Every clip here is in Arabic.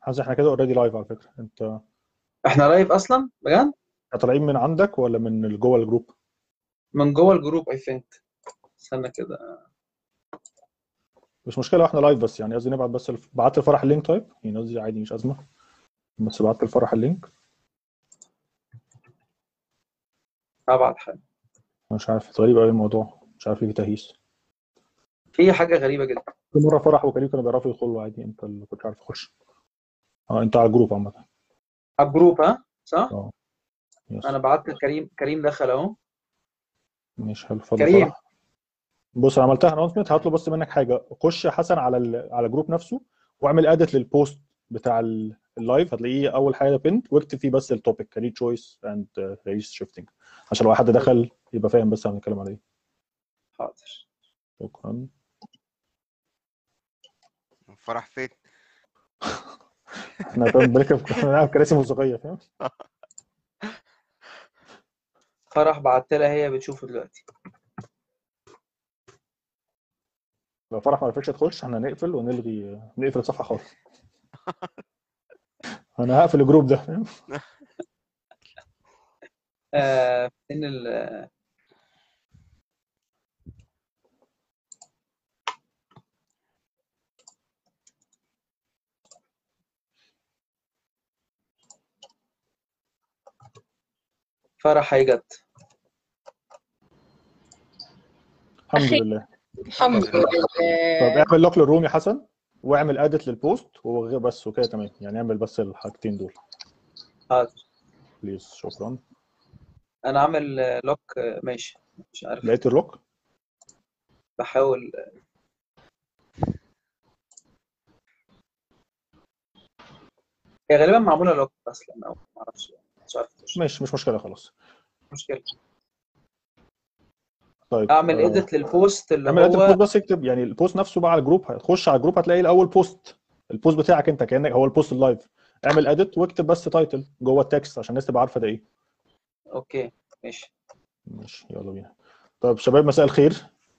حاسس احنا كده اوريدي لايف على فكره. انت احنا لايف اصلا بجد؟ طالعين من عندك ولا من جوه الجروب؟ من جوه الجروب اي ثينك. استنى كده. مش مشكله احنا لايف، بس يعني قصدي نبعت بس بعت الفرح اللينك. طيب يعني قصدي عادي مش ازمه، بس بعت الفرح اللينك. ابعت حاجه. مش عارف، غريب قوي الموضوع، مش عارف ليه في تهيس. في حاجه غريبه جدا. كل مره فرح وكريم كانوا بيعرفوا يدخلوا عادي، انت اللي كنت عارف تخش. انت على الجروب عامه. على الجروب ها صح؟ اه يس. انا بعت كريم، كريم دخل اهو. مش حلو، اتفضل كريم. فرح. بص انا عملتها انونسمنت، هطلب بس منك حاجه. خش يا حسن على على الجروب نفسه، واعمل اديت للبوست بتاع اللايف، هتلاقيه اول حاجه بنت، واكتب فيه بس التوبيك كارير تشويس اند ريس شيفتنج، عشان لو حد دخل يبقى فاهم بس هنتكلم على ايه. حاضر. شكرا. فرح فين؟ احنا بنلعب كراسي موسيقيه، فاهم؟ فرح بعت لها، هي بتشوفه دلوقتي. لو فرح ما عرفتش تخش احنا هنقفل ونلغي، نقفل الصفحه خالص. انا هقفل الجروب ده، فاهم؟ فين فرح هي جت. الحمد لله. الحمد طب لله. اعمل لوك للروم يا حسن، واعمل اديت للبوست وبس، وكده تمام يعني. اعمل بس الحاجتين دول حاضر. بليز. شكرا. انا عامل لوك. ماشي. مش عارف. لقيت اللوك. بحاول. هي غالبا معموله لوك اصلا، او ما اعرفش، مش عارف تخش. مش مشكله خلاص. مشكله. طيب اعمل اديت للبوست اللي اعمل اديت هو. البوست، بس اكتب يعني البوست نفسه بقى على الجروب. هتخش على الجروب هتلاقي الاول بوست، البوست بتاعك انت كانك هو البوست اللايف. اعمل اديت واكتب بس تايتل جوه التكست عشان الناس تبقى عارفه ده ايه. اوكي ماشي. ماشي يلا بينا. طيب شباب مساء الخير.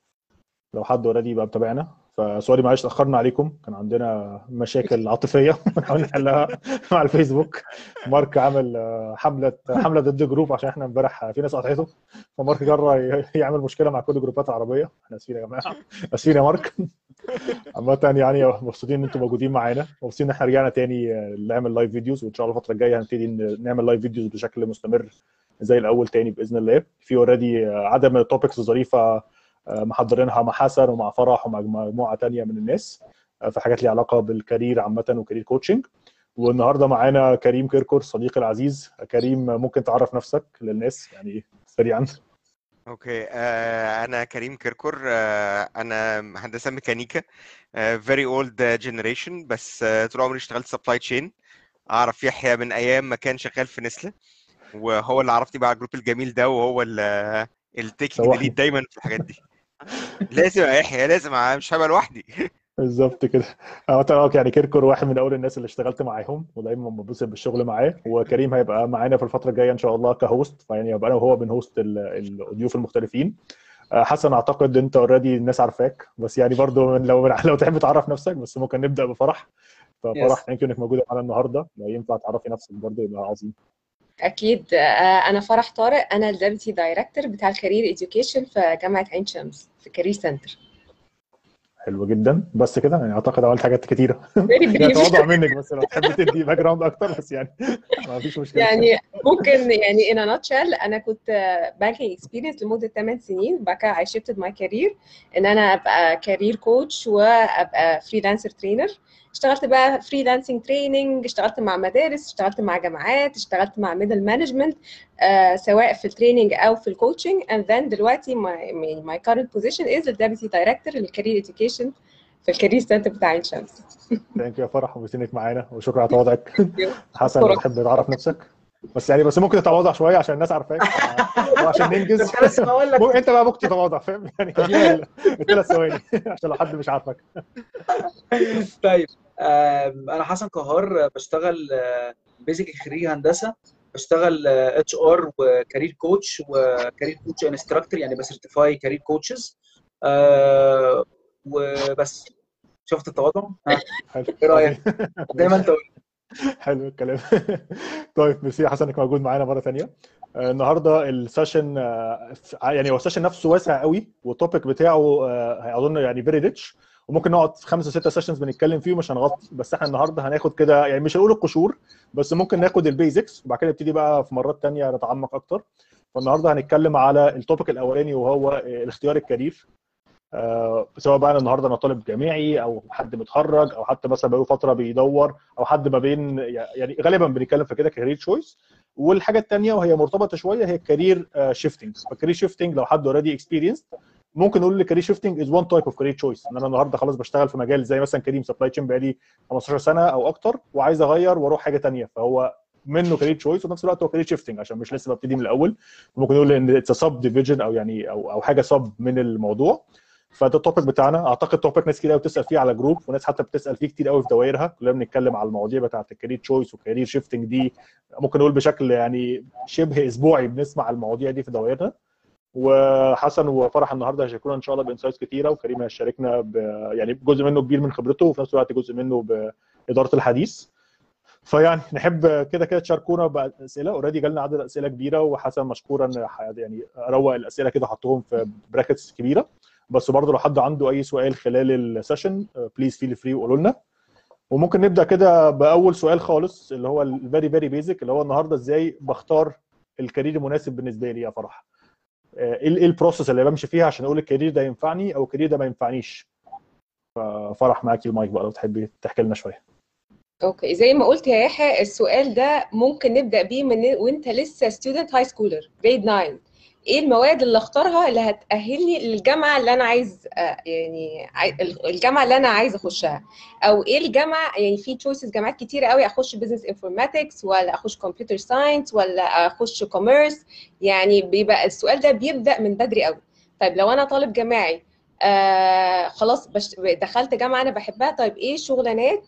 لو حد اوريدي يبقى متابعنا، فسوري معلش اتاخرنا عليكم، كان عندنا مشاكل عاطفيه بنحاول نحلها مع الفيسبوك. مارك عمل حمله ضد جروب عشان احنا امبارح في ناس قطعته، فمارك جرى يعمل مشكله مع كل جروبات العربيه. احنا اسفين يا جماعه، اسفين يا مارك. عامة يعني مبسوطين ان انتم موجودين معانا، مبسوطين ان احنا رجعنا تاني نعمل لايف فيديوز، وان شاء الله الفتره الجايه هنبتدي نعمل لايف فيديوز بشكل مستمر زي الاول تاني باذن الله. في اوريدي عدد من التوبكس الظريفه محضرينها مع حسن ومع فرح ومع مجموعه تانيه من الناس، في حاجات ليها علاقه بالكارير عامه وكارير كوتشنج. والنهارده معانا كريم كركر صديقي العزيز. كريم ممكن تعرف نفسك للناس يعني سريعا؟ اوكي. انا كريم كركر. انا هندسه ميكانيكا. very old generation، بس طول عمري اشتغلت سبلاي تشين. اعرف يحيى من ايام ما كان شغال في نسله، وهو اللي عرفني بقى على الجروب الجميل ده، وهو التيكينج ليد سوحني. دايما في الحاجات دي. لازم يا يحيى، لازم، مش هبقى لوحدي. بالظبط كده. يعني كيركور واحد من اول الناس اللي اشتغلت معاهم ودايما مبسوط بالشغل معاه، وكريم هيبقى معانا في الفتره الجايه ان شاء الله كهوست، فيعني يبقى انا وهو بنهوست الضيوف المختلفين. حسن اعتقد انت اوريدي الناس عارفاك، بس يعني برضو لو تحب تعرف نفسك بس، ممكن نبدا بفرح. ففرح يس. ثانك يو انك موجوده معانا النهارده، لو ينفع تعرفي نفسك برضو يبقى عظيم. اكيد. انا فرح طارق، انا الديبتي دايركتور بتاع الكارير اديوكيشن في جامعه عين شمس في كارير سنتر. حلو جدا. بس كده يعني اعتقد عملت حاجات كتيره. فيري يعني بريف. تواضع منك، بس لو تحب تدي باك جراوند اكتر بس يعني ما فيش مشكله. يعني ممكن يعني in a nutshell انا كنت بانكينج اكسبيرينس لمده 8 سنين، بعد كده I shifted my career ان انا ابقى كارير كوتش وابقى فريلانسر ترينر. اشتغلت بقى فريلانسنج تريننج، اشتغلت مع مدارس، اشتغلت مع جامعات، اشتغلت مع ميدل مانجمنت، سواء في التريننج او في الكوتشنج. and then دلوقتي my current position is the deputy director للكارير education في الكارير سنتر بتاع عين شمس. ثانك يو يا فرح، وبسنك معانا، وشكرا على تواضعك. حسن لو أشكرك. تحب تعرف نفسك بس يعني، بس ممكن تتواضع شويه عشان الناس عارفاك وعشان ننجز. كنت لسه بقول لك. انت بقى ممكن تتواضع، فاهم يعني؟ خلينا الثلاث ثواني عشان لو حد مش عارفك. طيب. انا حسن قهار، بشتغل بيزك خريج هندسه. بشتغل اتش ار وكارير كوتش وكارير كوتش انستراكتور، يعني بسيرتيفاي كارير كوتشز. وبس. شفت التواضع؟ ها. حلو ايه رايك؟ عظيم. زي ما ماشي. انت قلت. حلو الكلام. طيب ميرسي يا حسن انك موجود معانا مره ثانيه. النهارده السيشن يعني هو السيشن نفسه واسع قوي، والتوبيك بتاعه اظن يعني فيري ريتش، وممكن نقعد في 5 6 سيشنز بنتكلم فيه ومش هنغطي. بس احنا النهارده هناخد كده يعني مش هنقول القشور، بس ممكن ناخد البيزكس وبعد كده نبتدي بقى في مرات ثانيه نتعمق اكتر. فالنهارده هنتكلم على التوبيك الاولاني وهو الاختيار الكارير. سواء بقى انا النهارده انا طالب جامعي او حد متخرج او حتى مثلا بقاله فتره بيدور او حد ما بين، يعني غالبا بنتكلم في كده كارير تشويس. والحاجه الثانيه وهي مرتبطه شويه هي الكارير شيفتنج. فالكارير شيفتنج لو حد اوريدي اكسبيرينس ممكن نقول الكارير شيفتنج از وان تايب اوف كارير تشويس. ان انا النهارده خلاص بشتغل في مجال زي مثلا كريم سبلاي تشين بقالي 15 سنه او اكتر وعايز اغير واروح حاجه ثانيه، فهو منه كارير تشويس وفي نفس الوقت هو كارير شيفتنج عشان مش لسه ببتدي من الاول. ممكن نقول ان اتس سب ديفيجن او يعني او حاجه سب من الموضوع. فده التوبيك بتاعنا. اعتقد توبيك ناس كتير قوي بتسال فيه على جروب، وناس حتى بتسال فيه كتير قوي في دوائرها. كلنا بنتكلم على المواضيع بتاعه الكارير تشويس والكارير شيفتنج دي. ممكن نقول بشكل يعني شبه اسبوعي بنسمع المواضيع دي في دوائرنا. وحسن وفرح النهارده هيشاركونا ان شاء الله بانسايتس كتيره، وكريم هيشاركنا يعني جزء منه كبير من خبرته وفي نفس الوقت جزء منه باداره الحديث. فيعني نحب كده كده تشاركونا باسئله. اوريدي جالنا عدد اسئله كبيره، وحسن مشكورا يعني روق الاسئله كده حطهم في براكتس كبيره. بس برضه لو حد عنده اي سؤال خلال السيشن بليز فيل فري وقولوا لنا. وممكن نبدا كده باول سؤال خالص اللي هو الفيري فيري بيزك، اللي هو النهارده ازاي بختار الكارير المناسب بالنسبه لي يا فرح. ايه البروسيس اللي بمشي فيها عشان اقول الكارير ده ينفعني او الكارير ده ما ينفعنيش. ففرح معاكي المايك بقى لو تحبي تحكي لنا شويه. اوكي، زي ما قلت يا يحيى السؤال ده ممكن نبدا بيه من وانت لسه ستودنت هاي سكولر جريد 9. ايه المواد اللي اختارها اللي هتأهلني للجامعه اللي انا عايز يعني الجامعه اللي انا عايز اخشها، او ايه الجامعه. يعني في تشويسز جامعات كتيره قوي، اخش بزنس انفورماتكس ولا اخش كمبيوتر ساينس ولا اخش كوميرس. يعني بيبقى السؤال ده بيبدا من بدري قوي. طيب لو انا طالب جامعي خلاص دخلت جامعه انا بحبها، طيب ايه الشغلانات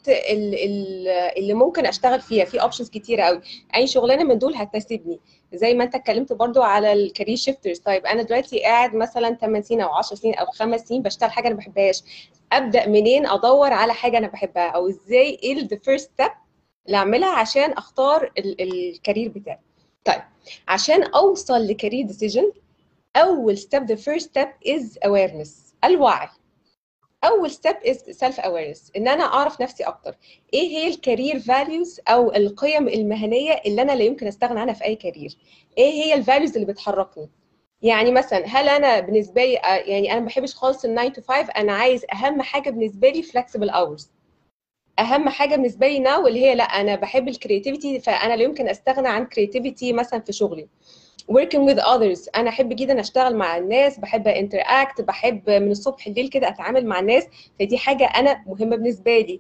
اللي ممكن اشتغل فيها؟ في اوبشنز كتيره قوي، اي شغلانه من دول هتناسبني. زي ما انت اتكلمت برضو على الكارير شيفترز. طيب انا دلوقتي قاعد مثلا 8 سنين او 10 سنين او 5 سنين بشتغل حاجه انا ما بحبهاش، ابدا منين ادور على حاجه انا بحبها؟ او ازاي ايه ذا فيرست ستيب اللي اعملها عشان اختار الكارير بتاعي؟ طيب عشان اوصل لكارير ديسيجن، اول ستيب the first step is awareness، الوعي. اول ستيب از سيلف اويرنس، ان انا اعرف نفسي اكتر. ايه هي الكارير فاليوز او القيم المهنيه اللي انا لا يمكن استغنى عنها في اي كارير؟ ايه هي الفاليوز اللي بتحركني؟ يعني مثلا هل انا بالنسبه لي يعني انا ما بحبش خالص ال 9 to 5، انا عايز اهم حاجه بالنسبه لي flexible hours. اهم حاجه بالنسبه لي ناو اللي هي لا انا بحب الكرياتيفيتي، فانا لا يمكن استغنى عن كرياتيفيتي مثلا في شغلي. working with others، انا احب جدا اشتغل مع الناس، بحب interact، بحب من الصبح الليل كده اتعامل مع الناس، فدي حاجه انا مهمه بالنسبه لي.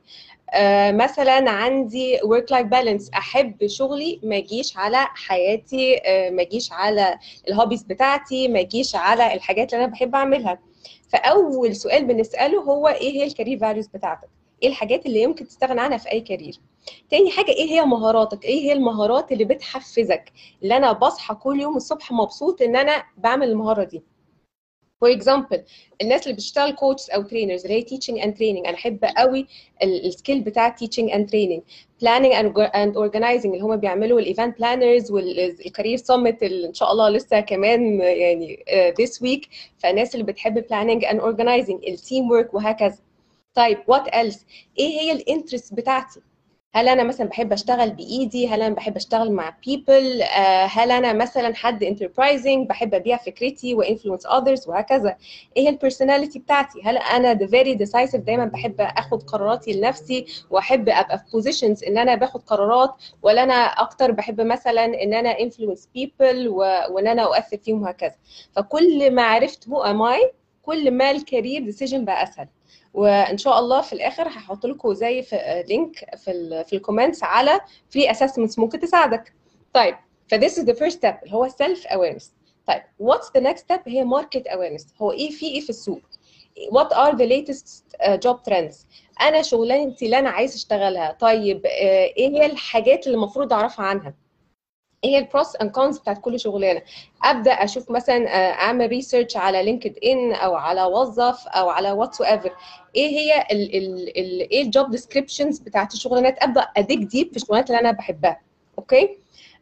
مثلا عندي work life balance، احب شغلي ما يجيش على حياتي، ما يجيش على الهوبيز بتاعتي، ما يجيش على الحاجات اللي انا بحب اعملها. فاول سؤال بنساله هو ايه هي الكارير فاليوز بتاعتك؟ ايه الحاجات اللي يمكن تستغنى عنها في اي كارير؟ تاني حاجه ايه هي مهاراتك؟ ايه هي المهارات اللي بتحفزك، اللي انا بصحى كل يوم الصبح مبسوط ان انا بعمل المهاره دي؟ فور اكزامبل الناس اللي بتشتغل كوتش او ترينرز اللي هي تيتشنج اند تريننج، انا احب قوي السكيل بتاع تيتشنج اند تريننج. بلاننج اند اورجنايزنج اللي هم بيعملوا الايفنت بلانرز والكارير سمت اللي ان شاء الله لسه كمان يعني this week. فالناس اللي بتحب بلاننج اند اورجنايزنج، التيم ورك وهكذا. طيب وات ايلس؟ ايه هي الانترست بتاعتي؟ هل انا مثلا بحب اشتغل بايدي؟ هل انا بحب اشتغل مع people؟ هل انا مثلا حد enterprising بحب ابيع فكرتي وانفلونس others وهكذا؟ ايه هي البيرسوناليتي بتاعتي؟ هل انا the very decisive دايما بحب اخد قراراتي لنفسي واحب ابقى في positions ان انا باخد قرارات، ولا انا اكتر بحب مثلا ان انا influence people وان انا اؤثر فيهم وهكذا؟ فكل ما عرفت who am I كل ما الكارير ديسيجن بقى اسهل. وان شاء الله في الاخر هحط لكم زي في لينك في الكومنتس على فري اسسمنتس ممكن تساعدك. طيب فthis is the first step اللي هو self awareness. طيب what's the next step؟ هي market awareness، هو ايه في السوق؟ what are the latest job trends؟ انا شغلانتي اللي انا عايز اشتغلها، طيب ايه هي الحاجات اللي المفروض اعرفها عنها؟ ايه هي البروس اند كونز بتاعت كل شغلانه. ابدا اشوف مثلا اعمل ريسيرش على لينكد ان او على وظف او على واتس ايفر، ايه هي ايه الجوب ديسكريبشنز بتاعت الشغلانات، ابدا اديك ديب في الشغلانات اللي انا بحبها. اوكي.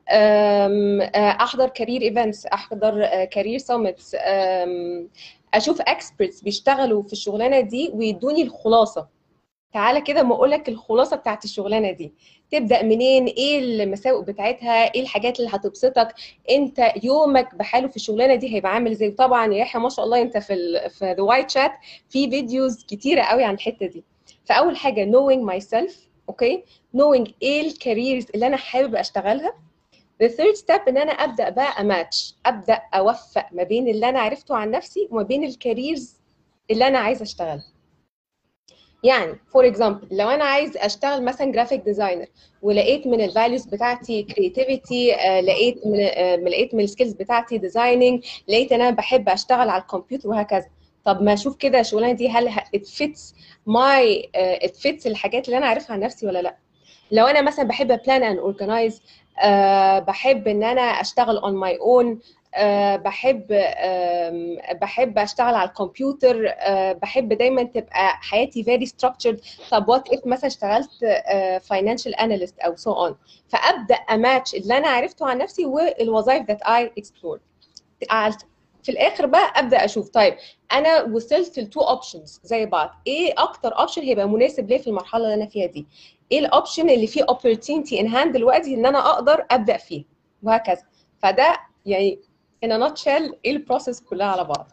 احضر كارير ايفنتس، احضر كارير سامتس، اشوف اكسبرتس بيشتغلوا في الشغلانه دي ويدوني الخلاصه. تعالى كده ما اقولك الخلاصه بتاعت الشغلانه دي، تبدا منين، ايه المساوئ بتاعتها، ايه الحاجات اللي هتبسطك، انت يومك بحاله في الشغلانه دي هيبقى عامل ازاي. طبعا يا يحيى ما شاء الله انت في ذا وايت شات في فيديوز كتيره قوي عن الحته دي. فاول حاجه knowing myself. اوكي. knowing ايه الكاريرز اللي انا حابب اشتغلها. the third step ان انا ابدا بقى اماتش، ابدا اوفق ما بين اللي انا عرفته عن نفسي وما بين الكاريرز اللي انا عايزه اشتغلها. يعني فور اكزامبل لو انا عايز اشتغل مثلا جرافيك ديزاينر ولقيت من الفاليوز بتاعتي كرياتيفيتي، لقيت من السكيلز بتاعتي ديزايننج، لقيت ان انا بحب اشتغل على الكمبيوتر وهكذا. طب ما اشوف كده الشغلانه دي هل ات فيتس الحاجات اللي انا عارفها عن نفسي ولا لا. لو انا مثلا بحب بلان اند اورجنايز، بحب ان انا اشتغل اون ماي اون، بحب اشتغل على الكمبيوتر، بحب دايما تبقى حياتي very structured. طب وات اف مثلا اشتغلت financial analyst او so on. فابدا اماتش اللي انا عرفته عن نفسي والوظائف that I explored. في الاخر بقى ابدا اشوف طيب انا وصلت لتو اوبشنز زي بعض، ايه اكتر اوبشن هيبقى مناسب ليا في المرحله اللي انا فيها دي، ايه الاوبشن اللي فيه opportunity in hand دلوقتي ان انا اقدر ابدا فيه وهكذا. فده يعني in a nutshell ايه البروسيس كلها على بعض.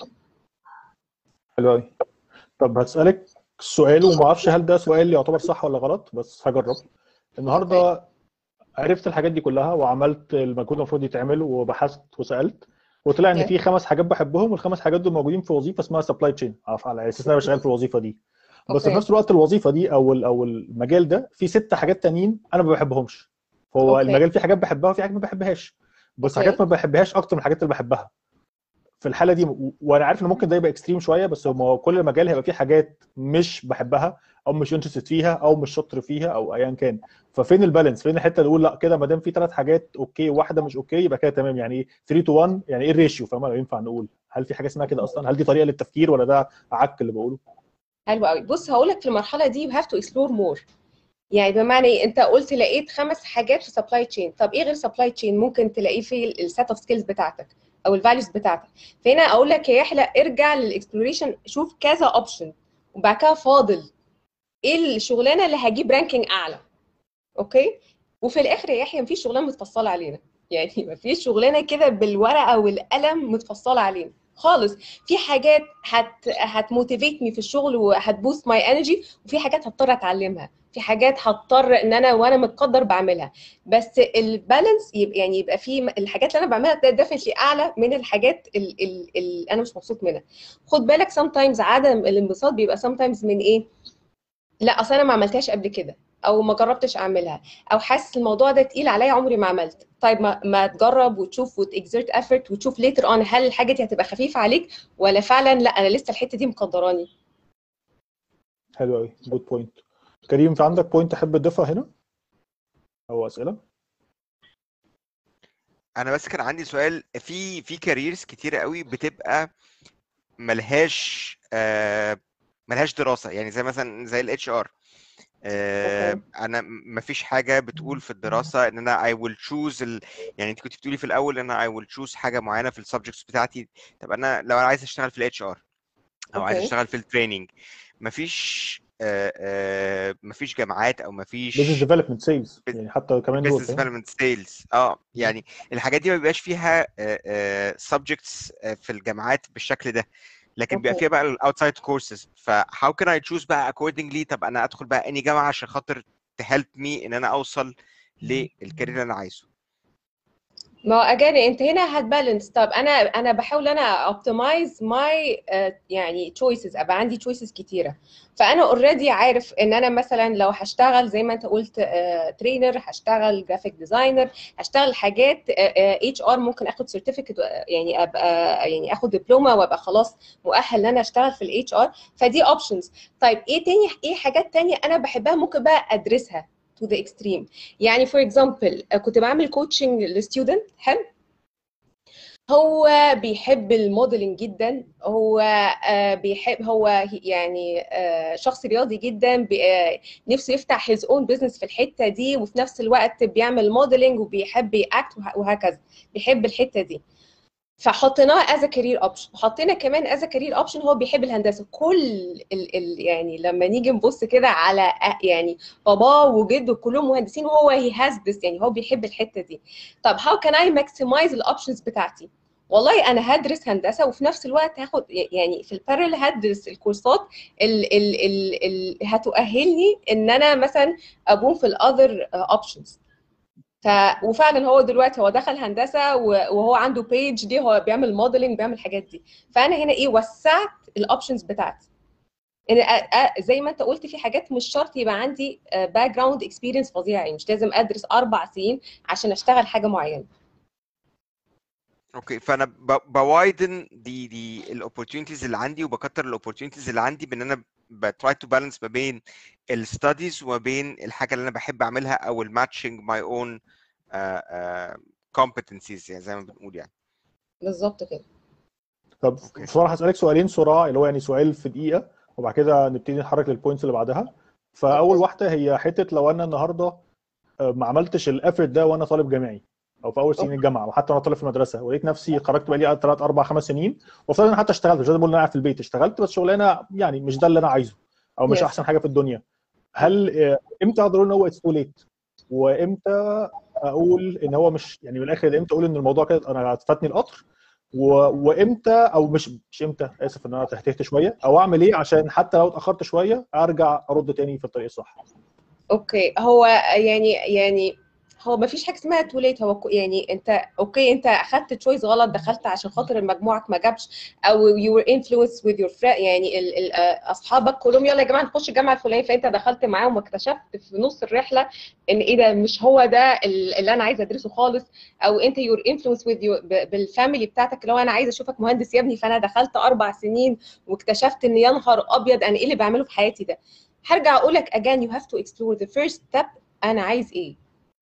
حلو قوي. طب هسألك سؤال وما اعرفش هل ده سؤال يعتبر صح ولا غلط، بس هجرب. النهارده عرفت الحاجات دي كلها وعملت المجهود المفروض يتعمل وبحثت وسألت، وطلع ان في 5 حاجات بحبهم، والخمس حاجات دول موجودين في وظيفه اسمها سبلاي تشين، على اساس ان انا شغال في الوظيفه دي. بس في نفس الوقت الوظيفه دي او المجال ده فيه 6 حاجات تانيين انا ما بحبهمش. هو المجال فيه حاجات بحبها وفي حاجات ما بحبهاش، بس حاجات ما بحبهاش اكتر من الحاجات اللي بحبها. في الحاله دي وانا عارف ان ممكن ده يبقى اكستريم شويه، بس هو كل مجال هيبقى فيه حاجات مش بحبها او مش انترستد فيها او مش شاطر فيها او ايا كان. ففين البالانس؟ فين الحته اللي اقول لا كده ما دام في 3 حاجات اوكي وواحده مش اوكي يبقى كده تمام؟ يعني 3 to 1 يعني ايه الريشيو؟ فاهم؟ لو ينفع نقول هل في حاجه اسمها كده اصلا؟ هل دي طريقه للتفكير ولا ده عك اللي بقوله؟ حلو قوي. بص هقول لك في المرحله دي you have to explore more. يعني بمعنى ايه؟ انت قلت لقيت 5 حاجات في سبلاي تشين، طب ايه غير سبلاي تشين ممكن تلاقيه في السيت اوف سكيلز بتاعتك او الفاليوز بتاعتك؟ فهنا اقول لك يا يحيى ارجع للاكسبلوريشن، شوف كذا اوبشن وبعد كده فاضل ايه الشغلانه اللي هجيب رانكينج اعلى. اوكي. وفي الاخر يا يحيى مفيش شغلانه متفصله علينا، يعني مفيش شغلانه كده بالورقه والقلم متفصله علينا خالص. في حاجات هتموتيفيتني في الشغل وهتبوست ماي انرجي، وفي حاجات هضطر اتعلمها، في حاجات هضطر ان انا وانا متقدر بعملها. بس البالانس يبقى في الحاجات اللي انا بعملها ده ديفنتلي اعلى من الحاجات اللي انا مش مبسوط منها. خد بالك sometimes عدم الانبساط بيبقى sometimes من ايه؟ لا اصل انا ما عملتهاش قبل كده او ما جربتش اعملها او حاسس الموضوع ده تقيل عليا عمري ما عملت. طيب ما تجرب وتشوف وتexert effort وتشوف later on هل الحاجه دي هتبقى خفيفه عليك ولا فعلا لا انا لسه الحته دي مقدراني. حلو قوي، جود بوينت. كريم في عندك بوينت تحب تضيفها هنا او اسئله؟ انا بس كان عندي سؤال في كاريرز كتيره قوي بتبقى ملهاش دراسه، يعني زي مثلا زي الاتش ار. انا مفيش حاجه بتقول في الدراسه ان انا I will choose يعني انت كنت بتقولي في الاول ان انا I will choose حاجه معينه في السبجكتس بتاعتي. طب انا لو انا عايز اشتغل في الاتش ار او عايز اشتغل في التريننج، مفيش مفيش جامعات او بزنس مفيش ديفلوبمنت سيلز يعني حتى كمان دول business development sales. يعني الحاجات دي ما بيبقاش فيها subjects في الجامعات بالشكل ده، لكن بيبقى فيها بقى الاوتسايد كورسز. فهاو كان اي تشوز بقى accordingly؟ طب انا ادخل بقى اني جامعه عشان خاطر تهلب مي ان انا اوصل للكارير اللي انا عايزه؟ ما هو اجاني انت هنا هتبالانس. طب انا بحاول انا اوبتمايز ماي يعني تشويسز، ابقى عندي تشويسز كتيره. فانا اوريدي عارف ان انا مثلا لو هشتغل زي ما انت قلت ترينر، هشتغل جرافيك ديزاينر، هشتغل حاجات اتش ار، ممكن اخد سيرتيفيكت يعني ابقى يعني اخد دبلومه وابقى خلاص مؤهل ان انا اشتغل في الاتش ار. فدي اوبشنز. طيب ايه تاني؟ ايه حاجات تانية انا بحبها ممكن بقى ادرسها to the extreme. يعني for example كنت بعمل كوتشنج لستودنت حلو، هو بيحب الموديلنج جدا، هو بيحب، هو يعني شخص رياضي جدا، نفسه يفتح his own business في الحته دي، وفي نفس الوقت بيعمل موديلنج وبيحب ياكت وهكذا، بيحب الحته دي. فحطيناه از كارير اوبشن، وحطينا كمان از كارير اوبشن هو بيحب الهندسه. كل يعني لما نيجي نبص كده على يعني باباه وجده كلهم مهندسين، وهو هي هاز ذس، يعني هو بيحب الحته دي. طب هاو كان اي ماكسمايز الاوبشنز بتاعتي؟ والله انا هدرس هندسه وفي نفس الوقت هاخد يعني في البارل هدرس الكورسات اللي هتؤهلني ان انا مثلا ابوم في الاذر اوبشنز. وفعلا هو دلوقتي هو دخل هندسه وهو عنده بيج دي، هو بيعمل موديلنج، بيعمل الحاجات دي. فانا هنا ايه، وسعت الاوبشنز بتاعتي. زي ما انت قلت في حاجات مش شرط يبقى عندي باك جراوند اكسبيرينس فظيع، يعني مش لازم ادرس 4 سنين عشان اشتغل حاجه معينه. اوكي، فانا بوايدن دي الاوبورتيونيتيز اللي عندي، وبكتر الاوبورتيونيتيز اللي عندي بان انا بتراي تو بالانس ما بين الستاديز وما بين الحاجه اللي انا بحب اعملها، او الماتشنج ماي اون competencies يعني زي ما بنقول يعني. بالظبط كده. طب اوكي. بصراحه هسالك سؤالين صراع، اللي هو يعني سؤال في دقيقه وبعد كده نبتدي نتحرك للبوينتس اللي بعدها. فاول واحده هي حته، لو انا النهارده ما عملتش الافورت ده وانا طالب جامعي او في اول سنين الجامعه، وحتى وانا طالب في المدرسه، ولقيت نفسي خرجت بقى لي 3 4 5 سنين، وافترض ان انا حتى اشتغلت، مش لازم اقول ان انا قاعد في البيت، اشتغلت بس شغلانه يعني مش ده اللي انا عايزه او مش Yes. احسن حاجه في الدنيا، هل امتى اقدر اقول ان هو اتس تو ليت؟ وامتى اقول ان هو مش يعني من الاخر، امتى اقول ان الموضوع كده انا فاتني القطر؟ وامتى او مش امتى، اسف ان انا تهتهت شويه، او اعمل ايه عشان حتى لو اتاخرت شويه ارجع ارد تاني في الطريق الصح؟ اوكي، هو يعني هو ما فيش حاجه اسمها توليت. هو يعني انت اوكي، انت اخدت تشويس غلط، دخلت عشان خاطر مجموعك ما جابش، او يو ور انفلونس وذ يور يعني اصحابك كلهم يلا يا جماعه نخش الجامعه الفلانيه، فانت دخلت معاهم واكتشفت في نص الرحله ان ايه ده، مش هو ده اللي انا عايزه ادرسه خالص. او انت يور انفلونس وذ بالفاميلي بتاعتك، اللي هو انا عايزه اشوفك مهندس يا ابني، فانا دخلت 4 سنين واكتشفت ان يا نهار ابيض انا ايه اللي بعمله في حياتي ده. هرجع اقول لك again you have to explore the first step. انا عايز ايه؟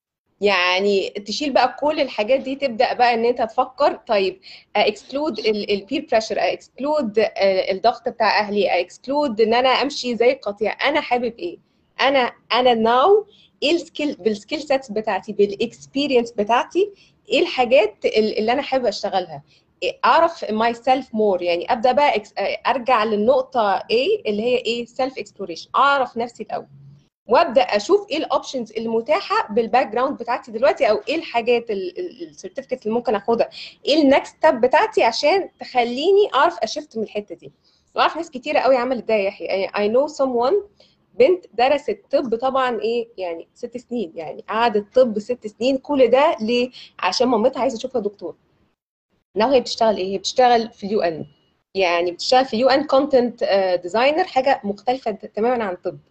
يعني تشيل بقى كل الحاجات دي، تبدا بقى ان انت تفكر طيب اكسكلود البير بريشر، اكسكلود الضغط بتاع اهلي، اكسكلود ان انا امشي زي القطيع. انا حابب ايه؟ انا ناو ايه السكيل، بالسكيل سيتس بتاعتي، بالاكسبيرينس بتاعتي، ايه الحاجات اللي انا حابه اشتغلها، اعرف ماي سيلف مور. يعني ابدا بقى ارجع للنقطه A اللي هي ايه، سيلف اكسبلوريشن، اعرف نفسي الاول، وابدا اشوف ايه الاوبشنز المتاحه بالباك جراوند بتاعتي دلوقتي، او ايه الحاجات السيرتيفيكت اللي ممكن اخدها، ايه النكست ستيب بتاعتي عشان تخليني اعرف اشفت من الحته دي. واعرف ناس كتيره قوي عملت ده يا يحيى. يعني I know someone بنت درست طب طبعا ايه يعني 6 سنين، يعني قعدت طب 6 سنين، كل ده ليه؟ عشان مامتها عايزه تشوفها دكتور. ناو هي بتشتغل ايه؟ هي بتشتغل في اليو ان، يعني بتشتغل في اليو ان كونتنت ديزاينر، حاجه مختلفه تماما عن الطب.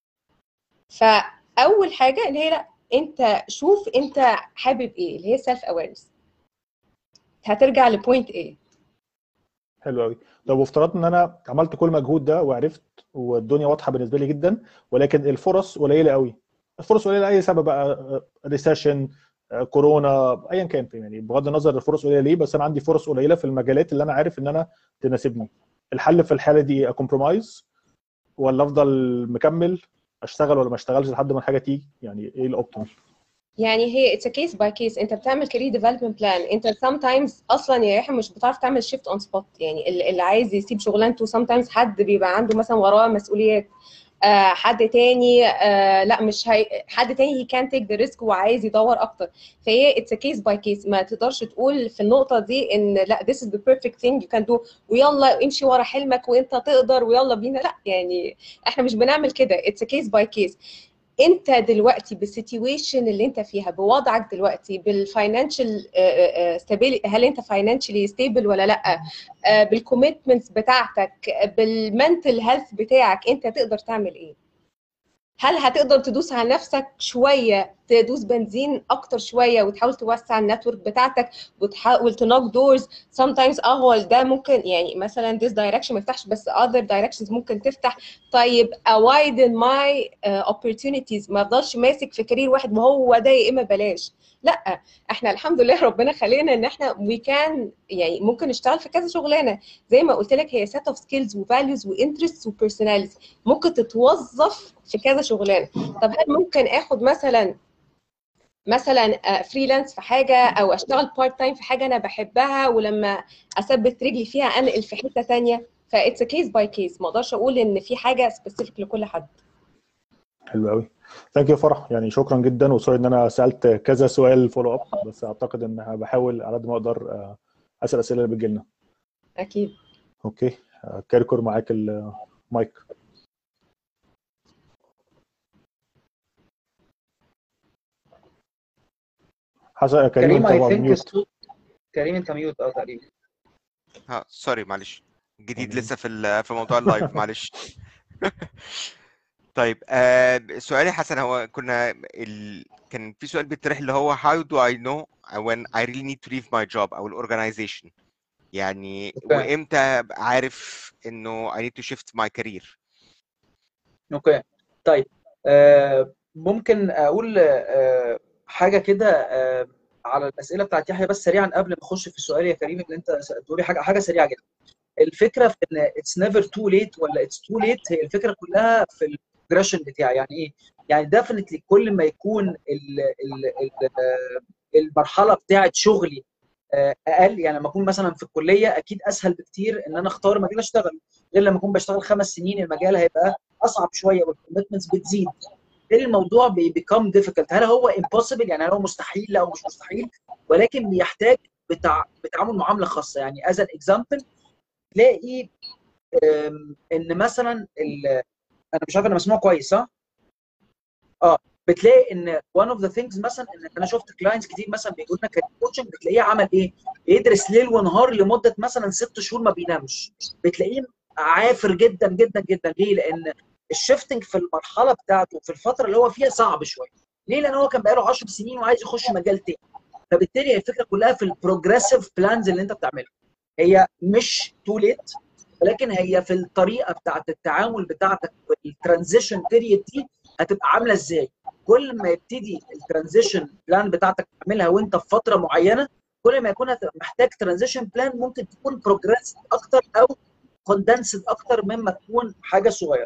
فاول حاجه اللي هي لا، انت شوف انت حابب ايه، اللي هي سيلف اويرنس. هترجع لبوينت ايه. حلو قوي. طب وافترضنا ان انا عملت كل مجهود ده وعرفت والدنيا واضحه بالنسبه لي جدا، ولكن الفرص قليله قوي. الفرص قليله لاي سبب بقى، ريسيشن، كورونا، ايا كان، يعني بغض النظر الفرص قليله ليه، بس انا عندي فرص قليله في المجالات اللي انا عارف ان انا تناسبني. الحل في الحاله دي ايه؟ كومبرومايز ولا افضل مكمل اشتغل ولا ما اشتغلش لحد ما الحاجه تيجي؟ يعني ايه الاوبتيمال؟ يعني هي اتس كيس باي كيس. انت بتعمل كارير ديفلوبمنت بلان، انت sometimes اصلا يا يحيى مش بتعرف تعمل شيفت اون سبوت. يعني اللي عايز يسيب شغلانته sometimes حد بيبقى عنده مثلا وراه مسؤوليات، حد تاني لا مش حد تاني he can't take the risk وعايز يدور اكتر. فهي it's a case by case. ما تقدرش تقول في النقطه دي ان لا this is the perfect thing you can do ويلا امشي ورا حلمك وانت تقدر ويلا بينا. لا يعني احنا مش بنعمل كده. it's a case by case. انت دلوقتي بالسيتويشن اللي انت فيها، بوضعك دلوقتي، بالفاينانشال ستابيليتي، هل انت فاينانشالي ستيبل ولا لا، بالكوميتمنتس بتاعتك، بالمنتل هيلث بتاعك، انت تقدر تعمل ايه؟ هل هتقدر تدوس على نفسك شويه تدوس بنزين اكتر شويه وتحاول توسع النتورك بتاعتك وتحاول تنوك دورز. sometimes هو ده ممكن يعني مثلا this direction ما يفتحش بس other directions ممكن تفتح. طيب widen my opportunities، ما افضلش ماسك في كارير واحد ما هو ده يا اما بلاش. لا، احنا الحمد لله ربنا خلينا ان احنا we can يعني ممكن نشتغل في كذا شغلانه. زي ما قلت لك هي set of skills و values و interests و personalities ممكن تتوظف في كذا شغلانه. طب هل ممكن اخد مثلا فريلانس في حاجه او اشتغل بارت تايم في حاجه انا بحبها ولما اثبت رجلي فيها انقل في حته ثانيه؟ فايتس كيس باي كيس، ما اقدرش اقول ان في حاجه سبيسيفيك لكل حد. حلو قوي. ثانك يو فرح، يعني شكرا جدا، وسوري ان انا سالت كذا سؤال فولو اب، بس اعتقد ان بحاول على قد ما اقدر اسال الاسئله اللي بتجي لنا. اكيد. اوكي، كركر معاك المايك. حسن كريم اي طبعا ثينك ميوت. كريم انت ميوت تقريبا. سوري معلش، جديد تمام. لسه في موضوع اللايف معلش. طيب سؤالي حسن، هو كان في سؤال بيطرح اللي هو how do I know when I really need to leave my job او الاورجنايزيشن، يعني اوكي وامتى أبقى عارف انه I need to shift my career. اوكي طيب ممكن اقول حاجه كده على الاسئله بتاعت يحيى بس سريعا قبل ما اخش في السؤال يا كريم اللي انت سالته لي. حاجه سريعه جدا. الفكره في ان اتس نيفر تو ليت ولا اتس تو ليت، هي الفكره كلها في البروجريشن بتاعي. يعني ايه؟ يعني ديفنتلي كل ما يكون المرحله بتاعت شغلي اقل، يعني لما اكون مثلا في الكليه اكيد اسهل بكتير ان انا اختار مجال اشتغل، غير لما اكون بشتغل 5 سنين المجال هيبقى اصعب شويه والكوميتمنتس بتزيد. الموضوع بيبيكم ديفيكلت. هل هو امبوسيبل؟ يعني هل هو مستحيل؟ لا هو مش مستحيل، ولكن بيحتاج بتعامل معامله خاصه. يعني از ان اكزامبل تلاقي ان مثلا انا مش عارف انا مسموع كويس صح؟ بتلاقي ان one of the things مثلا ان انا شفت كلاينتس كتير مثلا بيقول لنا كارير كوتشنج، بتلاقيه عمل ايه؟ بيدرس ليل ونهار لمده مثلا 6 شهور ما بينامش. بتلاقيه عافر جدا جدا جدا. ليه؟ لان الشيفتنج في المرحله بتاعته في الفتره اللي هو فيها صعب شويه. ليه؟ لان هو كان بقاله 10 سنين وعايز يخش مجال تاني. فبالتالي الفكره كلها في البروجريسيف بلانز اللي انت بتعملها. هي مش تو ليت، ولكن هي في الطريقه بتاعت التعامل بتاعتك والترانزيشن بيريد دي هتبقى عامله ازاي. كل ما يبتدي الترانزيشن بلان بتاعتك تعملها وانت في فتره معينه، كل ما يكون محتاج ترانزيشن بلان ممكن تكون بروجريس اكتر او كوندنسد اكتر مما تكون حاجه صغيره.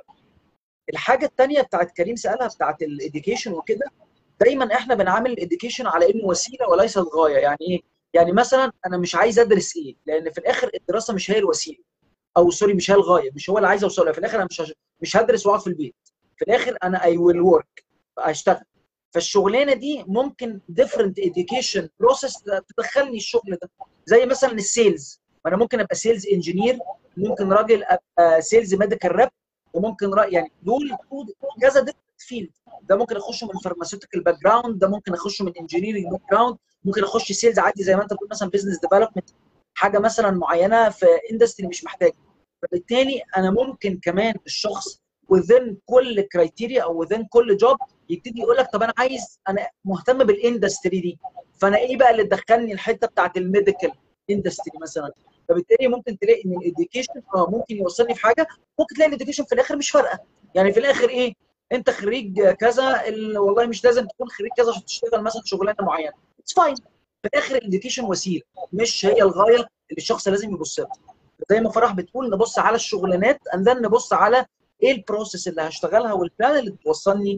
الحاجه الثانيه بتاعت كريم سالها بتاعت الاديوكيشن وكده، دايما احنا بنعامل الاديوكيشن على انه وسيله وليست غايه. يعني ايه؟ يعني مثلا انا مش عايز ادرس ايه، لان في الاخر الدراسه مش هي الوسيله، او سوري مش هي الغايه، مش هو اللي عايز اوصله. في الاخر انا مش هدرس واقعد في البيت. في الاخر انا اي ويل ورك، هشتغل. فالشغلانه دي ممكن ديفرنت اديوكيشن بروسيس تدخلني الشغل ده. زي مثلا السيلز، انا ممكن ابقى سيلز انجينير، ممكن راجل ابقى سيلز ميديكال راب، وممكن يعني دول كذا ديفرنت فيلد. ده ممكن اخش من فارماسيوتيكال باك جراوند، ده ممكن اخش من انجينيرنج باك جراوند، ممكن اخش سيلز عادي زي ما انت بتقول مثلا بزنس ديفلوبمنت، حاجه مثلا معينه في اندستري مش محتاج. فبالتالي انا ممكن كمان الشخص within كل كرايتيريا او within كل جوب يبتدي يقول لك طب انا مهتم بالاندستري دي، فانا ايه بقى اللي تدخلني الحته بتاعت الميديكال اندستري مثلا. فبالتالي ممكن تلاقي ان الاديوكيشن ممكن يوصلني في حاجه، ممكن تلاقي الاديوكيشن في الاخر مش فارقه. يعني في الاخر ايه؟ انت خريج كذا، والله مش لازم تكون خريج كذا عشان تشتغل مثلا شغلانه معينه. اتس فاين. في الاخر الاديوكيشن وسيله، مش هي الغايه اللي الشخص لازم يبص لها. زي ما فرح بتقول نبص على الشغلانات اندن نبص على ايه البروسيس اللي هشتغلها والبلان اللي توصلني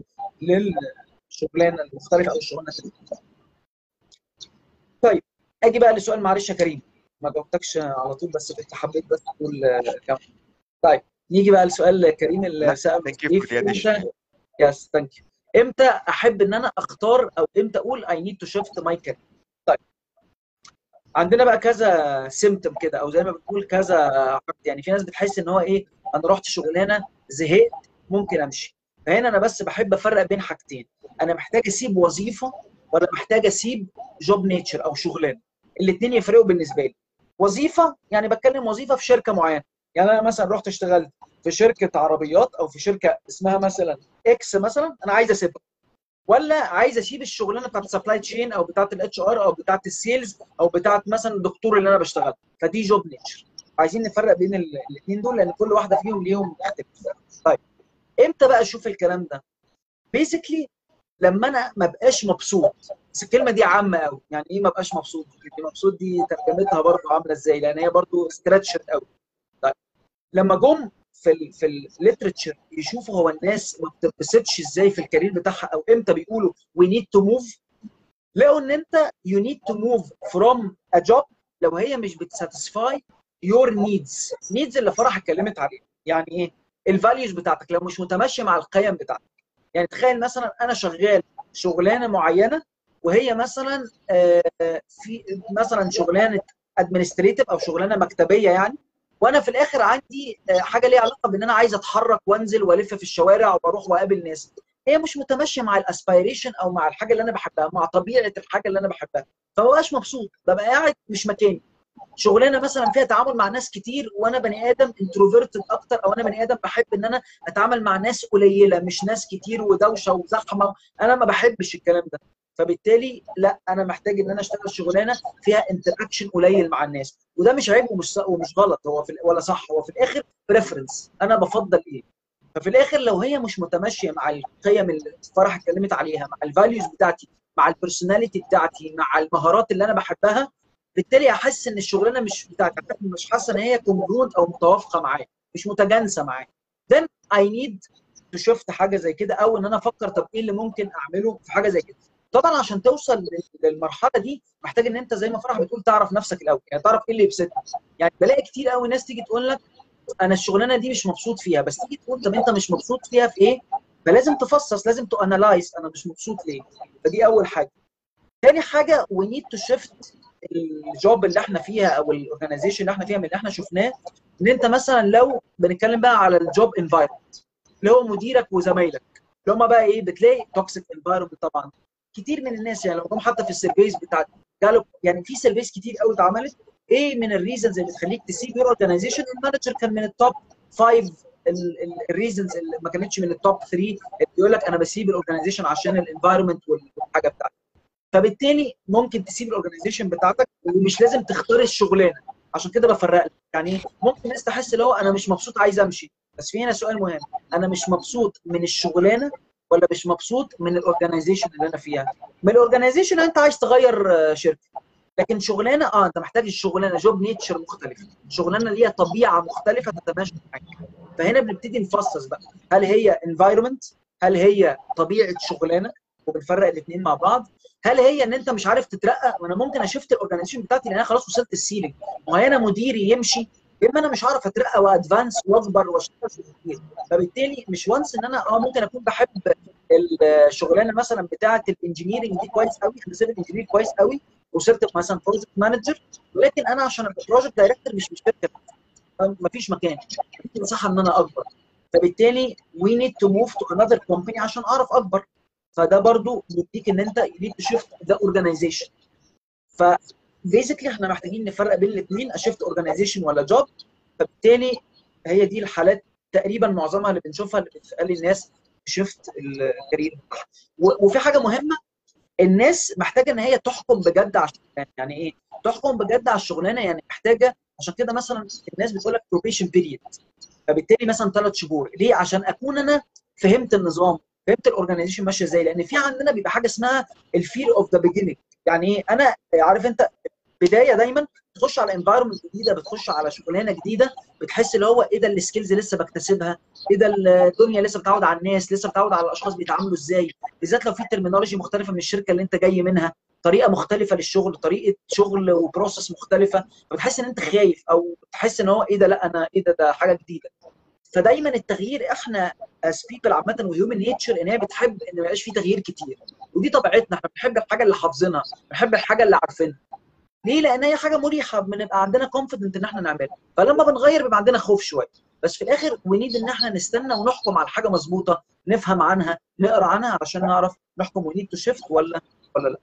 للشغلانه المختلفه او الشغلانه المختلفه. طيب اجي بقى لسؤال، معلش يا كريم ما جاوبتكش على طول، بس كنت حبيت بس تقول كام. طيب نيجي بقى لسؤال كريم اللي سأل امتى. يس ثانك يو. امتى احب ان انا اختار او امتى اقول I need to shift my career؟ طيب عندنا بقى كذا سيمتوم كده، او زي ما بتقول كذا. يعني في ناس بتحس ان هو ايه، انا رحت شغلانه زهقت ممكن امشي. فهنا انا بس بحب افرق بين حاجتين، انا محتاج اسيب وظيفه ولا محتاج اسيب جوب نيتشر او شغلانه. الاثنين يفرقوا بالنسبه لي. وظيفه يعني بتكلم وظيفه في شركه معينه، يعني انا مثلا رحت اشتغلت في شركه عربيات او في شركه اسمها مثلا اكس مثلا، انا عايز اسيبها. ولا عايز اسيب الشغلانه بتاعت السبلاي تشين او بتاعت الاتش ار او بتاعت السيلز او بتاعت مثلا الدكتور اللي انا بشتغل. فدي جوب نيتشر. عايزين نفرق بين الاثنين دول لان كل واحده فيهم ليهم اختلاف. طيب امتى بقى اشوف الكلام ده؟ بيزيكلي لما انا ما بقاش مبسوط. بس الكلمه دي عامه قوي، يعني ايه ما بقاش مبسوط؟ دي مبسوط دي ترجمتها برضه عامله ازاي؟ لان هي برضه ستريتشد قوي. طيب لما جم في الليترشر يشوفوا هو الناس ما بتتبسطش ازاي في الكارير بتاعها او امتى بيقولوا وي نيد تو موف، لقوا ان انت يو نيد تو موف فروم ا جوب لو هي مش بتساتسفاي يور نيدز اللي فرح اتكلمت عليها. يعني ايه؟ الفاليوز بتاعتك لو مش متماشيه مع القيم بتاعتك. يعني تخيل مثلا انا شغال شغلانه معينه وهي مثلا في مثلا شغلانه ادمنستريتيف او شغلانه مكتبيه يعني، وانا في الاخر عندي حاجه ليها علاقه بان انا عايز اتحرك وانزل والف في الشوارع واروح واقابل ناس. هي مش متماشيه مع الاسبيريشن او مع الحاجه اللي انا بحبها، مع طبيعه الحاجه اللي انا بحبها، فما بقاش مبسوط، ببقى قاعد مش مكاني. شغلانه مثلا فيها تعامل مع ناس كتير وانا بني ادم انتروفيرتد اكتر، او انا بني ادم بحب ان انا اتعامل مع ناس قليله مش ناس كتير ودوشه وزحمه، انا ما بحبش الكلام ده. فبالتالي لا، انا محتاج ان انا اشتغل شغلانه فيها انتراكشن قليل مع الناس. وده مش عيب ومش غلط، هو ولا صح، هو في الاخر بريفرنس، انا بفضل ايه. ففي الاخر لو هي مش متماشيه مع القيم اللي فرح اتكلمت عليها، مع الفاليوز بتاعتي، مع البرسوناليتي بتاعتي، مع المهارات اللي انا بحبها، بالتالي احس ان الشغلانه مش بتاعتي، مش حاسه ان هي كونجرونت او متوافقه معايا، مش متجانسه معايا. then I need to shift حاجه زي كده، او ان انا افكر طب ايه اللي ممكن اعمله في حاجه زي كده. طبعا عشان توصل للمرحله دي محتاج ان انت زي ما فرح بتقول تعرف نفسك الاول، يعني تعرف ايه اللي يبسطك. يعني بلاقي كتير قوي ناس تيجي تقول لك انا الشغلانه دي مش مبسوط فيها، بس تيجي تقول طب انت مش مبسوط فيها في ايه؟ فلازم تفصص، لازم تو انالايز انا مش مبسوط ليه. فدي اول حاجه. تاني حاجه we need to shift الجوب اللي احنا فيها او الاورجنايزيشن اللي احنا فيها من اللي احنا شفناه. ان انت مثلا لو بنتكلم بقى على الجوب انفايرمنت اللي هو مديرك وزمايلك، اللي هم بقى ايه، بتلاقي توكسيك انفايرمنت طبعا. كتير من الناس يعني لو جم حتى في السيرفيز بتاعت جالوب، يعني في سيرفيز كتير قوي اتعملت، ايه من الريزنز اللي تخليك تسيب يور اورجنايزيشن؟ المانجر كان من التوب 5 الريزنز، اللي ما كانتش من التوب 3 اللي بيقول لك انا بسيب الاورجنايزيشن عشان الانفايرمنت والحاجه بتاعتي. فبالتالي ممكن تسيب الاورجنايزيشن بتاعتك ومش لازم تختار الشغلانه. عشان كده بفرق لك، يعني ممكن الناس تحس اللي هو انا مش مبسوط عايز امشي، بس في هنا سؤال مهم، انا مش مبسوط من الشغلانه ولا مش مبسوط من الاورجنايزيشن اللي انا فيها؟ من الاورجنايزيشن انت عايز تغير شركه، لكن شغلانه انت محتاج الشغلانه جوب نيتشر مختلف، شغلانه ليها طبيعه مختلفه تتماشى معاك. فهنا بنبتدي نفصص بقى، هل هي انفايرمنت، هل هي طبيعه شغلانه، وبنفرق الاثنين مع بعض، هل هي ان انت مش عارف تترقى، وانا ممكن اشفت الاورجنايزيشن بتاعتي لان انا خلاص وصلت السيلينج، وانا مديري يمشي، يا اما انا مش هعرف اترقى وادفانس واكبر واشتغل في الكتير. فبالتالي مش وانس ان انا ممكن اكون بحب الشغلانه مثلا بتاعه الانجينيرنج دي كويس قوي، انا سيفل انجينير كويس قوي، وصرت مثلا بروجكت مانجر، ولكن انا عشان ابقى بروجكت دايركتور مش الشركه، مفيش مكان، مفيش مساحه ان انا اكبر. فبالتالي we need to move to another company عشان اعرف اكبر. فده برضو بيديك ان انت you need to shift the organization. ف basically احنا محتاجين نفرق بين الاثنين، اشفت اورجانيزيشن ولا جوب. فبالتالي هي دي الحالات تقريبا معظمها اللي بنشوفها اللي بتخلي الناس شفت الكارير. وفي حاجه مهمه، الناس محتاجه ان هي تحكم بجد على الشغلانه. يعني ايه تحكم بجد على الشغلانه؟ يعني محتاجه، عشان كده مثلا الناس بتقول لك probation period، فبالتالي مثلا 3 شهور ليه؟ عشان اكون انا فهمت النظام، فهمت الاورجنايزيشن ماشيه ازاي. لان في عندنا بيبقى حاجه اسمها الفير اوف ذا بيجيننج. يعني ايه؟ انا عارف انت بدايه دايما تخش على انفايرمنت جديده، بتخش على شغلانه جديده، بتحس اللي هو ايه ده السكيلز لسه بكتسبها، ايه ده الدنيا لسه بتعود على الناس، لسه بتعود على الاشخاص بيتعاملوا ازاي، بالذات لو في ترمينولوجي مختلفه من الشركه اللي انت جاي منها، طريقه مختلفه للشغل، طريقه شغل وبروسس مختلفه، فبتحس ان انت خايف او تحس ان هو ايه ده، لا انا ايه ده حاجه جديده. فدايما التغيير احنا از بيبل عامه وهيومن نيتشر ان هي بتحب ان ما يبقاش في تغيير كتير، ودي طبيعتنا، احنا بنحب الحاجه اللي حافظينها، بنحب الحاجه اللي عارفينها. ليه؟ لان هي حاجه مريحه، بنبقى عندنا كونفيدنت ان احنا نعملها، فلما بنغير بيبقى عندنا خوف شويه. بس في الاخر ونيد ان احنا نستنى ونحكم على حاجه مظبوطه، نفهم عنها، نقرا عنها علشان نعرف نحكم ونيد تو شيفت ولا لا.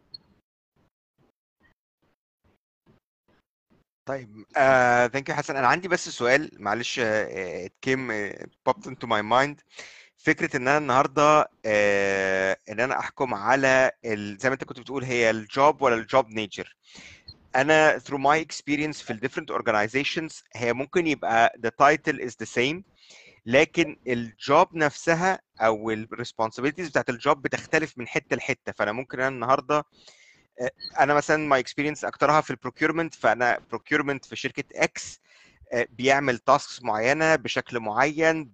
طيب ثانك يو حسن. انا عندي بس سؤال معلش it came popped into my mind. فكره ان انا النهارده ان انا احكم على زي ما انت كنت بتقول هي الجوب ولا الجوب نيتشر. انا through my experience في ال different organizations هي ممكن يبقى the title is the same، لكن الجوب نفسها او ال responsibilities بتاعت الجوب بتختلف من حته لحته. فانا ممكن انا النهارده انا مثلا my experience اكترها في البروكيورمنت، فانا procurement في شركه اكس بيعمل تاسكس معينه بشكل معين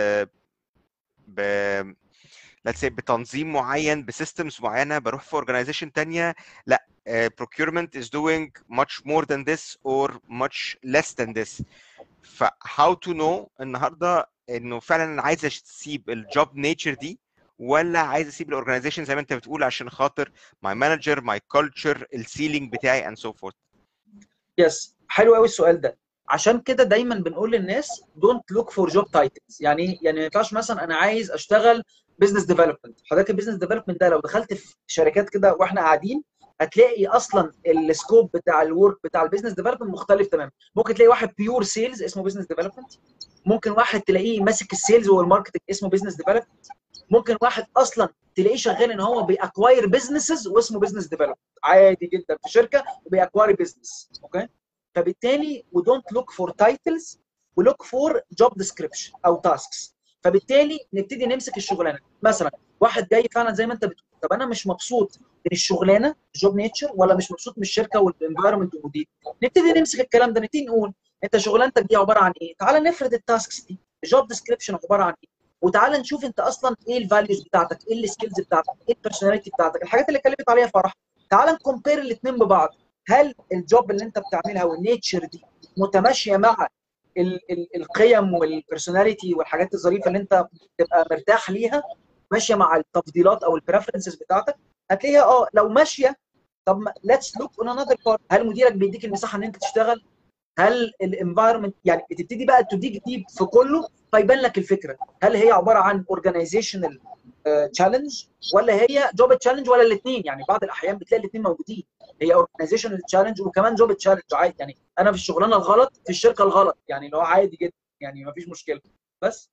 ب let's say بتنظيم معين بسيستمز معينه. بروح في organization تانية لا procurement is doing much more than this or much less than this. ف how to know النهارده انه فعلا انا عايز اسيب الجوب نيتشر دي ولا عايز اسيب الاورجنايزيشن زي ما انت بتقول عشان خاطر my manager my culture السيلينج بتاعي and so forth. يس، حلو قوي السؤال ده. عشان كده دايما بنقول للناس دونت لوك فور جوب تايتلز. يعني ما ينفعش مثلا انا عايز اشتغل بزنس ديفلوبمنت. حضرتك البيزنس ديفلوبمنت ده لو دخلت في شركات كده واحنا قاعدين هتلاقي اصلا السكوب بتاع الورك بتاع البيزنس ديفلوبمنت مختلف تماما. ممكن تلاقي واحد بيور سيلز اسمه بيزنس ديفلوبمنت، ممكن واحد تلاقيه ماسك السيلز والماركتنج اسمه بيزنس ديفلوبمنت، ممكن واحد اصلا تلاقيه شغال ان هو بيأكواير بزنسز واسمه بزنس ديفلوبمنت عادي جدا في شركه وبيأكواير بزنس. اوكي، فبالتالي we don't look for titles we look for job description او tasks. فبالتالي نبتدي نمسك الشغلانه. مثلا واحد جاي فعلا زي ما انت بتقول، طب انا مش مبسوط من الشغلانه جوب نيتشر ولا مش مبسوط من الشركه والانفايرمنت والمدير، نبتدي نمسك الكلام ده، نبتدي نقول انت شغلانتك دي عباره عن ايه؟ تعال نفرد التاسكس دي، الجوب ديسكريبشن عباره عن ايه؟ وتعالى نشوف انت اصلا ايه الفاليوز بتاعتك، ايه السكيلز بتاعتك، ايه البيرسوناليتي بتاعتك، الحاجات اللي اتكلمت عليها فرح. تعالى نكومبير الاثنين ببعض. هل الجوب اللي انت بتعملها والنيتشر دي متماشيه مع القيم والبيرسوناليتي والحاجات الظريفه اللي انت تبقى مرتاح ليها، ماشيه مع التفضيلات او البريفرنسز بتاعتك؟ هتلاقيها لو ماشيه. طب ليتس لوك اون انذر بارت. هل مديرك بيديك المساحه ان انت تشتغل؟ هل الانفايرمنت يعني بتبتدي بقى تديك ديب في كله فيبان لك الفكره؟ هل هي عباره عن اورجانيزيشنال تشالنج ولا هي جوب تشالنج ولا الاثنين؟ يعني بعض الاحيان بتلاقي الاثنين موجودين، هي اورجانيزيشنال تشالنج وكمان جوب تشالنج عادي. يعني انا في الشغلانه الغلط في الشركه الغلط، يعني اللي هو عادي جدا، يعني ما فيش مشكله. بس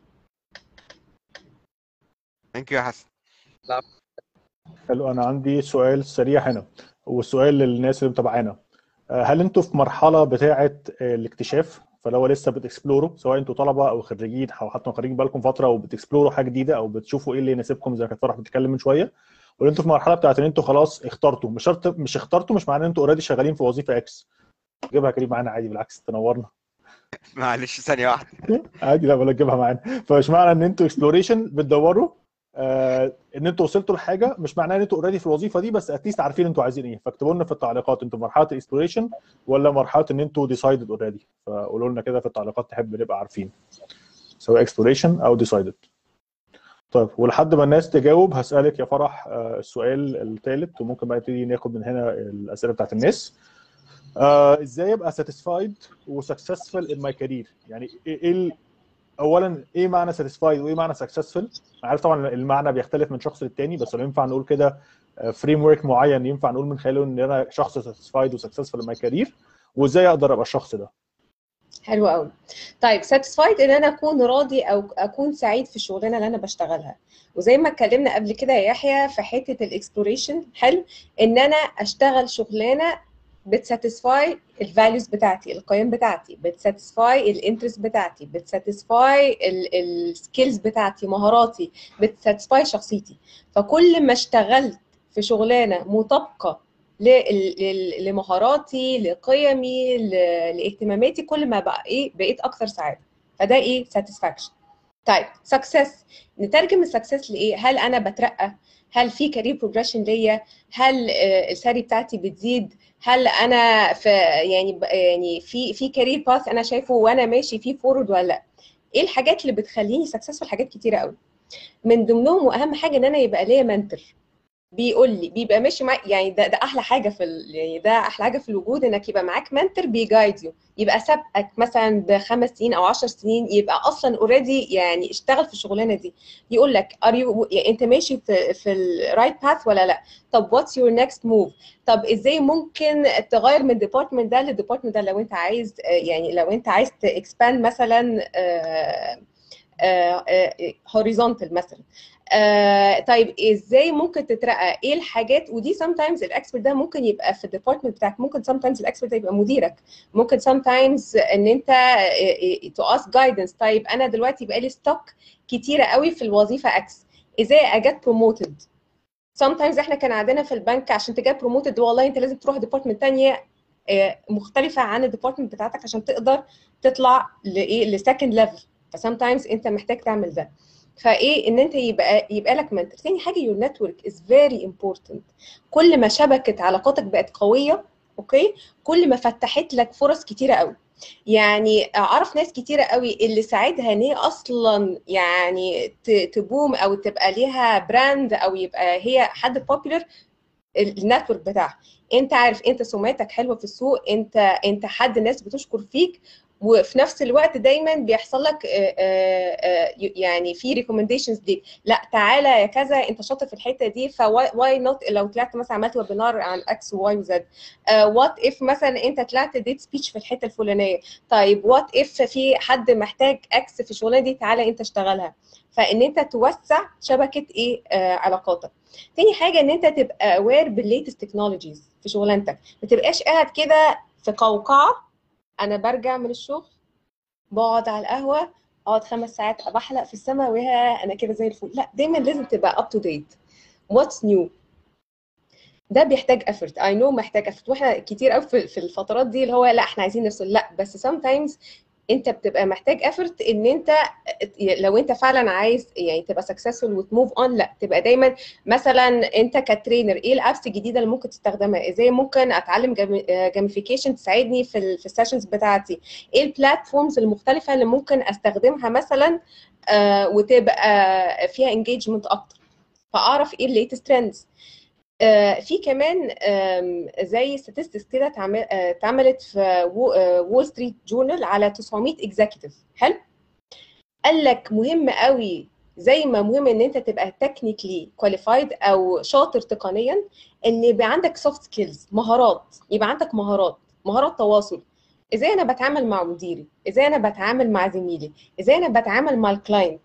ثانك يو يا حسن. لا. حلو، انا عندي سؤال سريع هنا والسؤال للناس اللي متابعانا. هل انتوا في مرحله بتاعه الاكتشاف، فلو لسه بتكسبلوروا سواء انتوا طلبه او خريجين او حتى خارجين بقالكم فتره وبتكسبلوروا حاجه جديده او بتشوفوا ايه اللي يناسبكم زي ما كانت فرح بتتكلم من شويه، ولا انتوا في مرحله بتاعه ان انتوا خلاص اخترتوا؟ مش شرط مش اخترتوا مش معناه ان انتوا اوريدي شغالين في وظيفه اكس. جيبها كريم معانا عادي، بالعكس تنورنا. معلش ثانيه واحده. عادي، لا ولا تجيبها معانا. فمش معنى ان انتوا اكسبلوريشن بتدوروا ان انتوا وصلتوا لحاجه، مش معناه ان انتوا اوريدي في الوظيفه دي، بس اتليست عارفين انتوا عايزين ايه. فاكتبوا لنا في التعليقات انتوا في مرحله الاكسبلوريشن ولا مرحله ان انتوا ديسايدد اوريدي. فقولوا لنا كده في التعليقات، تحب نبقى عارفين سواء اكسبلوريشن او ديسايدد. طيب، ولحد ما الناس تجاوب هسالك يا فرح السؤال الثالث، وممكن بقى نبتدي ناخد من هنا الاسئله بتاعت الناس. ازاي ابقى ساتيسفايد وسكسسفul ان ماي كارير؟ يعني ايه اولا ايه معنى ساتيسفايد وايه معنى سكسسفul؟ انا عارف طبعا المعنى بيختلف من شخص للتاني، بس لو ينفع نقول كده فريم ورك معين ينفع نقول من خلاله ان انا شخص ساتيسفايد وسكسسفul ان ماي كارير، وازاي اقدر ابقى الشخص ده؟ حلو قوي. طيب ساتيسفايد ان انا اكون راضي او اكون سعيد في الشغلانه اللي انا بشتغلها. وزي ما اتكلمنا قبل كده يا يحيى في حته الاكسبلوريشن، حلو ان انا اشتغل شغلانه بتساتيسفاي الفاليوز بتاعتي، القيم بتاعتي، بتساتيسفاي الانترست بتاعتي، بتساتيسفاي السكيلز بتاعتي، مهاراتي، بتساتيسفاي شخصيتي. فكل ما اشتغلت في شغلانه مطابقه لمهاراتي، لقيمي، لاهتماماتي، كل ما بقى بقيت اكثر سعاده. فده ساتسفاكشن. طيب سكسس، نترجم السكسس لايه؟ هل انا بترقى؟ هل في كارير بروجريشن ليا؟ هل السالري بتاعتي بتزيد؟ هل انا في يعني في كارير باث انا شايفه وانا ماشي فيه فورورد ولا لا؟ ايه الحاجات اللي بتخليني سكسسفul؟ حاجات كتيره قوي، من ضمنهم واهم حاجه ان انا يبقى ليا منتور بيقول لي، بيبقى ماشي معاك. يعني ده احلى حاجه يعني ده احلى حاجه في الوجود، انك يبقى معاك منتور بيجايد يو، يبقى سابقك مثلا ب5 سنين او 10 سنين، يبقى اصلا اوريدي يعني اشتغل في الشغلانه دي، يقول لك انت ماشي في الرايت باث ولا لا؟ طب واتس يور نيكست موف؟ طب ازاي ممكن تغير من الديبارتمنت ده للديبارتمنت ده لو انت عايز، يعني لو انت عايز تاكسباند مثلا هوريزونتال مثلا. طيب ازاي ممكن تترقى؟ ايه الحاجات؟ ودي sometimes الاكسبرت ده ممكن يبقى في الديبارتمنت بتاعك، ممكن sometimes الاكسبرت ده يبقى مديرك، ممكن sometimes ان انت to ask guidance. طيب انا دلوقتي بقالي ستوك كتيره قوي في الوظيفه اكس، ازاي اجت بروموتد؟ sometimes احنا كان عندنا في البنك عشان تجي بروموتد والله انت لازم تروح ديبارتمنت ثانيه مختلفه عن الديبارتمنت بتاعتك عشان تقدر تطلع لايه، لسكند ليفل. فسامتايمز انت محتاج تعمل ده. فايه ان انت يبقى لك منتور. ثاني حاجه your network is very important. كل ما شبكه علاقاتك بقت قويه اوكي، كل ما فتحت لك فرص كتيره قوي. يعني اعرف ناس كتيره قوي اللي ساعدها ان هي اصلا يعني تبوم او تبقى ليها براند او يبقى هي حد بوبيلر، النتورك بتاعها. انت عارف انت سمعتك حلوه في السوق، انت حد الناس بتشكر فيك، وفي نفس الوقت دايما بيحصل لك يعني في ريكومنديشنز ليك، لا تعالى يا كذا انت شاطر في الحته دي، فواي نوت لو طلعت مثلا عملت ويبينار عن اكس وواي وزد، وات اف مثلا انت طلعت ديت سبيتش في الحته الفلانيه، طيب وات اف في حد محتاج اكس في الشغلانه دي تعالى انت اشتغلها. فان انت توسع شبكه ايه علاقاتك. تاني حاجه ان انت تبقى اوير بالليتست تكنولوجيز في شغلانتك، ما تبقاش قاعد كده في قوقعه. انا برجع من الشغل بقعد على القهوه اقعد 5 ساعات بحلق في السماء وها انا كده زي الفل، لا دايما لازم تبقى اب تو ديت. واتس نيو ده بيحتاج افورت، اي نو محتاج افورت، واحنا كتير قوي في الفترات دي اللي هو لا احنا عايزين نفصل، لا بس sometimes انت بتبقى محتاج افورت ان انت لو انت فعلا عايز يعني تبقى سكسسفول وتموف اون، لا تبقى دايما مثلا انت كترينر ايه الابس الجديده اللي ممكن تستخدمها، ازاي ممكن اتعلم جيميفيكيشن تساعدني في السيشنز بتاعتي، ايه البلاتفورمز المختلفه اللي ممكن استخدمها مثلا وتبقى فيها انجيجمنت اكتر، فاعرف ايه الليتست ترندز. في كمان زي statistics كده اتعملت في وول ستريت جورنال على 900 اكزيكتيف. حلو، قال لك مهم قوي زي ما مهم ان انت تبقى تكنيكلي كواليفايد او شاطر تقنيا، ان يبقى عندك سوفت سكيلز، مهارات، يبقى عندك مهارات تواصل. ازاي انا بتعامل مع مديري، ازاي انا بتعامل مع زميلي، ازاي انا بتعامل مع الكلاينت،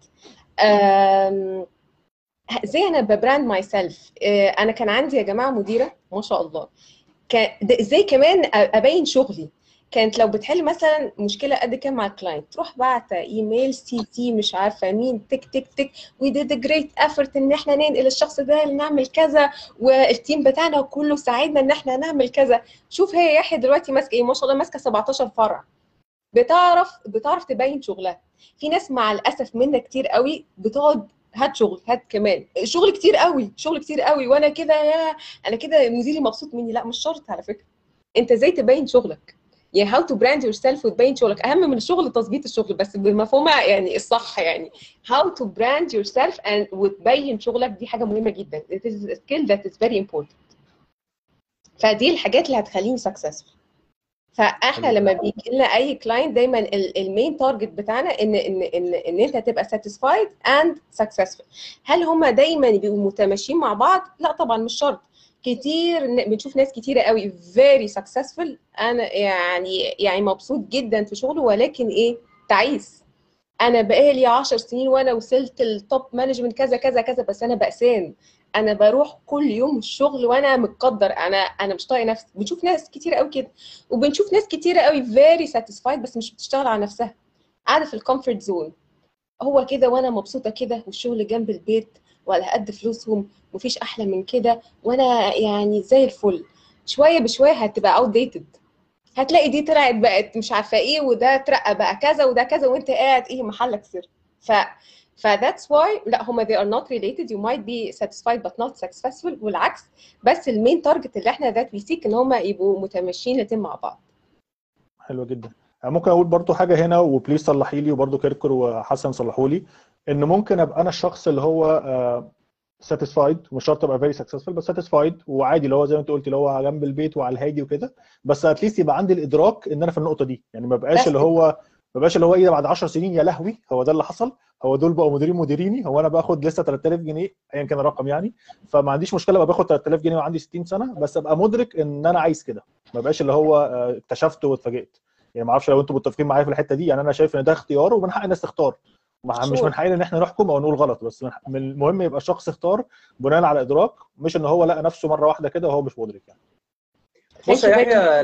ازاي انا ببراند ماي سيلف. انا كان عندي يا جماعه مديره ما شاء الله، ازاي كمان ابين شغلي. كانت لو بتحل مثلا مشكله قد كده مع الكلاينت تروح بعت ايميل سي مش عارفه مين تك تك تك، وي ديد جريت افورت ان احنا ننقل الشخص ده نعمل كذا، والتيم بتاعنا كله ساعدنا ان احنا نعمل كذا. شوف هي يحيى دلوقتي ماسكه ايه، ما شاء الله ماسكه 17 فرع، بتعرف تبين شغلها. في ناس مع الاسف منا كتير قوي بتقعد هات شغل، هات كمان شغل كتير قوي، شغل كتير قوي، وانا كده يا انا كده مديري مبسوط مني. لا مش شرط على فكره، انت ازاي تبين شغلك، يعني how to brand yourself وتبين شغلك اهم من الشغل تظبيط الشغل بس بمفهومها يعني الصح، يعني how to brand yourself and وتبين شغلك دي حاجه مهمه جدا. it is a skill that is very important. فدي الحاجات اللي هتخليني successful. فاحنا لما بيجي لنا اي كلاينت دايما المين تارجت بتاعنا ان انت تبقى ساتيسفايد اند سكسسفul. هل هم دايما بيبقوا متماشيين مع بعض؟ لا طبعا مش شرط. كتير بنشوف ناس كتيره قوي very successful، انا يعني مبسوط جدا في شغله، ولكن ايه تعيس، انا بقالي 10 سنين وانا وصلت التوب مانجمنت كذا كذا كذا، بس انا بأسان، انا بروح كل يوم الشغل وانا متقدر، انا مش طايقه نفسي. بنشوف ناس كتير قوي كده، وبنشوف ناس كتير قوي فيري ساتيسفايد بس مش بتشتغل على نفسها، قاعده في الكومفورت زون، هو كده وانا مبسوطه كده، والشغل جنب البيت وعلى قد فلوسهم، مفيش احلى من كده، وانا يعني زي الفل. شويه بشويه هتبقى اوت ديتد، هتلاقي دي طلعت بقت مش عارفه ايه، وده اترقى بقى كذا وده كذا، وانت قاعد ايه محلك سر. that's why لا هما they are not related. you might be satisfied but not successful والعكس. بس المين تارجت اللي احنا that we seek ان هما يبقوا متماشيين الاتنين مع بعض. حلو جدا. ممكن اقول برضو حاجه هنا وبليز صلحي لي، وبرضو كيركر وحسن صلحوا لي، ان ممكن ابقى انا الشخص اللي هو ساتيسفايد، مش شرط ابقى فيري سكسسفول بس ساتيسفايد وعادي، اللي هو زي ما انت قلتي اللي هو جنب البيت وعلى الهادي وكده، بس اتليست يبقى عندي الادراك ان انا في النقطه دي، يعني ما بقاش اللي هو ايه بعد 10 سنين يا لهوي هو ده اللي حصل، هو دول بقوا مديريني، هو انا باخد لسه 3000 جنيه ايا كان الرقم يعني، فما عنديش مشكله ابقى باخد 3000 جنيه وعندي 60 سنه، بس ابقى مدرك ان انا عايز كده، ما بقاش اللي هو اكتشفت واتفاجئت. يعني ما اعرفش لو انتم متفقين معايا في الحته دي، يعني انا شايف ان ده اختيار ومن حق الناس تختار، مش من حقنا ان احنا نحكم او نقول غلط، بس من المهم يبقى الشخص اختار بناء على ادراك، مش ان هو لقى نفسه مره واحده كده وهو مش مدرك يعني. بص يا يحيى،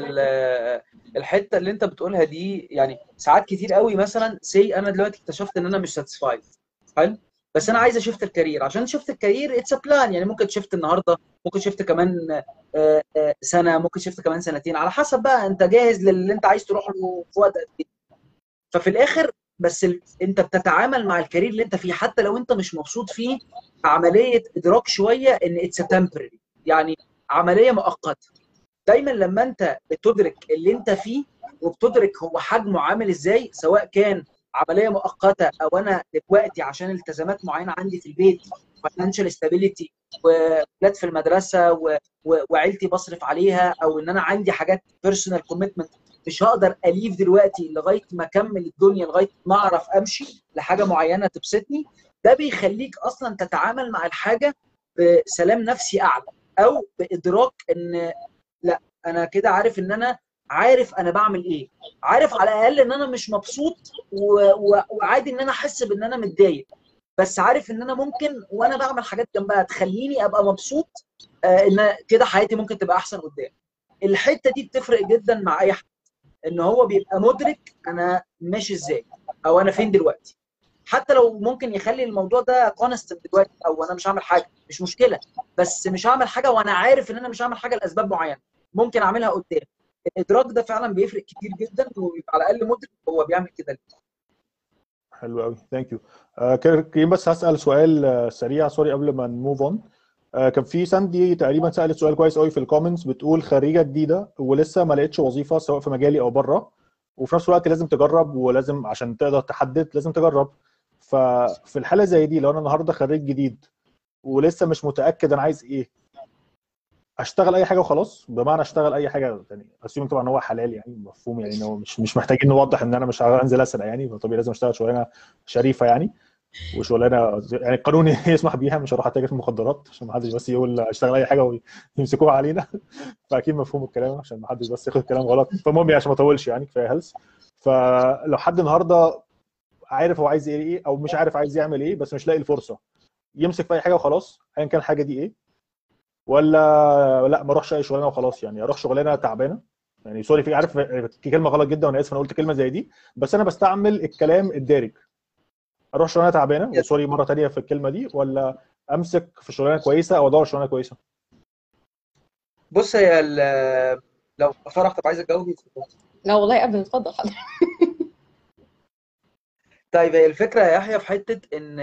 الحته اللي انت بتقولها دي يعني ساعات كتير قوي، مثلا انا دلوقتي اكتشفت ان انا مش ساتسفايد، حلو، بس انا عايز اشفت الكارير. عشان شفت الكارير اتس بلان، يعني ممكن شفت النهارده، ممكن شفت كمان سنه، ممكن شفت كمان سنتين، على حسب بقى انت جاهز للي انت عايز تروح له في وقت قد ايه. ففي الاخر بس انت بتتعامل مع الكارير اللي انت فيه حتى لو انت مش مبسوط فيه، عمليه ادراك شويه ان اتس تمبرري، يعني عمليه مؤقته. دايما لما انت بتدرك اللي انت فيه وبتدرك هو حجمه عامل ازاي، سواء كان عمليه مؤقته او انا دلوقتي عشان التزامات معينه عندي في البيت، فاينانشال ستابيليتي، وولاد في المدرسه وعيلتي بصرف عليها، او ان انا عندي حاجات بيرسونال كوميتمنت مش هقدر اليف دلوقتي لغايه ما اكمل الدنيا، لغايه ما اعرف امشي لحاجه معينه تبسطني. ده بيخليك اصلا تتعامل مع الحاجه بسلام نفسي اعلى، او بادراك ان لا، انا كده عارف ان انا عارف انا بعمل ايه، عارف على الاقل ان انا مش مبسوط وعادي ان انا احس بان انا متضايق، بس عارف ان انا ممكن وانا بعمل حاجات جنبها تخليني ابقى مبسوط، ان كده حياتي ممكن تبقى احسن قدام. الحته دي بتفرق جدا مع اي حد، ان هو بيبقى مدرك انا ماشي ازاي او انا فين دلوقتي. حتى لو ممكن يخلي الموضوع ده كونستنت دلوقتي، او انا مش هعمل حاجه مش مشكله، بس مش هعمل حاجه وانا عارف ان انا مش هعمل حاجه لاسباب معينه ممكن اعملها قدام. الادراك ده فعلا بيفرق كتير جدا، ويبقى على الاقل مدرك هو بيعمل كده ليه. حلو قوي، ثانك يو. كريم، بس هسال سؤال سريع سوري قبل ما نموف اون. كان في ساندي تقريبا سالت سؤال كويس قوي في الكومنتس، بتقول خريجه جديده ولسه ما لقيتش وظيفه سواء في مجالي او بره، وفي نفس الوقت لازم تجرب، ولازم عشان تقدر تحدد لازم تجرب. ففي الحاله زي دي، لو انا النهارده خريج جديد ولسه مش متاكد انا عايز ايه، اشتغل اي حاجه وخلاص؟ بمعنى اشتغل اي حاجه يعني اسيوم طبعا ان هو حلال يعني مفهوم، يعني ان هو مش محتاجين نوضح ان انا مش هنزل اسرق يعني، فطبيعي لازم اشتغل شغلانه شريفه يعني، وشغلانه يعني القانون يسمح بيها، مش هروح اتاجر في المخدرات عشان ما حدش بس يقول اشتغل اي حاجه ويمسكوها علينا. فاكيد مفهوم الكلام عشان ما حدش بس ياخد الكلام غلط. فالمهم عشان ما اطولش يعني كفايه هلس. فلو حد النهارده عارف هو عايز ايه او مش عارف عايز يعمل ايه بس مش لاقي الفرصه، يمسك في اي حاجه وخلاص ايا كان الحاجه دي ايه؟ ولا لا ما اروحش اي شغلانه وخلاص، يعني اروح شغلانه تعبانه؟ يعني سوري، في عارف في كلمه غلط جدا وانا اسف انا قلت كلمه زي دي، بس انا بستعمل الكلام الدارج. اروح شغلانه تعبانه وسوري مره ثانيه في الكلمه دي، ولا امسك في شغلانه كويسه او ادور شغلانه كويسه؟ بص هي لو فرح، طب عايز اتجاوب؟ لا والله ابدا، اتفضل حضرتك. طيب هي الفكره يا يحيى في حته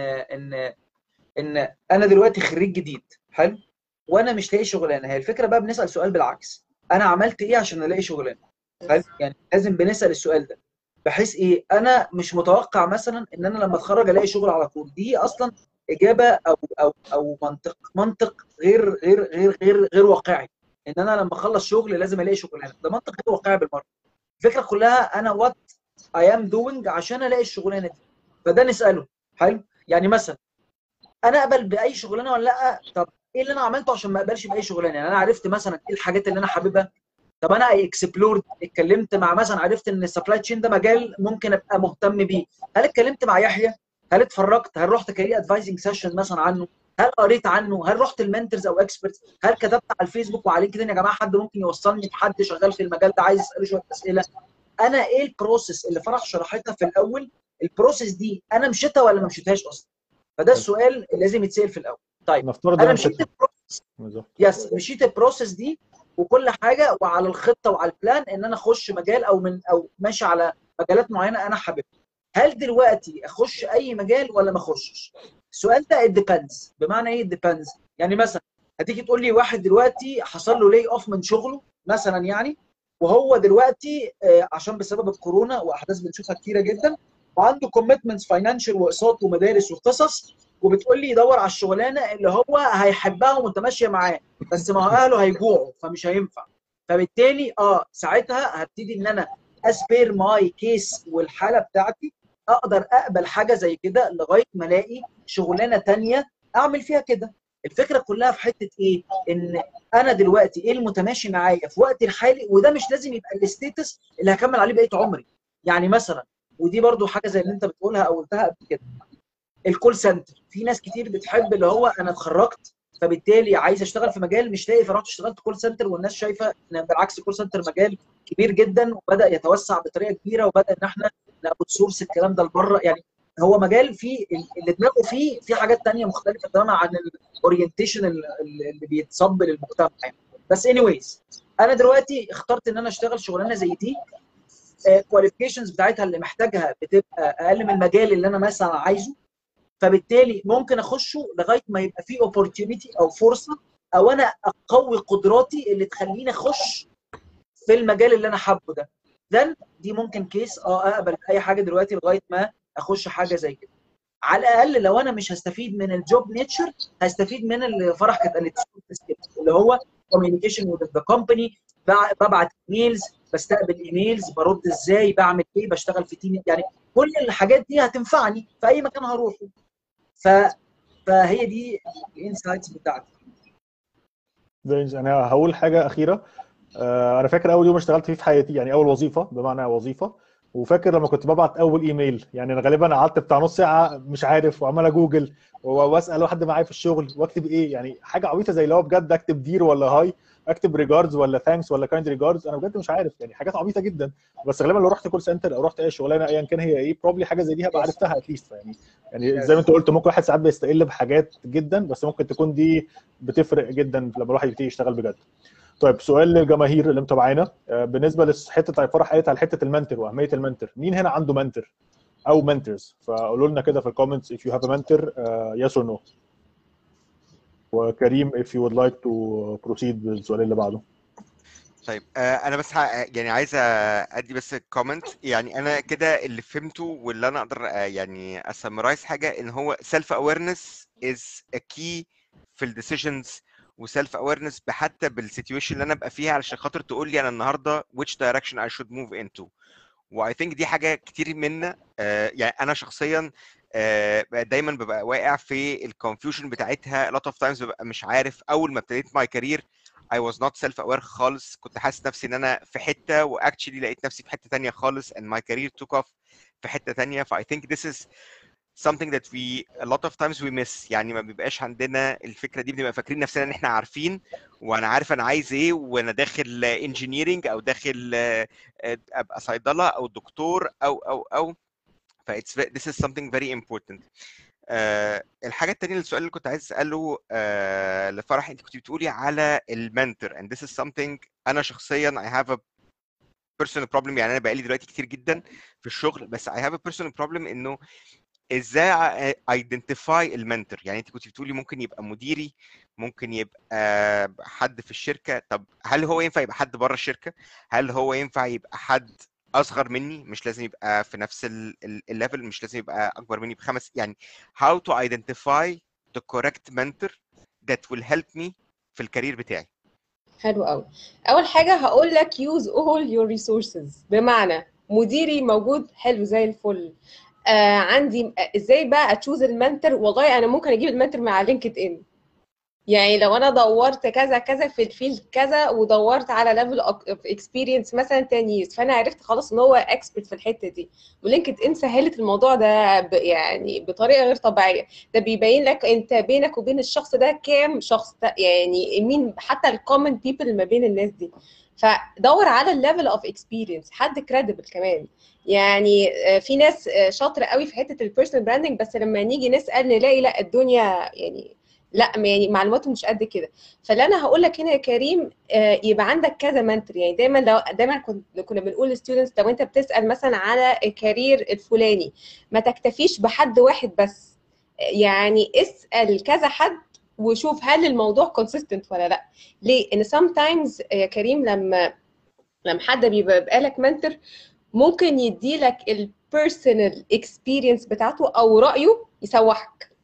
ان انا دلوقتي خريج جديد، حلو، وانا مش لاقي شغلانه. هي الفكره بقى بنسال سؤال بالعكس، انا عملت ايه عشان الاقي شغلانه؟ حلو، يعني لازم بنسال السؤال ده بحيث ايه، انا مش متوقع مثلا ان انا لما اتخرج الاقي شغل على طول. دي اصلا اجابه او منطق غير واقعي، ان انا لما اخلص شغل لازم الاقي شغلانه. ده منطق غير واقعي بالمره. الفكره كلها انا وات اي ام دوينج عشان الاقي الشغلانه دي. فده نساله، حلو. يعني مثلا انا اقبل باي شغلانه ولا لا؟ طب ايه اللي انا عملته عشان ما اقبلش باي شغلانه؟ يعني انا عرفت مثلا ايه الحاجات اللي انا حاببها. طب انا اكسبلورد، اتكلمت مع مثلا، عرفت ان السبلاي تشين ده مجال ممكن ابقى مهتم بيه. هل اتكلمت مع يحيى؟ هل اتفرجت؟ هل رحت كارير ادفايزنج سيشن مثلا عنه؟ هل قريت عنه؟ هل رحت المنتورز او اكسبرتس؟ هل كتبت على الفيسبوك وعلى لينكدين يا جماعه حد ممكن يوصلني بحد شغال في المجال ده عايز اساله شويه اسئله؟ انا ايه البروسيس اللي فرح شرحتها في الاول؟ البروسيس دي انا مشيتها ولا ما مشيتهاش اصلا؟ فده السؤال اللي لازم يتسال في الاول. طيب نفترض انا انا مشيت مشيتها. البروسيس، بالظبط. يس، مشيت البروسيس دي وكل حاجه، وعلى الخطه وعلى البلان ان انا اخش مجال او ماشي على مجالات معينه انا حاببها. هل دلوقتي اخش اي مجال ولا ما اخشش؟ السؤال ده ديبندز. بمعنى ايه ديبندز؟ يعني مثلا هتيجي تقول لي واحد دلوقتي حصل له لاي اوف من شغله مثلا، يعني وهو دلوقتي عشان بسبب الكورونا واحداث بنشوفها كتيره جدا، وعنده كوميتمنتس فاينانشال واقساط ومدارس وقصص، وبتقول لي يدور على الشغلانه اللي هو هيحبها ومتماشيه معاه، بس ما هو اهله هيجوعوا فمش هينفع. فبالتالي ساعتها هبتدي ان انا اسبير ماي كيس والحاله بتاعتي، اقدر اقبل حاجه زي كده لغايه ما الاقي شغلانه ثانيه اعمل فيها كده. الفكره كلها في حته ايه؟ ان انا دلوقتي ايه المتماشي معايا في وقتي الحالي، وده مش لازم يبقى الستيتس اللي هكمل عليه بقيه عمري. يعني مثلا ودي برضو حاجه زي اللي انت بتقولها او قلتها قبل كده. الكول سنتر، في ناس كتير بتحب اللي هو انا اتخرجت فبالتالي عايز اشتغل في مجال مش لاقي، فرحت اشتغلت كول سنتر، والناس شايفه ان بالعكس الكول سنتر مجال كبير جدا وبدا يتوسع بطريقه كبيره، وبدا ان احنا ناخد سورس الكلام ده لبره. يعني هو مجال فيه اللي دماغه فيه في حاجات ثانيه مختلفه تماما عن الاورينتيشن اللي بيتصب للمجتمع يعني. بس انيويز، انا دلوقتي اخترت ان انا اشتغل شغلانه زي دي، الكواليفيكيشنز بتاعتها اللي محتاجها بتبقى اقل من المجال اللي انا مثلا عايزه، فبالتالي ممكن اخشه لغايه ما يبقى فيه اوبورتيونيتي او فرصه، او انا اقوي قدراتي اللي تخليني اخش في المجال اللي انا حابه ده. دي ممكن كيس اقبل اي حاجه دلوقتي لغايه ما اخش حاجه زي كده. على الاقل لو انا مش هستفيد من الجوب نيتشر، هستفيد من اللي فرح كانت قالت اللي هو كوميونيكيشن وذ ذا كومباني، ببعت ايميلز، بستقبل ايميلز، برد ازاي، بعمل ايه، بشتغل في تيم، يعني كل الحاجات دي هتنفعني في اي مكان هروحه. فهي دي الانسايتس بتاعتي. انا هقول حاجه اخيره. انا فاكر اول يوم اشتغلت فيه في حياتي، يعني اول وظيفه بمعنى وظيفه، وفاكر لما كنت ببعت اول ايميل، يعني انا غالبا قعدت بتاع نص ساعه مش عارف، وعمال اجوجل واسال حد معايا في الشغل واكتب ايه، يعني حاجه عبيطه زي اللي هو بجد اكتب دير ولا هاي، اكتب ريجاردز ولا ثانكس ولا كايند ريجاردز، انا بجد مش عارف، يعني حاجات عبيطه جدا. بس غالبا لو رحت كول سنتر او رحت اي شغلانه ايا كان هي ايه، بروبلي حاجه زي دي هبقى عرفتها اتليست. يعني زي ما انت قلت ممكن واحد ساعات بيستقل بحاجات جدا، بس ممكن تكون دي بتفرق جدا لما الواحد يبتدي يشتغل بجد. طيب سؤال للجماهير اللي متابعانا، بالنسبه لحته فرح قالت على حته المنتور واهميه المنتور، مين هنا عنده منتور او منتورز؟ فقولوا لنا كده في الكومنتس if you have a mentor yes or no. وكريم if you would like to proceed بالسؤال اللي بعده. طيب انا بس يعني عايز ادي بس كومنت. يعني انا كده اللي فهمته واللي انا اقدر يعني اسمرايز حاجه، ان هو سيلف اويرنس از ا كي في الديسيجنز، وسيلف اويرنس حتى بالسيتويشن اللي انا ابقى فيها علشان خاطر تقول لي انا النهارده which direction I should move into. واي ثينك دي حاجه كتير منا يعني انا شخصيا دايما ببقى واقع في الكونفيوجن بتاعتها. a lot of times ببقى مش عارف. اول ما ابتديت ماي كارير I was not self aware خالص، كنت حاسس نفسي ان انا في حته واكشلي لقيت نفسي في حته تانية خالص and my career took off في حته تانية. ف I think this is something that we a lot of times we miss. يعني ما بيبقاش عندنا الفكره دي، بنبقى فاكرين نفسنا ان احنا عارفين وانا عارف انا عايز ايه وانا داخل انجينيرنج او داخل ابقى صيدله او دكتور او ف this is something very important. الحاجه الثانيه، السؤال اللي كنت عايز اساله لفرح، انت كنت بتقولي على المنتور and this is something انا شخصيا I have a personal problem. يعني انا بقالي دلوقتي كتير جدا في الشغل، بس I have a personal problem انه ازاي ايدنتيفاي المنتور. يعني انت كنت بتقولي ممكن يبقى مديري، ممكن يبقى حد في الشركه. طب هل هو ينفع يبقى حد بره الشركه؟ هل هو ينفع يبقى حد اصغر مني؟ مش لازم يبقى في نفس الليفل، مش لازم يبقى اكبر مني ب5. يعني how to identify the correct mentor that will help me في الكارير بتاعي. حلو قوي. اول حاجه هقول لك use all your resources، بمعنى مديري موجود حلو زي الفل، عندي ازاي بقى اتشوز المنتور؟ والله انا ممكن اجيب المنتور من على لينكد ان. يعني لو انا دورت كذا كذا في الفيلد كذا، ودورت على ليفل اوف اكسبيرينس مثلا 10 years، فانا عرفت خلاص ان هو اكسبرت في الحته دي. ولينكد ان سهلت الموضوع ده يعني بطريقه غير طبيعيه. ده بيبين لك انت بينك وبين الشخص ده كام شخص، يعني مين حتى الكومن بيبل اللي ما بين الناس دي. فدور على الليفل اوف اكسبيرينس، حد كريديبل كمان. يعني في ناس شاطره قوي في حته البيرسونال براندنج، بس لما نيجي نسال نلاقي لا الدنيا يعني لا، يعني معلوماتهم مش قد كده. فاللي انا هقول لك هنا يا كريم، يبقى عندك كذا منتور. يعني دايما كنا بنقول للستودنتس لو انت بتسال مثلا على الكارير الفلاني، ما تكتفيش بحد واحد بس، يعني اسال كذا حد وشوف هل الموضوع كونسيستنت ولا لا. ليه؟ ان sometimes يا كريم لما حد بيبقى لك منتور، ممكن يدي لك البيرسونال اكسبيرينس بتاعته او رايه يسوحك.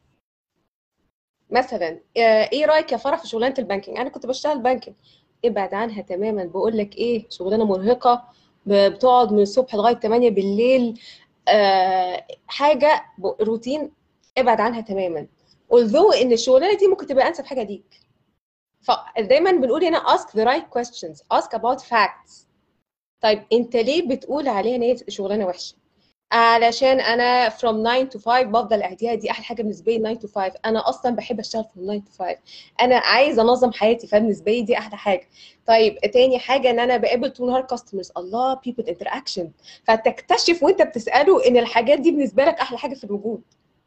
مثلا ايه رايك يا فرح في شغلانه البانكينج؟ انا كنت بشتغل بانكينج. ابعد عنها تماما، بقول لك ايه، شغلانه مرهقه، بتقعد من الصبح لغايه 8 بالليل، حاجه روتين، ابعد عنها تماما. although ان الشغلانه دي ممكن تبقى انسب حاجه ليك. فدايما بنقول هنا ask the right questions, ask about facts. طيب انت ليه بتقول عليها ان هي شغلانه وحشه؟ علشان انا from 9 to 5 بفضل قاعديها، دي احلى حاجه بالنسبه لي. 9 to 5 انا اصلا بحب اشتغل from 9 to 5، انا عايزه انظم حياتي، فبالنسبه لي دي احلى حاجه. طيب تاني حاجه ان انا بقابل طول النهار كاستمرز، الله people interaction، فتكتشف وانت بتساله ان الحاجات دي بالنسبه لك احلى حاجه في الوجود.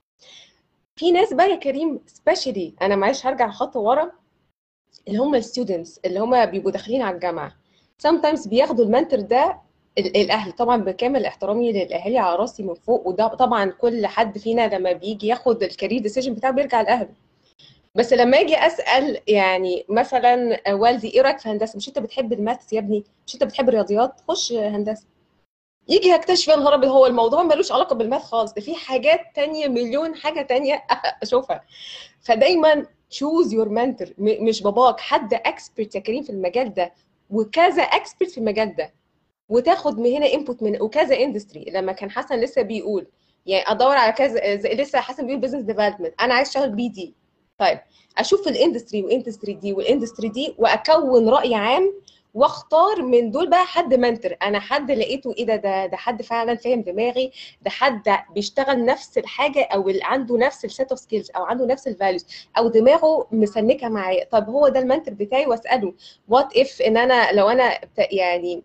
في ناس بقى يا كريم سبيشالي، انا معلش هرجع خطوه ورا، اللي هم الستودنتس اللي هم بيبقوا داخلين على الجامعه، sometimes بياخدوا المنتور ده الاهل. طبعا بكامل احترامي للاهالي على راسي من فوق، وده طبعا كل حد فينا لما بيجي ياخد الكارير ديسيجن بتاعه بيرجع لاهله. بس لما اجي اسال يعني مثلا والدي ايه رايك في هندسه، مش انت بتحب الماث يا ابني، مش انت بتحب الرياضيات، خش هندسه. يجي هكتشف يا نهار ابيض هو الموضوع ملوش علاقه بالماث خالص، ده في حاجات تانية، مليون حاجه تانية اشوفها. فدايما تشوز يور منتور، مش باباك، حد اكسبرت يا كريم في المجال ده وكذا اكسبرت في المجال ده، وتاخد من هنا انبوت من وكذا اندستري. لما كان حسن لسه بيقول يعني ادور على كذا، لسه حسن بيقول بزنس ديفلوبمنت، انا عايز اشتغل بي دي. طيب اشوف الاندستري والاندستري دي والاندستري دي واكون راي عام، واختار من دول بقى حد منتور، انا حد لقيته ايه ده حد فعلا فاهم دماغي، ده حد بيشتغل نفس الحاجه، او اللي عنده نفس السيت اوف سكيلز، او عنده نفس الفاليوز، او دماغه مسنكه معايا. طب هو ده المنتور بتاعي، واساله وات اف ان انا لو انا يعني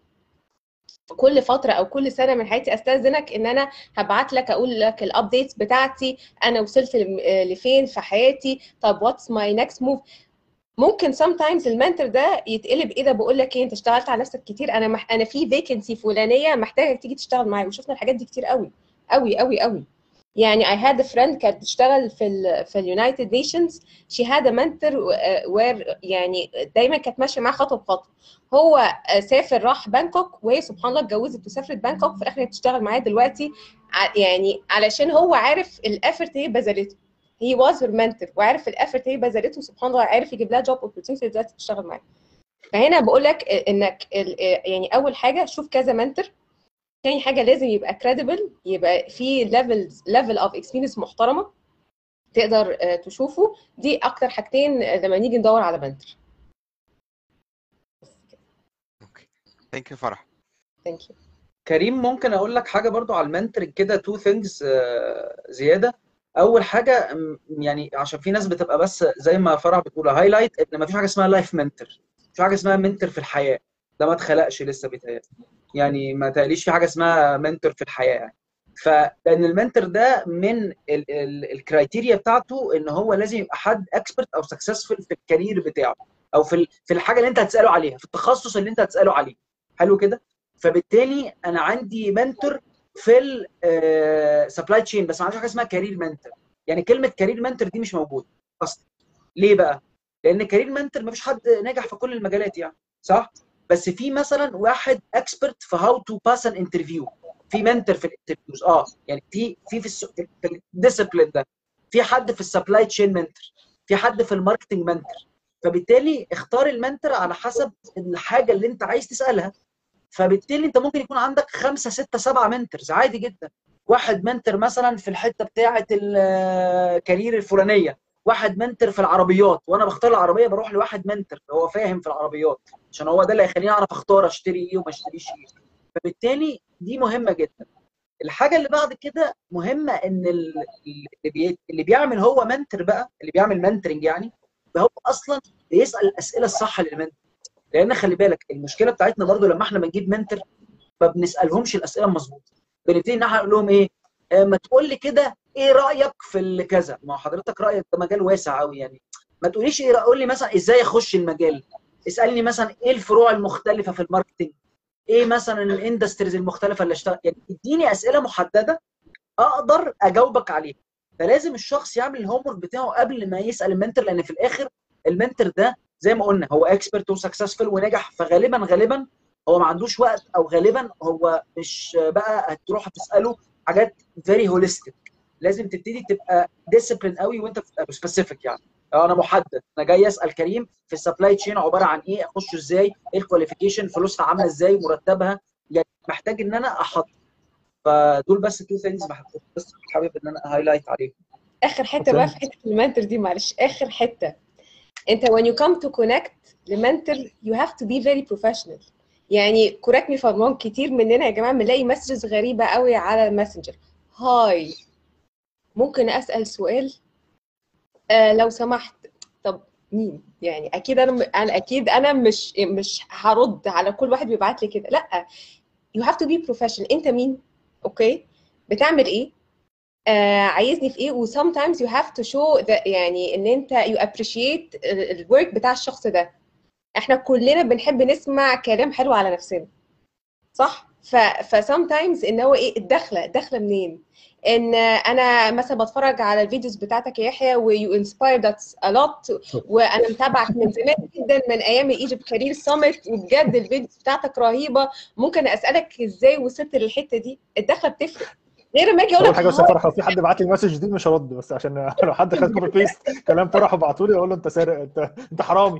كل فتره او كل سنه من حياتي استاذنك ان انا هبعت لك اقول لك الابديتس بتاعتي، انا وصلت لفين في حياتي، طب واتس ماي نيكست موف. ممكن sometimes المنتور ده يتقلب ايه ده، بقول لك ايه انت اشتغلت على نفسك كتير، انا في فيكنسي فلانيه محتاجك تيجي تشتغل معايا. وشفنا الحاجات دي كتير قوي قوي قوي قوي. يعني I had a friend كانت بتشتغل في اليونايتد نيشنز، she had a mentor where يعني دايما كانت ماشيه معاه خطوه بخطوه. هو سافر راح بانكوك، وهي سبحان الله اتجوزت وسافرت بانكوك، في الاخر هي بتشتغل معاه دلوقتي يعني علشان هو عارف الافورت هي بذلته. he was her mentor وعارف الافورت هي بذلته، سبحان الله عارف يجيب لها جوب اوبورتيونيتي دلوقتي تشتغل معاه. فهنا بقول لك انك يعني اول حاجه شوف كذا منتور، تاني حاجه لازم يبقى كريديبل، يبقى في ليفل اوف اكسبيرينس محترمه تقدر تشوفه. دي اكتر حاجتين لما نيجي ندور على منتور. اوكي ثانك يو فرح. ثانك يو كريم، ممكن اقول لك حاجه برضو على المنتورنج كده، تو ثينجز زياده. اول حاجه يعني عشان في ناس بتبقى بس زي ما فرح بتقول هايلايت ان ما فيش حاجه اسمها لايف منتور، مفيش حاجه اسمها منتور في الحياه، ده ما اتخلقش لسه بيتهيألي، يعني ما تقليش في حاجه اسمها منتور في الحياه يعني. فلان المنتور ده من الكرايتيريا بتاعته ان هو لازم يبقى حد اكسبرت او سكسسفul في الكارير بتاعه، او في الحاجه اللي انت هتساله عليها، في التخصص اللي انت هتساله عليه. حلو كده. فبالتالي انا عندي منتور في السبلاي تشين، بس ما عنديش حاجه اسمها كارير منتور. يعني كلمه كارير منتور دي مش موجوده اصلا. ليه بقى؟ لان كارير منتور ما فيش حد ناجح في كل المجالات يعني، صح؟ بس في مثلا واحد اكسبرت في هاو تو باس ان انترفيو، في منتور في الانترفيوز، يعني في الديسيبلين ده، في حد في السبلاي تشين منتور، في حد في الماركتنج منتور. فبالتالي اختار المنتور على حسب الحاجه اللي انت عايز تسالها. فبالتالي انت ممكن يكون عندك 5 6 7 منتورز عادي جدا. واحد منتور مثلا في الحته بتاعه الكارير الفلانيه، واحد منتور في العربيات، وانا بختار العربيه بروح لواحد منتور هو فاهم في العربيات، عشان هو ده اللي هيخليني اعرف اختار اشتري ايه وما اشتريش ايه. فبالتالي دي مهمه جدا. الحاجه اللي بعد كده مهمه ان اللي بيعمل هو منتور بقى، اللي بيعمل منتورنج يعني هو اصلا بيسال الاسئله الصح للمنتور. لان خلي بالك المشكله بتاعتنا برضو لما احنا بنجيب منتور ما بنسالهمش الاسئله المظبوطه، بنبتدي ان احنا نقول لهم ايه، ما تقول لي كده ايه رايك في الكذا. ما هو حضرتك رايك ده مجال واسع قوي يعني، ما تقوليش ايه، قول لي مثلا ازاي اخش المجال، اسالني مثلا ايه الفروع المختلفه في الماركتنج، ايه مثلا الاندستريز المختلفه اللي اشتغل، يعني اديني اسئله محدده اقدر اجاوبك عليها. فلازم الشخص يعمل الهوم ورك بتاعه قبل ما يسال المنتور، لان في الاخر المنتور ده زي ما قلنا هو اكسبرت وسكسسفل ونجح، فغالبا هو ما عندوش وقت، او غالبا هو مش بقى هتروح تساله حاجات فيري هوليستيك. لازم تبتدي تبقى ديسيبلين قوي وانت بتبقى سبيسيفيك. يعني انا محدد، انا جاي اسال كريم في السبلاي تشين عباره عن ايه، اخش ازاي، ايه الكواليفيكيشن، فلوسها عامله ازاي، مرتبها، يعني محتاج ان انا احط. فدول بس تو ثينجز بس حابب ان انا هايلايت عليهم. اخر حته بقى في حته المنتور دي، معلش اخر حته، انت when you come to connect لمنتور you have to be very professional. يعني كوريكت مي فور رونج، كتير مننا يا جماعه بنلاقي مسجز غريبه قوي على الماسنجر. هاي، ممكن اسال سؤال؟ لو سمحت. طب مين؟ يعني اكيد انا اكيد انا مش هرد على كل واحد بيبعت لي كده، لا. you have to be professional. انت مين؟ اوكي، بتعمل ايه؟ عايزني في ايه؟ و sometimes you have to show that يعني ان انت you appreciate الورك بتاع الشخص ده. احنا كلنا بنحب نسمع كلام حلو على نفسنا، صح؟ ف sometimes ان هو ايه الدخله منين؟ ان انا مثلا بتفرج على الفيديوز بتاعتك يا يحيى و you inspired us a lot، وانا متابعك من زمان جدا من ايام ايجيبت كارير سامت، وبجد الفيديوز بتاعتك رهيبه. ممكن اسالك ازاي وصلت للحته دي؟ الدخله بتفرق غير ما اجي اقول اول لك حاجه بس يا فرح، لو في حد بعت لي المسج دي مش هرد، بس عشان لو حد خد كوبي بيست كلام فرح وبعته لي اقول له انت سارق، انت حرامي.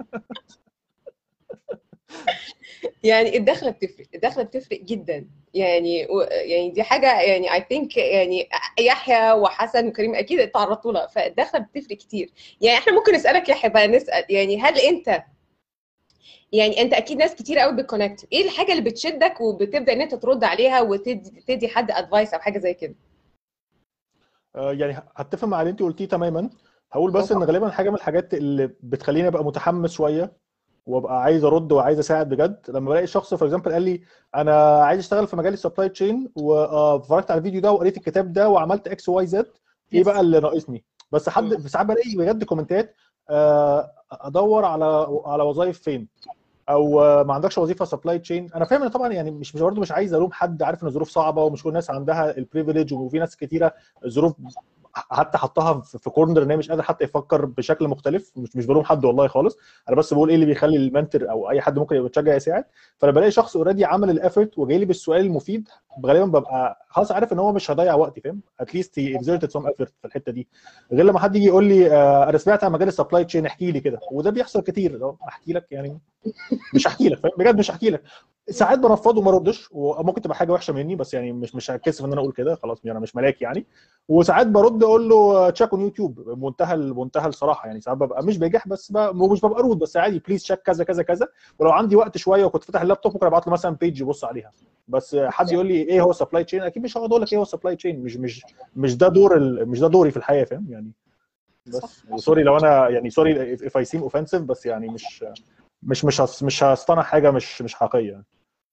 يعني الدخله بتفرق جدا. يعني يعني دي حاجه يعني اي ثينك يعني يحيى وحسن وكريم اكيد اتعرضتوا لها، فالدخله بتفرق كتير. يعني احنا ممكن نسالك يحيى بقى، نسال يعني هل انت يعني انت اكيد ناس كتير قوي بتكونكت، ايه الحاجه اللي بتشدك وبتبدا ان انت ترد عليها وتدي حد ادفايس او حاجه زي كده؟ يعني هتفق مع اللي انت قلتيه تماما. هقول بس ان اوكي. غالبا حاجه من الحاجات اللي بتخليني ابقى متحمس شويه وابقى عايز ارد وعايز اساعد بجد، لما بلاقي شخص فور اكزامبل قال لي انا عايز اشتغل في مجال السبلاي تشين واتفرجت على الفيديو ده وقريت الكتاب ده وعملت اكس واي زد، ايه بقى اللي ناقصني؟ بس حد ساعات بلاقي بجد كومنتات ادور على وظائف فين، او ما عندكش وظيفه سبلاي تشين. انا فاهم ان طبعا يعني مش برضه مش عايز الوم حد، عارف ان الظروف صعبه ومش كل الناس عندها البريفيليج، وفي ناس كتيره الظروف حتى حطها في كورنر ان هي مش قادر حتى يفكر بشكل مختلف. مش بلوم حد والله خالص، انا بس بقول ايه اللي بيخلي المنتور او اي حد ممكن يبقى يتشجع يساعد. فانا بلاقي شخص اوريدي عمل الافورت وجاي لي بالسؤال المفيد، غالبا ببقى خلاص عارف ان هو مش هيضيع وقتي، فاهم؟ اتليست هي اكزerted سم effort في الحته دي. غير لما حد يجي يقول لي انا سمعت عن مجال السبلاي تشين احكي لي كده، وده بيحصل كتير. لو احكي لك يعني مش هحكي لك، فاهم؟ بجد مش هحكي لك. ساعات برفض وما ردش، وممكن تبقى حاجه وحشه مني، بس يعني مش هتكسف ان انا اقول كده، خلاص انا مش ملاك يعني. وساعات برد اقول له تشيك اون يوتيوب بمنتهى الصراحه. يعني ساعات ببقى مش بجح، بس مش ببقى رود، بس عادي بليز تشيك كذا كذا كذا. ولو عندي وقت شويه وكنت فاتح اللابتوب ممكن ابعت له مثلا بيج يبص عليها. بس حد يقول لي ايه هو سبلاي تشين، اكيد مش هقعد اقول لك ايه هو سبلاي تشين. مش ده مش ده دوري في الحياه، فاهم يعني؟ بس سوري لو انا يعني سوري if I seem offensive، بس يعني مش هصطنع حاجه مش حقيقيه.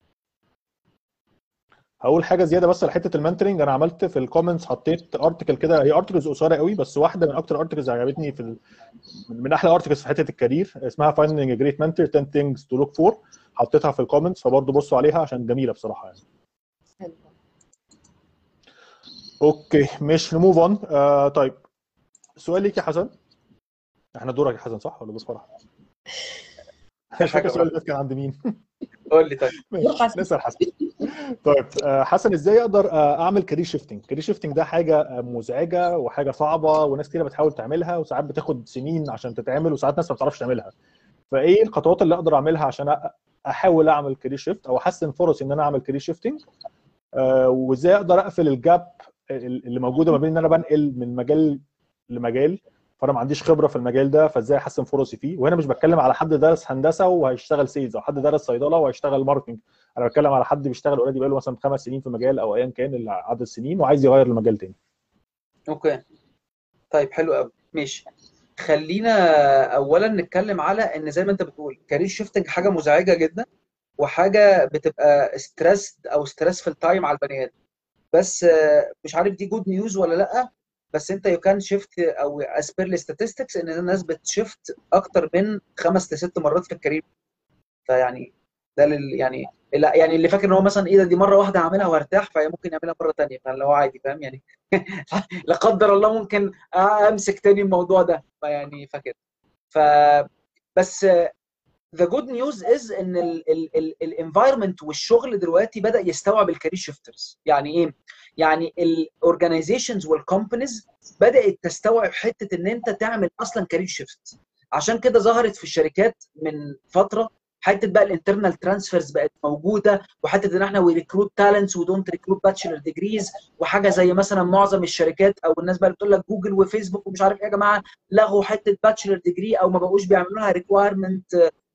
هقول حاجه زياده بس لحته المنتورنج. انا عملت في الكومنتس حطيت ارتكل كده، هي ارتكلز قصيره قوي بس واحده من اكتر ارتكلز عجبتني من احلى ارتكلز في حته الكارير، اسمها finding a great mentor 10 things to look for. حطيتها في الكومنتس، فبرضه بصوا عليها عشان جميله بصراحه يعني. اوكي مش نموف اون. طيب سؤال ليك يا حسن. احنا دورك يا حسن صح ولا دور فرح؟ مش فاكر السؤال ده كان عند مين. قول لي طيب. نسال حسن. طيب حسن، ازاي اقدر اعمل كارير شيفتنج؟ كارير شيفتنج ده حاجه مزعجه وحاجه صعبه، وناس كتير بتحاول تعملها، وساعات بتاخد سنين عشان تتعمل، وساعات ناس ما بتعرفش تعملها. فايه الخطوات اللي اقدر اعملها عشان احاول اعمل كارير شيفت او احسن فرصي ان انا اعمل كارير شيفتنج؟ وازاي اقدر اقفل الجاب اللي موجوده ما بين ان انا بنقل من مجال لمجال، فانا ما عنديش خبره في المجال ده، فازاي احسن فرصي فيه؟ وهنا مش بتكلم على حد درس هندسه وهيشتغل سيلز، او حد درس صيدله وهيشتغل ماركتنج. انا بتكلم على حد بيشتغل اوريدي بقاله مثلا 5 سنين في مجال او ايا كان اللي عدد السنين، وعايز يغير المجال تاني. اوكي طيب حلو قوي ماشي. خلينا اولا نتكلم على ان زي ما انت بتقول كارير شيفتنج حاجه مزعجه جدا، وحاجه بتبقى ستريس او ستريسفul تايم على البني ادم. بس مش عارف دي جود نيوز ولا لا، بس انت يو كان شيفت او as per statistics ان الناس بتشيفت اكتر من 5 ل 6 مرات في الكارير. فيعني ده يعني اللي فاكر ان هو مثلا ايه ده دي مره واحده هعملها وارتاح، فهي ممكن يعملها مره ثانيه، فاللي هو عادي فاهم يعني. لا قدر الله ممكن امسك تاني الموضوع ده، فيعني فاكر. ف بس the good news is ان الانفايرمنت والشغل دلوقتي بدا يستوعب الكارير شيفترز. يعني ايه؟ يعني الاورجنايزيشنز والكومبانيز بدات تستوعب حته ان انت تعمل اصلا كارير شيفت. عشان كده ظهرت في الشركات من فتره حته بقى الانترنال ترانسفيرز بقت موجوده، وحته ان احنا وي ريكروت تالنتس ودونت ريكروت باتشلر ديجريز، وحاجه زي مثلا معظم الشركات او الناس بقى اللي بتقول لك جوجل وفيسبوك ومش عارف ايه يا جماعه لغوا حته باتشلر ديجري او ما بقوش بيعملوا لها ريكوايرمنت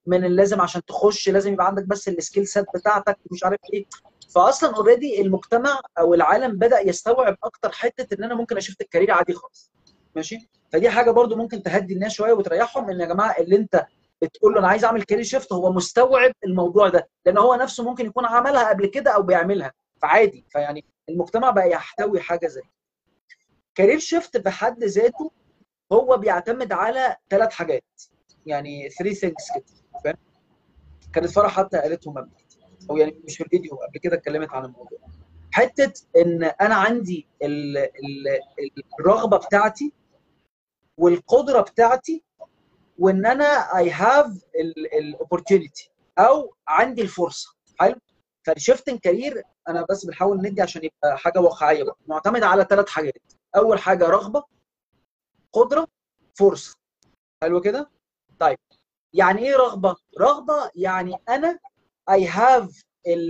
من اللازم عشان تخش لازم يبقى عندك بس السكيل سيت بتاعتك ومش عارف ايه. فاصلا اوريدي المجتمع او العالم بدا يستوعب اكتر حته ان انا ممكن اشفت الكارير عادي خالص. ماشي. فدي حاجه برضو ممكن تهدي الناس شويه وتريحهم، ان يا جماعه اللي انت بتقول له انا عايز اعمل كارير شيفت هو مستوعب الموضوع ده، لان هو نفسه ممكن يكون عملها قبل كده او بيعملها، فعادي. فيعني المجتمع بقى يحتوي حاجه زي كارير شيفت بحد ذاته. هو بيعتمد على 3 حاجات، يعني 3 things كده، فاهم؟ كانت فرح حتى قالتهم قبل كده، او يعني مش في الفيديو، قبل كده اتكلمت عن الموضوع. حته ان انا عندي الرغبه بتاعتي والقدره بتاعتي، وان انا اي هاف الاوبورتيونيتي او عندي الفرصه. حلو. فالشيفتنج كارير انا بس بنحاول ندي عشان يبقى حاجه واقعيه بقى، معتمد على 3 حاجات. اول حاجه رغبه، قدره، فرصه. حلو كده. طيب يعني ايه رغبه؟ رغبه يعني انا اي هاف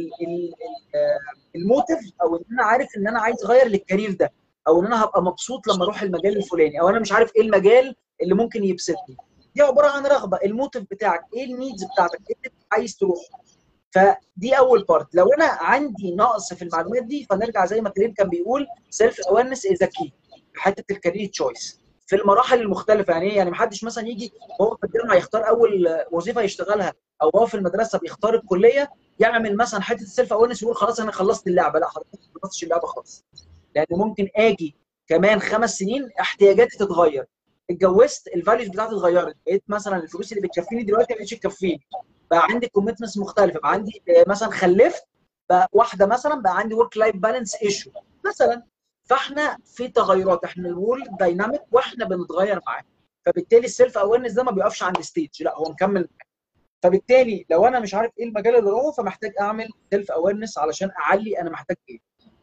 الموتيف، او ان انا عارف ان انا عايز اغير للكارير ده، او ان انا هبقى مبسوط لما اروح المجال الفلاني، او انا مش عارف ايه المجال اللي ممكن يبسطني. دي عباره عن رغبه. الموتيف بتاعك ايه؟ النيدز بتاعتك ايه اللي عايز تروح. فدي اول بارت. لو انا عندي نقص في المعلومات دي، فنرجع زي ما كريم كان بيقول سيلف اويرنس از كي في حته الكارير تشويس في المراحل المختلفه. يعني ايه؟ يعني محدش مثلا يجي وهو في الجامعه يختار اول وظيفه يشتغلها، او هو في المدرسه بيختار الكليه يعمل مثلا حته السيلف اويرنس ويقول خلاص انا خلصت اللعبه. لا حضرتك ما خلصتش اللعبه خالص، لان ممكن اجي كمان 5 سنين احتياجاتي تتغير. اتجوزت، الفاليوز بتاعتي اتغيرت، بقيت مثلا الفلوس اللي بتكفيني دلوقتي ما بقتش تكفيني، بقى عندي كوميتمنتس مختلفه، بقى عندي مثلا خلفت بقى واحده، مثلا بقى عندي ورك لايف بالانس ايشو مثلا. فاحنا في تغيرات، احنا الورلد دايناميك واحنا بنتغير معاه. فبالتالي السيلف اويرنس ده ما بيقفش عند ستيج، لا هو مكمل. فبالتالي لو انا مش عارف ايه المجال اللي اروحه، فمحتاج اعمل سيلف اويرنس علشان اعلي انا محتاج ايه.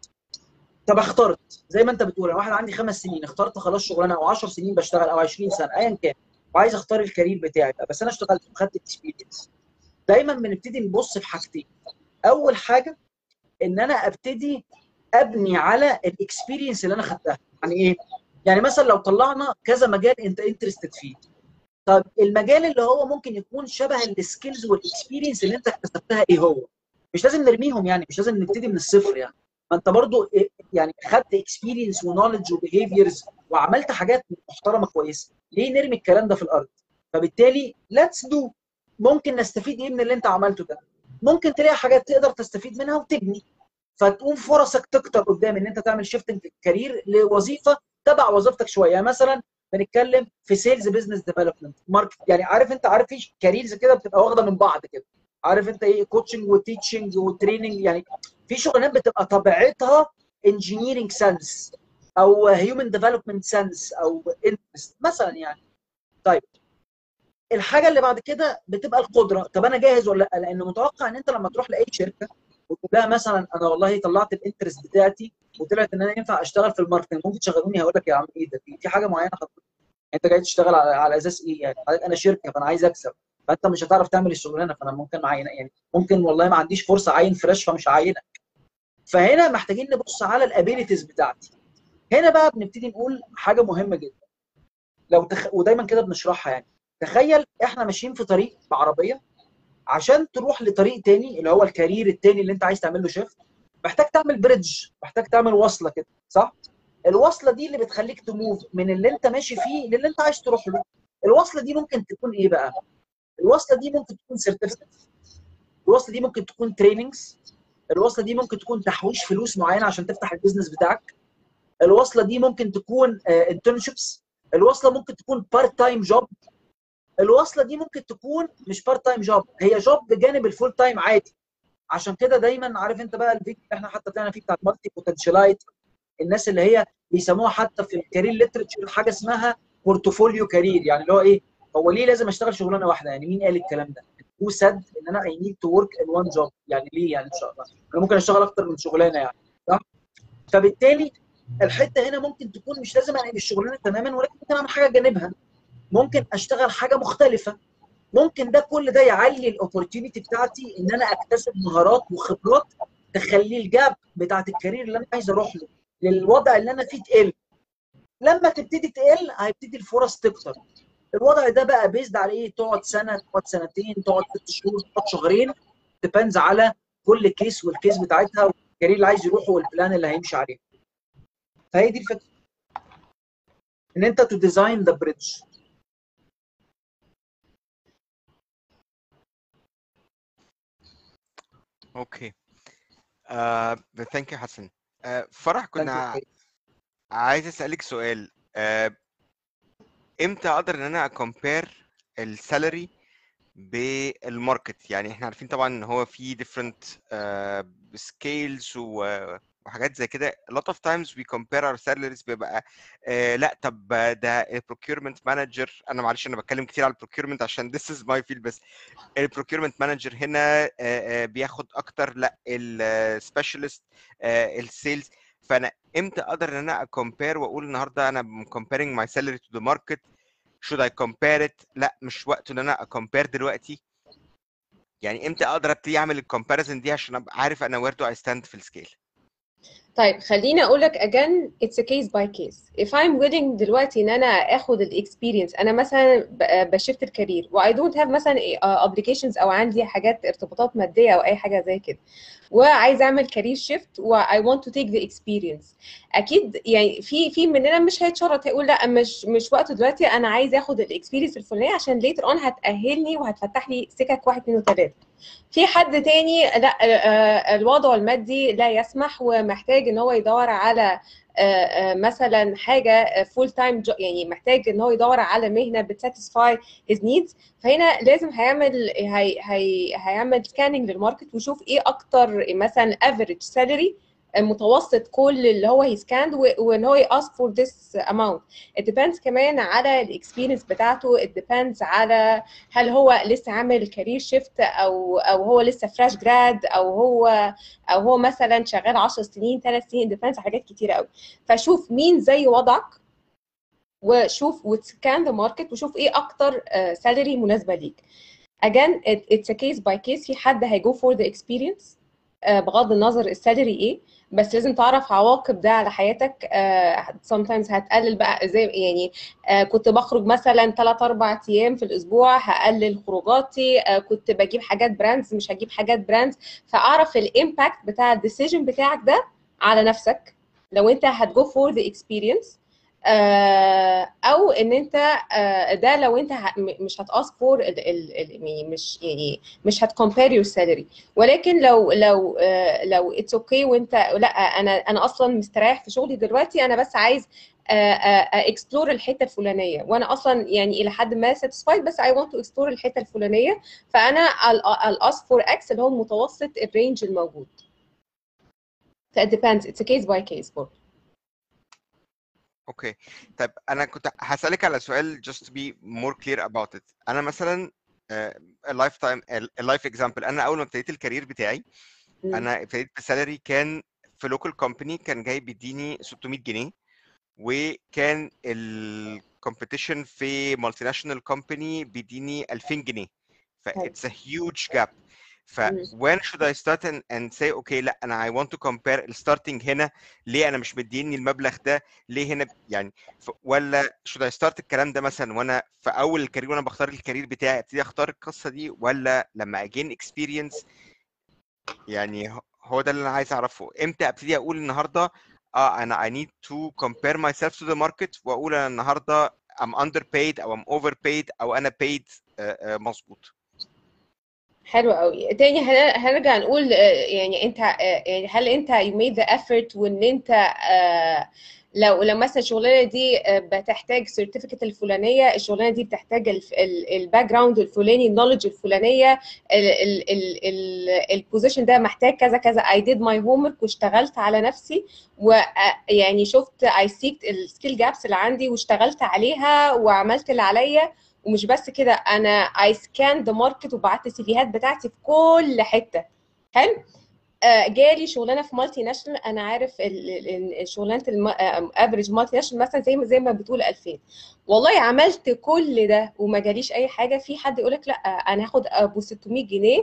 طب اخترت زي ما انت بتقول، انا واحد عندي 5 سنين اخترت خلاص شغلانه، او 10 سنين بشتغل، او 20 سنه ايا كان، وعايز اختار الكارير بتاعي بقى، بس انا اشتغلت وخدت اكسبيرينس. دايما بنبتدي نبص في حاجتين. اول حاجه ان انا ابتدي ابني على الاكسبيرينس اللي انا خدتها. يعني ايه؟ يعني مثلا لو طلعنا كذا مجال انت انترستد فيه، طب المجال اللي هو ممكن يكون شبه السكيلز والاكسبيرينس اللي انت اكتسبتها ايه هو؟ مش لازم نرميهم، يعني مش لازم نبتدي من الصفر. يعني ما انت برضو يعني خدت اكسبيرينس ونولج وبيهيفيرز وعملت حاجات محترمه كويسه، ليه نرمي الكلام ده في الارض؟ فبالتالي ليتس دو. ممكن نستفيد ايه من اللي انت عملته ده؟ ممكن تلاقي حاجات تقدر تستفيد منها وتبني، فتقوم فرصك تكتر قدام ان انت تعمل شيفتنج كارير لوظيفه تبع وظيفتك شويه. يعني مثلا بنتكلم في سيلز بزنس ديفلوبمنت ماركت، يعني عارف انت عارف في كاريرز كده بتبقى واخده من بعض كده، عارف انت ايه؟ كوتشنج وتيتشنج وتريننج. يعني في شغلانات بتبقى طبيعتها انجينيرنج سنس او هيومن ديفلوبمنت سنس او انترست مثلا يعني. طيب الحاجه اللي بعد كده بتبقى القدره. طب انا جاهز ولا لا؟ لان متوقع ان انت لما تروح لاي شركه وتقول لها مثلا انا والله طلعت الانترست بتاعتي وطلعت ان انا ينفع اشتغل في الماركتنج، ممكن تشغلوني؟ هقول لك يا عم ايه ده، في حاجه معينه حضرتك انت جاي تشتغل على اساس ايه؟ يعني انا شركه فانا عايز اكسب، فانت مش هتعرف تعمل الشغلانه، فانا ممكن معين يعني ممكن والله ما عنديش فرصه اعين فريش فمش هعينك. فهنا محتاجين نبص على الابيليتيز بتاعتي. هنا بقى بنبتدي نقول حاجه مهمه جدا، ودايما كده بنشرحها. يعني تخيل احنا ماشيين في طريق بعربيه، عشان تروح لطريق تاني اللي هو الكارير التاني اللي انت عايز تعمل له شيفت، محتاج تعمل بريدج، محتاج تعمل وصله كده، صح؟ الوصله دي اللي بتخليك تموف من اللي انت ماشي فيه للي انت عايز تروح له. الوصله دي ممكن تكون ايه بقى؟ الوصله دي ممكن تكون سيرتيفيكت، الوصله دي ممكن تكون تريننجز، الوصله دي ممكن تكون تحويش فلوس معينه عشان تفتح البيزنس بتاعك، الوصله دي ممكن تكون انترنشيبس، الوصله ممكن تكون بارت تايم جوب، الوصله دي ممكن تكون مش بارت تايم جوب، هي جوب بجانب الفول تايم عادي. عشان كده دايما عارف انت بقى الفيديو اللي احنا حتى طلعنا فيه بتاع المالتي بوتنشالايت، الناس اللي هي بيسموها حتى في الكارير ليترشر حاجه اسمها بورتفوليو كارير. يعني اللي هو ايه؟ هو ليه لازم اشتغل شغلانه واحده؟ يعني مين قال الكلام ده؟ هو سد ان انا اي نيد تو ورك ان وان جوب. يعني ليه؟ يعني ان شاء الله انا ممكن اشتغل اكتر من شغلانه يعني، صح؟ فبالتالي الحته هنا ممكن تكون مش لازم انقل الشغلانه تماما، ولكن ممكن اعمل حاجه جانبها، ممكن اشتغل حاجه مختلفه. ممكن ده كل ده يعلي الاوبورتيونيتي بتاعتي ان انا اكتسب مهارات وخبرات تخلي الجاب بتاعت الكارير اللي انا عايز اروح له للوضع اللي انا فيه تقل. لما تبتدي تقل هيبتدي الفرص تكتر. الوضع ده بقى بيزد على ايه؟ تقعد سنه، تقعد سنتين، تقعد 6 شهور، تقعد شهرين، ديبندز على كل كيس والكيس بتاعتها والكارير اللي عايز يروحه والبلان اللي هيمشي عليه. فهي دي الفكره، ان انت تو ديزاين ذا بريدج. اوكي. ثانك يو حسن. فرح، كنا عايز اسالك سؤال. امتى اقدر ان انا اكمبير السالري بالماركت؟ يعني احنا عارفين طبعا ان هو في different scales وحاجات زي كده. a lot of times we compare our salaries بيبقى لا طب ده procurement manager، انا معلش انا بتكلم كتير على procurement عشان this is my field، بس procurement manager هنا بياخد اكتر، لا specialist السيلز. فانا امتى اقدر ان انا اكمبير واقول النهارده انا comparing my salary to the market؟ should I compare it؟ لا مش وقته ان انا اكمبير دلوقتي. يعني امتى اقدر ابتدي اعمل الكومباريزن دي عشان ابقى عارف انا where do I stand في السكيل؟ طيب خليني اقول لك again it's a case by case. if I'm willing دلوقتي ان انا اخد الاكسبيرينس، انا مثلا بشفت الكارير و I don't have مثلا obligations او عندي حاجات ارتباطات ماديه او اي حاجه زي كده، وعايز اعمل كارير شيفت و I want to take the experience، اكيد يعني في مننا مش هيتشرط هيقول لا مش وقته دلوقتي، انا عايز اخد الاكسبيرينس الفلانيه عشان later on هتاهلني وهتفتح لي سكك 1 2 3. في حد تاني لا، الوضع المادي لا يسمح ومحتاج ان هو يدور على مثلا حاجه فول تايم، يعني محتاج ان هو يدور على مهنه بتساتسفاي هيز نيدز. فهنا لازم هيعمل سكاننج للماركت ويشوف ايه اكتر مثلا افريج سالري متوسط كل اللي هو هيسكاند، وان هو ياسك فور ذس اماونت. it depends كمان على الاكسبيرينس بتاعته، it depends على هل هو لسه عامل كارير شيفت او هو لسه فريش جراد او هو مثلا شغال 10 سنين 3 سنين، ديبيندز على حاجات كتيره قوي. فشوف مين زي وضعك وشوف وتسكان ذا ماركت وشوف ايه اكتر سالري مناسبه ليك. again it's a case by case. في حد هيجو فور ذا اكسبيرينس بغض النظر السالري ايه، بس لازم تعرف عواقب ده على حياتك. sometimes هتقلل بقى زي يعني كنت بخرج مثلا 3-4 ايام في الاسبوع، هقلل خروجاتي. كنت بجيب حاجات براندز مش هجيب حاجات براندز. فاعرف الامباكت بتاع الديسيجن بتاعك ده على نفسك لو انت هتجو فور ذا اكسبيرينس، او ان انت ده لو انت مش هتاسك فور مش هتكمبير يور سالري. ولكن لو اتس اوكي وانت لا انا اصلا مستريح في شغلي دلوقتي، انا بس عايز اكسبلور الحته الفلانيه، وانا اصلا يعني الى حد ما ساتيسفايد بس اي ونت تو اكسبلور الحته الفلانيه، فانا الاسك فور اكس اللي هو متوسط الرينج الموجود. ف it depends, it's a case by case برضه. اوكي. طيب انا كنت هسالك على سؤال just to be more clear about it. انا مثلا اللايف اكزامبل، انا اول ما ابتديت الكارير بتاعي انا ابتديت بسالري كان في لوكال كومباني كان جاي بيديني 600 جنيه، وكان الكومبيتيشن في مالتي ناشونال كومباني بيديني 2000 جنيه. ف it's a huge gap. ف when should I start and say okay لا انا I want to compare الستارتنج هنا، ليه انا مش مديني المبلغ ده، ليه هنا يعني ولا should I start الكلام ده مثلا وانا في اول الكارير وانا بختار الكارير بتاعي ابتدي اختار القصه دي، ولا لما اجين experience؟ يعني هو ده اللي انا عايز اعرفه، امتى ابتدي اقول النهارده انا I need to compare myself to the market واقول انا النهارده I'm underpaid او I'm overpaid او انا paid مظبوط. حلو قوي. تاني هنرجع نقول يعني انت يعني هل انت you made the effort وان انت لو مثلا الشغلانه دي بتحتاج سيرتيفيكت الفلانيه، الشغلانه دي بتحتاج الباك جراوند الفلاني، النولج الفلانيه، البوزيشن ده محتاج كذا كذا. I did my homework واشتغلت على نفسي، ويعني شفت I seeked السكيل جابس اللي عندي واشتغلت عليها وعملت اللي عليا. ومش بس كده، انا اي سكان ذا ماركت وبعت السيفيهات بتاعتي في كل حته. حلو. جالي شغلانه في مالتي ناشونال، انا عارف الشغلانه افريج مالتي ناشونال مثلا زي ما بتقول 2000. والله عملت كل ده وما جاليش اي حاجه. في حد يقول لك لا انا هاخد ابو 600 جنيه،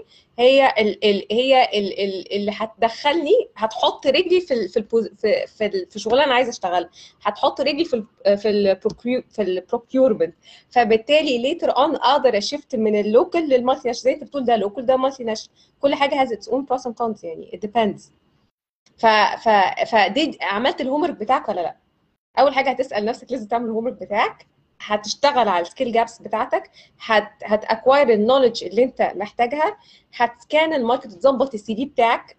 اللي هتدخلني، هتحط رجلي في شغلانه انا عايزه اشتغلها، هتحط رجلي في البروكيورمنت. فبالتالي ليتر اون اقدر اشفت من اللوكال للمالتي ناشونال. زي انت بتقول ده لوكال ده مالتي ناشونال، كل حاجه has its own pros and cons يعني it depends. ف ف فدي عملت الهومورك بتاعك ولا لا؟ اول حاجه هتسال نفسك، لازم تعمل الهومورك بتاعك، هتشتغل على السكيل جابس بتاعتك، هتاكواير النولج اللي انت محتاجها، هتسكان الماركت، تظبط السي في بتاعك،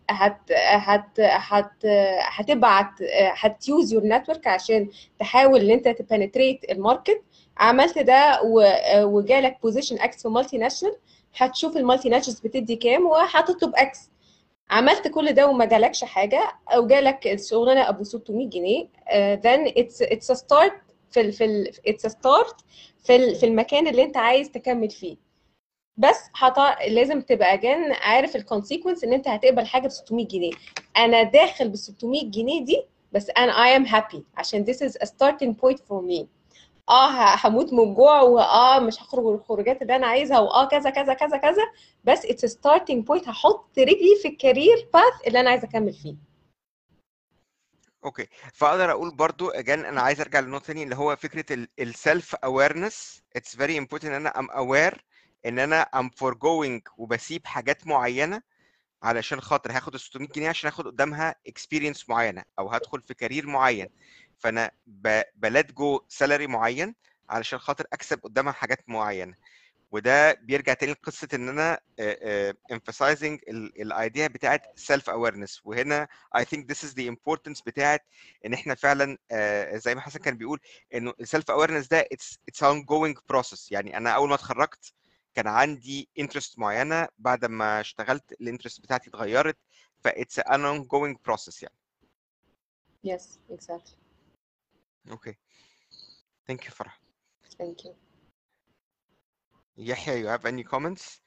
هتبعت، هتيوز يور نتورك عشان تحاول ان انت تبنتريت الماركت. عملت ده وجالك بوزيشن اكس في مالتي ناشونال، هتشوف المالتي ناشونالز بتدي كام وهتطلب اكس. عملت كل ده وما جالكش حاجه، او جالك الشغلانه ابو 600 جنيه، then it's a start it's a start في المكان اللي انت عايز تكمل فيه. بس لازم تبقى عارف الكونسيكونس ان انت هتقبل حاجه ب 600 جنيه. انا داخل ب 600 جنيه دي بس انا I am happy عشان this is a starting point for me. هموت من الجوع، مش هخرج الخروجات اللي انا عايزها، كذا كذا كذا كذا، بس اتس ستارتنج بوينت، هحط رجلي في الكارير باث اللي انا عايزه اكمل فيه. اوكي، فاقدر اقول برضو اجان انا عايز ارجع للنقطه ثانيه اللي هو فكره السيلف اويرنس. اتس فيري امبورتنت ان انا ام اوير ان انا ام فورجوينج وبسيب حاجات معينه علشان خاطر هاخد ال 600 جنيه عشان اخد قدامها اكسبيرينس معينه او هدخل في كارير معين. فانا بلات جو سالري معين علشان خاطر اكسب قدامها حاجات معينه. وده بيرجع تاني لقصه ان انا emphasizing الايديا بتاعت self awareness. وهنا I think this is the importance بتاعت ان احنا فعلا زي ما حسن كان بيقول انه self awareness ده it's ongoing process. يعني انا اول ما اتخرجت كان عندي interest معينه، بعد ما اشتغلت الانترست بتاعتي اتغيرت، ف it's an ongoing process يعني. Yes, exactly. Okay. Thank you فرح. Thank you. Yahya, you have any comments?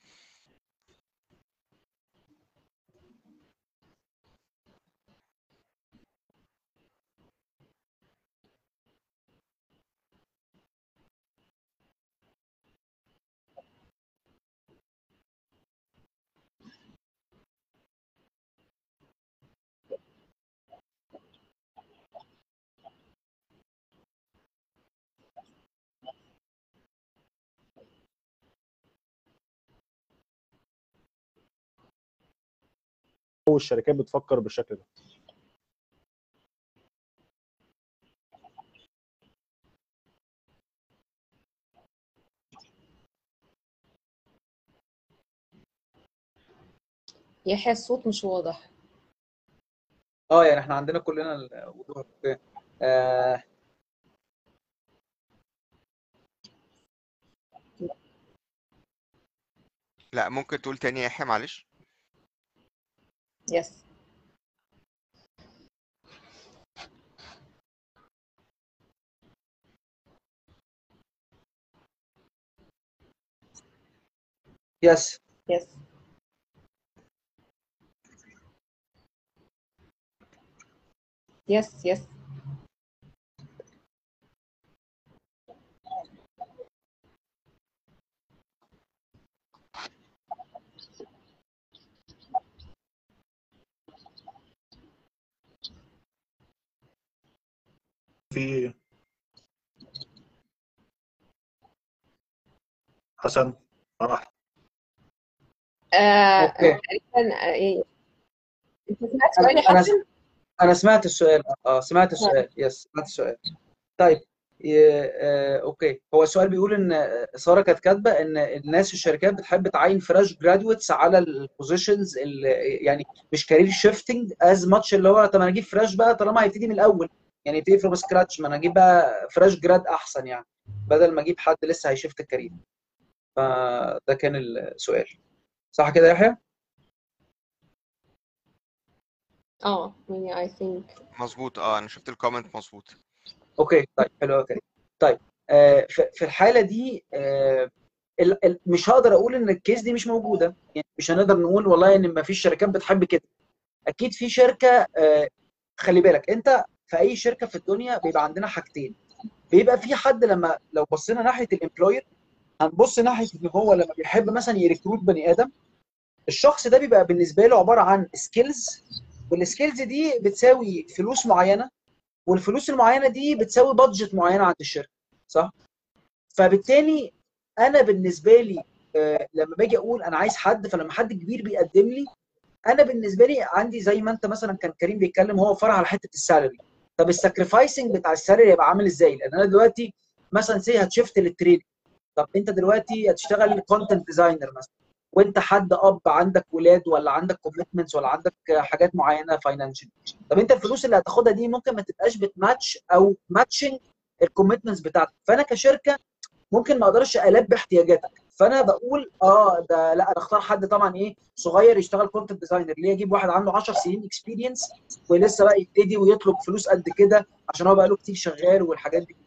والشركات بتفكر بالشكل ده. يحيى الصوت مش واضح. يعني احنا عندنا كلنا الوضوح. اوكي. لا ممكن تقول تاني يا يحيى معلش. Yes. Yes. Yes. Yes. Yes. في حسن فرح. اوكي. تقريبا انت سمعت سؤال يا انا حسن؟ انا سمعت السؤال. سمعت السؤال. يس، سمعت السؤال. طيب. اوكي، هو السؤال بيقول ان ساره كانت كاتبه ان الناس الشركات بتحب تعين فريش جرادويتس على البوزيشنز اللي يعني مش كارير شيفتنج از ماتش، اللي هو طب انا اجيب فريش بقى طالما هيبتدي من الاول، يعني يبتدي فروم سكراتش، ما انا اجيب بقى فريش جراد احسن يعني، بدل ما اجيب حد لسه هيشفت الكارير. فده كان السؤال، صح كده يا يحيى؟ يعني I think مظبوط. انا شفت الكومنت مظبوط. اوكي. طيب حلو قوي كده. طيب في الحاله دي مش هقدر اقول ان الكيس دي مش موجوده، يعني مش هنقدر نقول والله ان ما فيش شركات بتحب كده، اكيد في شركه خلي بالك انت في اي شركه في الدنيا بيبقى عندنا حاجتين. بيبقى في حد لو بصينا ناحيه الامبلوير هنبص ناحيه ان هو لما بيحب مثلا يريكروت بني ادم، الشخص ده بيبقى بالنسبه له عباره عن سكيلز، والسكيلز دي بتساوي فلوس معينه، والفلوس المعينه دي بتساوي بادجت معينه عند الشركه، صح؟ فبالتالي انا بالنسبه لي لما باجي اقول انا عايز حد، فلما حد كبير بيقدم لي، انا بالنسبه لي عندي زي ما انت مثلا كان كريم بيتكلم، هو فرع على حته السالري. طب الساكريفايسنج بتاع السالري هيبقى عامل ازاي؟ لان انا دلوقتي مثلا هتشفت للتريد. طب انت دلوقتي هتشتغل كونتنت ديزاينر مثلا، وانت حد اب عندك ولاد ولا عندك كوميتمنتس ولا عندك حاجات معينه فاينانشال. طب انت الفلوس اللي هتاخدها دي ممكن ما تبقاش بتماتش او ماتشنج الكوميتمنتس بتاعتك، فانا كشركه ممكن ما اقدرش البي احتياجاتك. فانا بقول ده لا، انا اختار حد طبعا صغير يشتغل كونتنت ديزاينر. ليه اجيب واحد عنده 10 سنين اكسبيرينس ولسه بقى يبتدي ويطلب فلوس قد كده عشان هو بقى له كتير شغال والحاجات دي.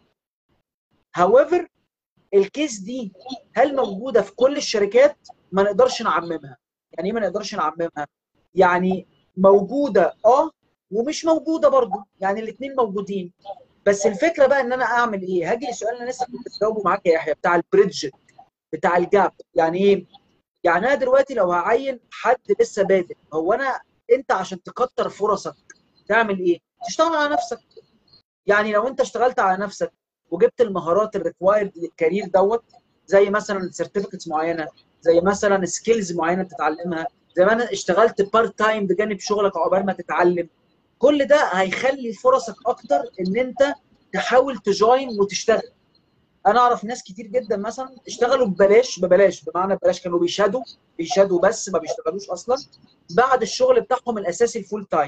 however الكيس دي هل موجوده في كل الشركات؟ ما نقدرش نعممها. يعني ايه ما نقدرش نعممها؟ يعني موجوده ومش موجوده برضه، يعني الاثنين موجودين. بس الفكره بقى ان انا اعمل ايه؟ هاجي للسؤال اللي انا لسه كنت بجاوبه معاك يا يحيى بتاع البريدج، بتاع الجاب. يعني ايه؟ يعني انا دلوقتي لو هعين حد لسه بادئ، انت عشان تكتر فرصك تعمل ايه؟ تشتغل على نفسك. يعني لو انت اشتغلت على نفسك وجبت المهارات الريكوايرد للكارير زي مثلا سيرتيفيكتس معينه، زي مثلا سكيلز معينه تتعلمها، زي ما انا اشتغلت بارت تايم بجانب شغلك عقبال ما تتعلم، كل ده هيخلي فرصك اكتر ان انت تحاول تجوين وتشتغل. انا اعرف ناس كتير جدا مثلا اشتغلوا ببلاش، بمعنى ببلاش، كانوا بيشادوا بس ما بيشتغلوش اصلا بعد الشغل بتاعهم الاساسي الفول تايم.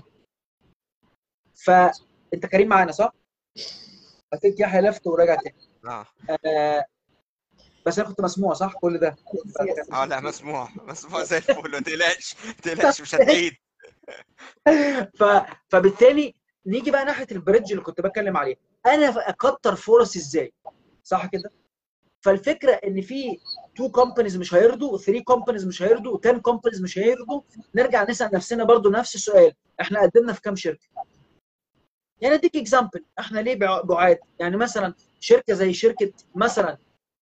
فانت كريم معانا صح؟ اكيد يحيى لفت ورجع تاني. بس انا كنت مسموع صح كل ده؟ لا مسموع زي الفل، ما تقلقش مش هتعيد. فبالتالي نيجي بقى ناحيه البريدج اللي كنت بتكلم عليه، انا اكتر فرص ازاي؟ صح كده؟ فالفكره ان في 2 كومبانيز مش هيرضوا، 3 كومبانيز مش هيرضوا، 10 كومبانيز مش هيرضوا. نرجع نسال نفسنا برضو نفس السؤال، احنا قدمنا في كام شركه؟ يعني اديك اكزامبل، احنا ليه بعاد؟ يعني مثلا شركه زي شركه مثلا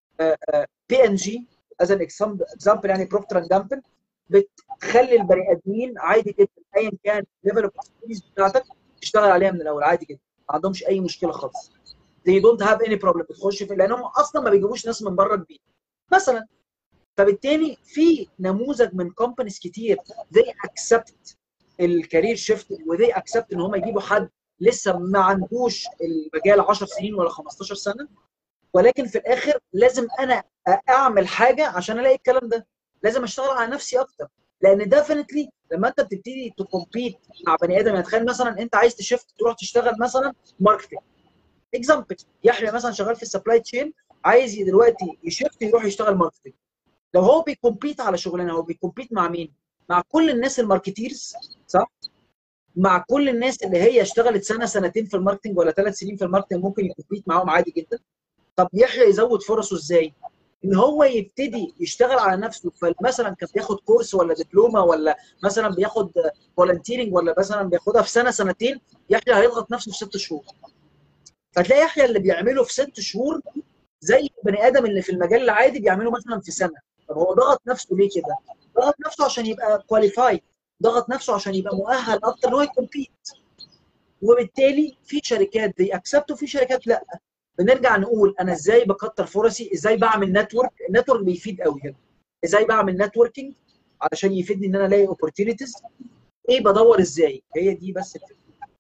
بي ان جي از ان اكزامبل، يعني بروكتر اند جامبل، بتخلي البني ادمين عادي جدا ايا كان ليفل اوف اكسبيرينس بتاعتك تشتغل عليها من الاول عادي جدا، ما عندهمش اي مشكله خالص. they don't have any problem بتخش في، لانهم اصلا ما بيجيبوش ناس من بره البيت مثلا. فبالتالي في نموذج من كومبانيز كتير they accept الكارير شيفت، وذي اكسبت ان هم يجيبوا حد لسه ما عندوش المجال 10 سنين ولا 15 سنه، ولكن في الاخر لازم انا اعمل حاجه عشان الاقي الكلام ده. لازم اشتغل على نفسي اكتر، لان ديفنتلي لما انت بتبتدي تكومبيت مع بني ادم، يعني تخيل مثلا انت عايز تشفت تروح تشتغل مثلا ماركتنج اكزامبل، يحيى مثلا شغال في السبلاي تشين عايز دلوقتي يشفت يروح يشتغل ماركتنج. لو هو بيكومبيت على شغلانه، هو بيكومبيت مع مين؟ مع كل الناس الماركتيرز، صح؟ مع كل الناس اللي هي اشتغلت سنه سنتين في الماركتنج ولا 3 سنين في الماركتنج، ممكن يكومبيت معاهم عادي جدا. طب يحيى يزود فرصه ازاي؟ ان هو يبتدي يشتغل على نفسه، فمثلا كان بياخد كورس ولا دبلومه ولا مثلا بياخد فولنتيرنج ولا مثلا بياخدها في سنه سنتين، يحيى هيضغط نفسه في 6 شهور. فتلاقي يحيى اللي بيعمله في 6 شهور زي البني ادم اللي في المجال العادي بيعمله مثلا في سنه. طب هو ضغط نفسه ليه كده؟ ضغط نفسه عشان يبقى كواليفايد، ضغط نفسه عشان يبقى مؤهل اكتر ان هو يكمبيت. وبالتالي في شركات دي اكسبت وفي شركات لا. بنرجع نقول انا ازاي بكتر فرصي، ازاي بعمل نتورك. النتورك بيفيد قوي هنا. ازاي بعمل نتوركينج علشان يفيدني ان انا الاقي اوبورتيونيتيز. ايه بدور ازاي؟ هي دي بس الفكره.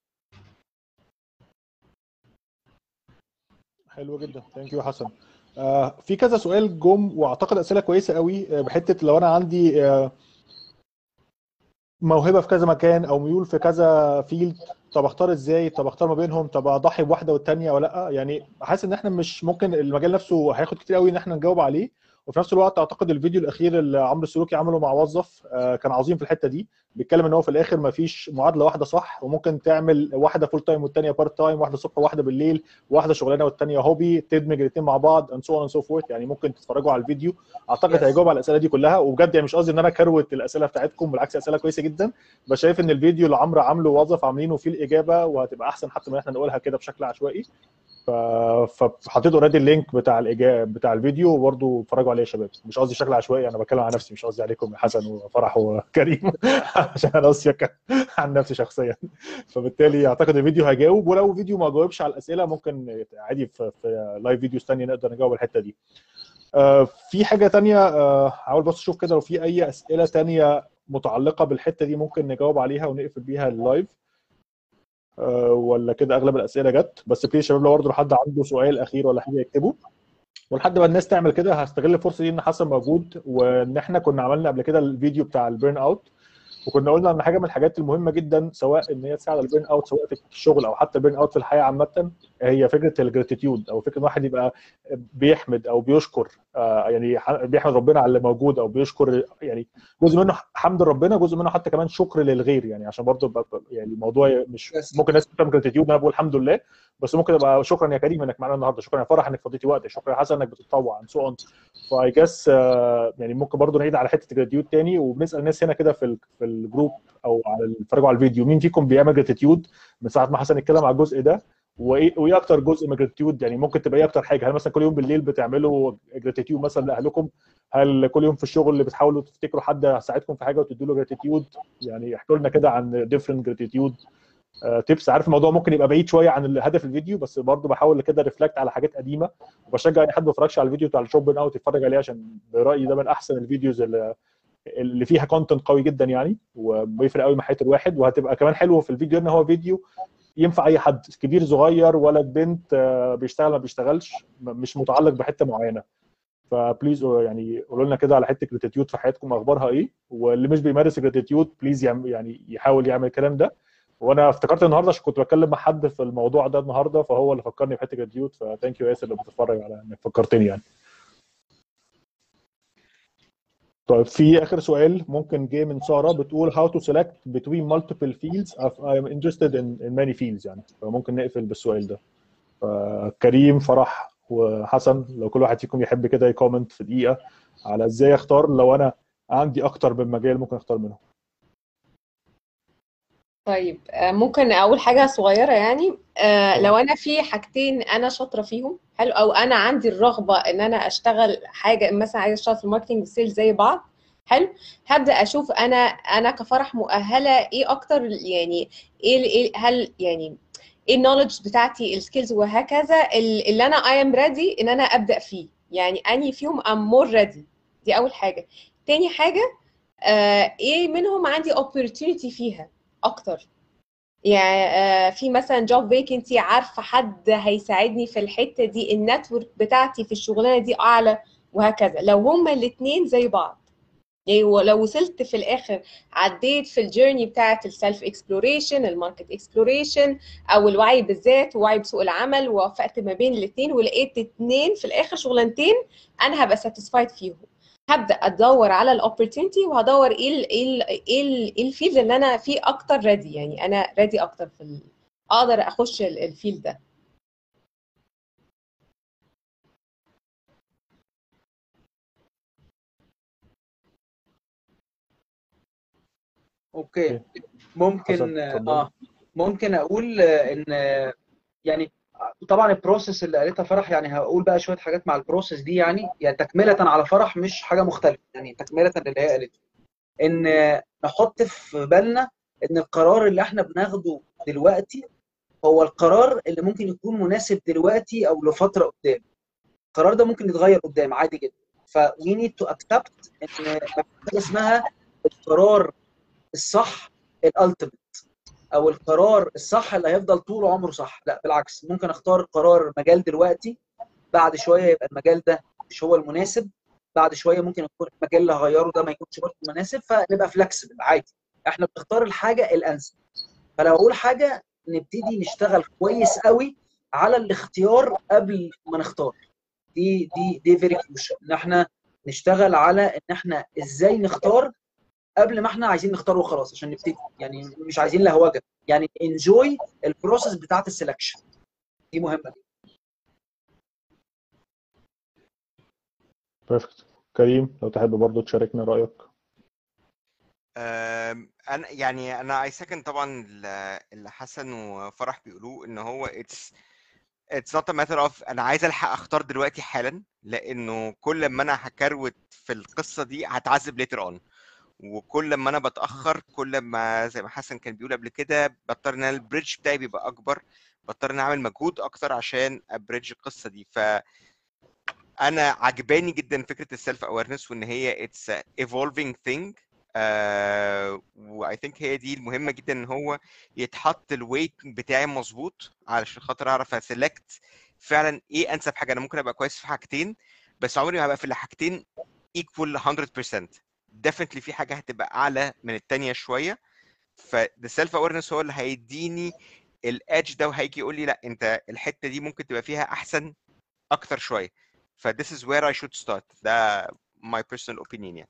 حلو جدا، ثانك يو حسن. في كذا سؤال جم واعتقد اسئله كويسه قوي، بحته لو انا عندي موهبه في كذا مكان او ميول في كذا فيلد، طب اختار ازاي؟ طب اختار ما بينهم؟ طب اضحي بواحده والثانيه ولا لا؟ يعني حاسس ان احنا مش ممكن، المجال نفسه هياخد كتير قوي ان احنا نجاوب عليه، وفي نفس الوقت اعتقد الفيديو الاخير اللي عمرو السلوكي عمله مع وظف كان عظيم في الحته دي، بيتكلم ان هو في الاخر ما فيش معادله واحده صح، وممكن تعمل واحده فول تايم والثانيه بارت تايم، واحده الصبح وواحده بالليل، واحده شغلانه والثانيه هوبي، تدمج الاثنين مع بعض and so on and so forth. يعني ممكن تتفرجوا على الفيديو، اعتقد هيجاوب على الاسئله دي كلها. وبجد يعني مش قصدي ان انا كروت الاسئله بتاعتكم، بالعكس اسئله كويسه جدا، بس شايف ان الفيديو اللي عمرو عامله وظف عاملينه فيه الاجابه، وهتبقى احسن حتى من احنا نقولها كده بشكل عشوائي. فحطيت اوريدي اللينك بتاع الاجابه بتاع الفيديو، وبرده اتفرجوا عليه يا شباب. مش قصدي بشكل عشوائي، انا بتكلم عن نفسي، مش قصدي عليكم يا حسن وفرح وكريم عشان انا قصدي عن نفسي شخصيا. فبالتالي اعتقد الفيديو هيجاوب، ولو فيديو ما جاوبش على الاسئله ممكن عادي في لايف فيديوز ثانيه نقدر نجاوب الحته دي. في حاجه ثانيه، حاول بس اشوف كده لو في اي اسئله ثانيه متعلقه بالحته دي ممكن نجاوب عليها ونقفل بيها اللايف، ولا كده اغلب الاسئله جت. بس بليز شباب لو برضه حد عنده سؤال اخير ولا حاجه يكتبه. ولحد ما الناس تعمل كده هستغل الفرصه دي ان حسن موجود، وان احنا كنا عملنا قبل كده الفيديو بتاع البيرن اوت، وكنا قلنا ان حاجه من الحاجات المهمه جدا سواء ان هي تساعد على البيرن اوت سواء في الشغل او حتى البيرن اوت في الحياه عامه، هي فكره الجراتيتيود، او فكره ان الواحد يبقى بيحمد او بيشكر، يعني بيحمد ربنا على اللي موجود، او بيشكر يعني جزء منه حمد ربنا، جزء منه حتى كمان شكر للغير. يعني عشان برضه يعني الموضوع مش ممكن الناس تفهم جراتيتيود انا بقول الحمد لله، بس ممكن يبقى شكرا يا كريم انك معانا النهارده، شكرا يا فرح انك فضيتي وقتك، شكرا يا حسن انك بتتطوع عن سو اون. فاي جاس يعني ممكن برضه نعيد على حته الجراتيتيود تاني، وبنسال الناس هنا كده في الجروب او على اتفرجوا على الفيديو، مين فيكم بيعمل جراتيتيود من ساعه ما حسن اتكلم على الجزء ده؟ وايه اكتر جزء من الجراتيتيود؟ يعني ممكن تبقى ايه اكتر حاجه؟ هل مثلا كل يوم بالليل بتعملوا جراتيتيود مثلا لاهلكم؟ هل كل يوم في الشغل اللي بتحاولوا تفتكروا حد ساعدكم في حاجه وتدوا له جراتيتيود؟ يعني احكوا لنا كده عن ديفرنت جراتيتيود تيبس. عارف الموضوع ممكن يبقى بعيد شويه عن هدف الفيديو، بس برضه بحاول كده ريفلكت على حاجات قديمه، وبشجع اي حد ما اتفرجش على الفيديو بتاع الشوب بيرن اوت يتفرج عليه، عشان برايي ده من احسن الفيديوز اللي فيها كونتنت قوي جدا يعني، وبيفرق قوي مع حياه الواحد. وهتبقى كمان حلوه في الفيديو ان هو فيديو ينفع اي حد، كبير صغير ولد بنت، بيشتغل ما بيشتغلش، مش متعلق بحته معينه. فبليز يعني قولوا لنا كده على حته جراتيتيود في حياتكم اخبارها ايه، واللي مش بيمارس جراتيتيود بليز يعني يحاول يعمل الكلام ده. وانا افتكرت النهارده عشان كنت بتكلم مع حد في الموضوع ده النهارده، فهو اللي فكرني بحته جراتيتيود، فثانك يو ياسر اللي بتتفرج على انك فكرتني يعني. طيب في اخر سؤال ممكن جه من ساره، بتقول how to select between multiple fields if I am interested in many fields يعني، فممكن نقفل بالسؤال ده. كريم فرح وحسن لو كل واحد فيكم يحب كده يكومنت في دقيقه على ازاي اختار لو انا عندي اكتر من مجال ممكن اختار منهم. طيب ممكن اول حاجه صغيره يعني لو طبعا. انا في حاجتين انا شاطره فيهم حلو، او انا عندي الرغبه ان انا اشتغل حاجه، مثلا عايزه اشتغل في الماركتنج والسيلز زي بعض حلو، هبدا اشوف انا كفرح مؤهله ايه اكتر، يعني هل يعني ايه النولج بتاعتي السكيلز وهكذا اللي انا I am ready ان انا ابدا فيه، يعني اني فيهم I'm more ready. دي اول حاجه. تاني حاجه ايه منهم عندي opportunity فيها اكتر، يعني في مثلا جوب فيكنسي عارفه حد هيساعدني في الحته دي، النتورك بتاعتي في الشغلانه دي اعلى وهكذا. لو هما الاثنين زي بعض، يعني لو وصلت في الاخر عديت في الجيرني بتاعت السيلف اكسبلوريشن، الماركت اكسبلوريشن، او الوعي بالذات ووعي بسوق العمل، ووفقت ما بين الاثنين ولقيت اثنين في الاخر شغلانتين انا هبقى ساتيسفايد فيهم، هبدا ادور على الاوبورتونيتي وهدور ايه الفيلد اللي انا فيه اكتر ريدي، يعني انا ريدي اكتر في اقدر اخش الفيلد ده. اوكي ممكن ممكن اقول ان يعني طبعا البروسيس اللي قالتها فرح، يعني هقول بقى شويه حاجات مع البروسيس دي، يعني تكمله على فرح مش حاجه مختلفه، يعني تكمله للي هي قالته، ان نحط في بالنا ان القرار اللي احنا بناخده دلوقتي هو القرار اللي ممكن يكون مناسب دلوقتي او لفتره قدام. القرار ده ممكن يتغير قدام عادي جدا، ف we need to accept ان مفيش حاجه اسمها القرار الصح الالتيميت، او القرار الصح اللي هيفضل طول عمره صح. لا بالعكس، ممكن اختار قرار مجال دلوقتي، بعد شويه يبقى المجال ده مش هو المناسب، بعد شويه ممكن يكون المجال اللي هغيره ده ما يكونش برضه مناسب، فنبقى فلكسبل عادي. احنا بنختار الحاجه الانسب. فلو اقول حاجه، نبتدي نشتغل كويس قوي على الاختيار قبل ما نختار. دي فيري كروشال، ان احنا نشتغل على ان احنا ازاي نختار قبل ما احنا عايزين نختار وخلاص عشان نبتدي، يعني مش عايزين لهوجه، يعني انجوي البروسيس بتاعت السelection دي مهمه. بيرفكت. كريم لو تحب برضو تشاركنا رايك. انا يعني انا اي سكند طبعا اللي حسن وفرح بيقولوه، ان هو it's not a matter of انا عايز الحق اختار دلوقتي حالا، لانه كل ما انا هكروت في القصه دي هتعذب later on، وكل ما انا بتاخر كل ما زي ما حسن كان بيقول قبل كده بضطر ان البريدج بتاعي بيبقى اكبر، بضطر ان اعمل مجهود اكتر عشان ابريدج القصه دي. فانا عجباني جدا فكره السيلف اويرنس، وان هي it's a evolving thing. واي ثينك هي دي المهمه جدا، ان هو يتحط الويت بتاعي مظبوط علشان خاطر اعرف اسلكت فعلا ايه انسب حاجه. انا ممكن ابقى كويس في حاجتين بس عمري ما هبقى في الحاجتين equal 100%. definitely في حاجه هتبقى اعلى من التانيه شويه، فده سيلف اويرنس هو اللي هيديني الادج ده، وهيجي يقول لي لا انت الحته دي ممكن تبقى فيها احسن اكتر شويه. ف this is where I should start. ده my personal opinion يعني.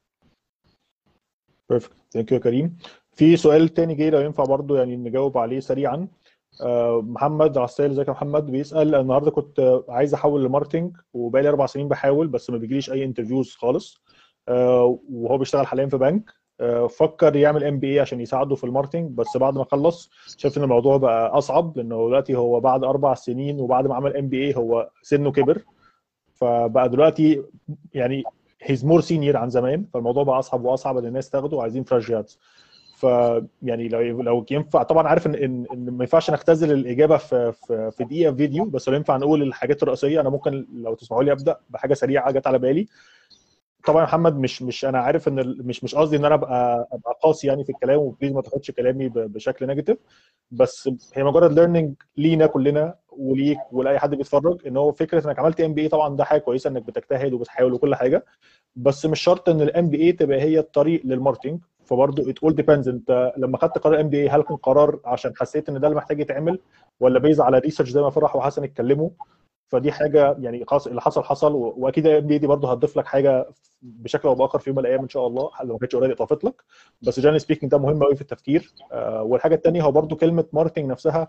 بيرفكت. ثانك يو يا كريم. في سؤال تاني جاي لو ينفع برضو يعني نجاوب عليه سريعا. محمد عسال، ازيك يا محمد؟ بيسأل النهارده كنت عايز احول لماركتنج وبقالي 4 سنين بحاول بس ما بيجيليش اي انترفيوز خالص، وهو بيشتغل حاليا في بنك. فكر يعمل MBA عشان يساعده في الماركتنج، بس بعد ما خلص شايف ان الموضوع بقى اصعب، لانه دلوقتي هو بعد 4 سنين وبعد ما عمل MBA هو سنه كبر، فبقى دلوقتي يعني هيز مور سينيور عن زمان، فالموضوع بقى اصعب واصعب ان الناس تاخده وعايزين فريش جرادز. فيعني لو ينفع طبعا، عارف ان ما ينفعش نختزل الاجابه في دقيقه فيديو، بس لو ينفع نقول الحاجات الرئيسيه، انا ممكن لو تسمحوا لي ابدا بحاجه سريعه جت على بالي. طبعا يا محمد مش انا عارف ان مش قصدي ان انا ابقى قاسي يعني في الكلام، وبليز ما تاخدش كلامي بشكل نيجاتيف، بس هي مجرد ليرنينج لينا كلنا وليك ولاي حد بيتفرج، ان هو فكره انك عملت MBA طبعا ده حاجه كويسه انك بتجتهد وبتحاول وكل حاجه، بس مش شرط ان MBA تبقى هي الطريق للماركتنج. فبرضه ات اول ديبيندز، انت لما خدت قرار MBA هل كان قرار عشان حسيت ان ده اللي محتاج يتعمل، ولا بيز على ريسيرش زي ما فرح وحسن اتكلموا؟ فدي حاجه يعني خلاص اللي حصل حصل، واكيد MBA دي برضه هتضيف لك حاجه بشكل او باخر في يوم من الايام ان شاء الله، لو ما كانتش اوريدي اضافت لك. بس جنرالي سبيكينج ده مهم قوي في التفكير. والحاجه الثانيه هو برضه كلمه ماركتنج نفسها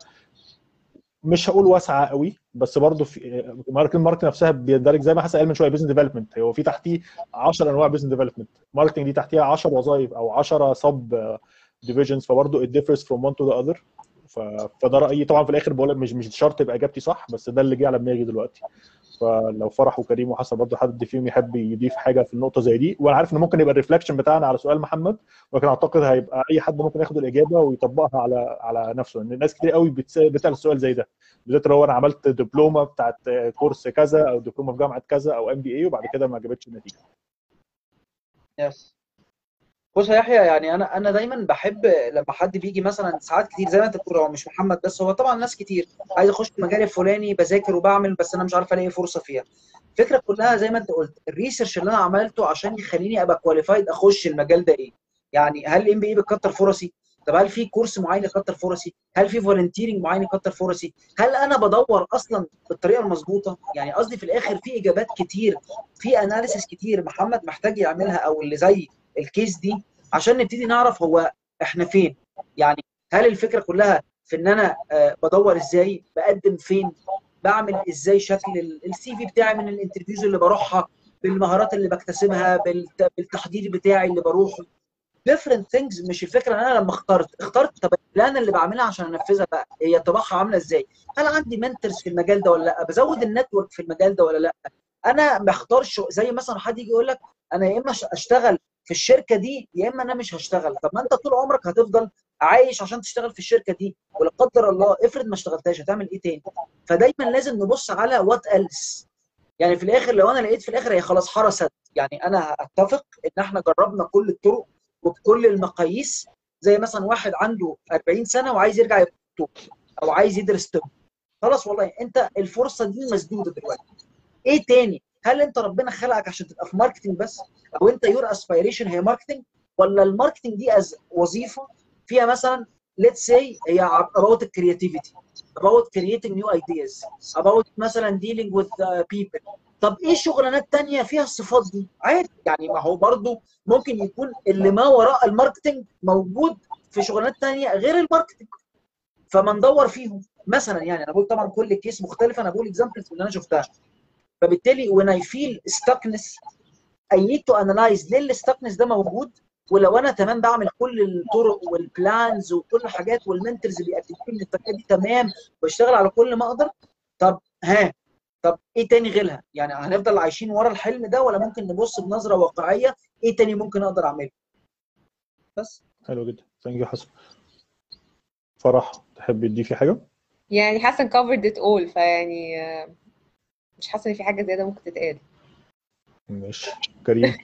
مش هقول واسعه قوي، بس برضه في ماركتنج نفسها بيندرج زي ما حسن قال من شويه بزنس ديفلوبمنت، هو في تحتيه 10 انواع بزنس ديفلوبمنت، ماركتنج دي تحتيها 10 وظائف او 10 سب ديفيجنز، فبرضه it differs from one to the other. فده رايي طبعا، في الاخر بقول لك مش شرط يبقى اجابتي صح، بس ده اللي جه على دماغي دلوقتي. فلو فرح وكريم وحسن برضه حد فيهم يحب يضيف حاجه في النقطه زي دي، وانا عارف ان ممكن يبقى الريفلكشن بتاعنا على سؤال محمد، ولكن اعتقد هيبقى اي حد ممكن ياخد الاجابه ويطبقها على نفسه، لان الناس كتير قوي بتسال السؤال زي ده، بالذات لو انا عملت دبلومه بتاعت كورس كذا او دبلومه في جامعه كذا او MBA وبعد كده ما جابتش النتيجه. يس. بص يا يحيى، يعني انا دايما بحب لما حد بيجي مثلا، ساعات كتير زي ما انت بتقول، هو مش محمد بس، هو طبعا ناس كتير عايز اخش في المجال الفلاني، بذاكر وبعمل بس انا مش عارف الاقي فرصه فيها. الفكره كلها زي ما انت قلت، الريسيرش اللي انا عملته عشان يخليني ابقى كواليفايد اخش المجال ده ايه؟ يعني هل MBA بتكتر فرصي؟ طب هل في كورس معين يكتر فرصي؟ هل في فولنتيرنج معين يكتر فرصي؟ هل انا بدور اصلا بالطريقه المظبوطه؟ يعني قصدي في الاخر في اجابات كتير، في اناليسيس كتير محمد محتاج يعملها، او اللي زي الكيس دي، عشان نبتدي نعرف هو احنا فين. يعني هل الفكره كلها في ان انا بدور ازاي، بقدم فين، بعمل ازاي شكل الCV بتاعي من الانترفيوز اللي بروحها، بالمهارات اللي بكتسبها، بالتحضير بتاعي اللي بروحه، different things. مش الفكره ان انا لما اخترت طب البلان اللي بعملها عشان انفذها بقى هي طباعها عامله ازاي؟ هل عندي منتورز في المجال ده ولا لا؟ بزود النتورك في المجال ده ولا لا؟ انا بختارش زي مثلا حد يجي يقول لك انا يا اما اشتغل في الشركه دي يا اما انا مش هشتغل. طب ما انت طول عمرك هتفضل عايش عشان تشتغل في الشركه دي، ولا قدر الله افرض ما اشتغلتهاش هتعمل ايه تاني؟ فدايما لازم نبص على وات ايلس. يعني في الاخر لو انا لقيت في الاخر هي خلاص حرست، يعني انا اتفق ان احنا جربنا كل الطرق وبكل المقاييس. زي مثلا واحد عنده 40 سنه وعايز يرجع يكتب او عايز يدرس طب، خلاص والله انت الفرصه دي مسدوده دلوقتي. ايه تاني؟ هل انت ربنا خلقك عشان تبقى في ماركتنج بس، او انت يور اسبيريشن هي ماركتنج، ولا الماركتنج دي از وظيفه فيها مثلا ليتس سي هي اباوت الكرياتيفيتي، about creating new ideas about مثلا dealing with people. طب ايه شغلانات تانية فيها الصفات دي؟ عادي يعني، ما هو برضو ممكن يكون اللي ما وراء الماركتنج موجود في شغلانات تانية غير الماركتنج، فما ندور فيهم مثلا. يعني انا بقول طبعا كل كيس مختلفه، انا بقول اكزامبلز اللي انا شفتها. فبالتالي when I feel stuckness I need to analyze ليه الستكنس ده موجود، ولو انا تمام بعمل كل الطرق والبلانز وكل الحاجات والمنتورز بيقدموا لي ان الطريقه دي تمام واشتغل على كل ما اقدر، طب طب ايه تاني غيرها؟ يعني هنفضل عايشين ورا الحلم ده ولا ممكن نبص بنظره واقعيه ايه تاني ممكن اقدر اعمله؟ بس. حلو جدا، ثانك يو حسن. فرح تحبي تضيفي حاجه؟ يعني حسن covered it all، فيعني مش حاسه ان في حاجه زياده ممكن تتقال. ماشي. كريم.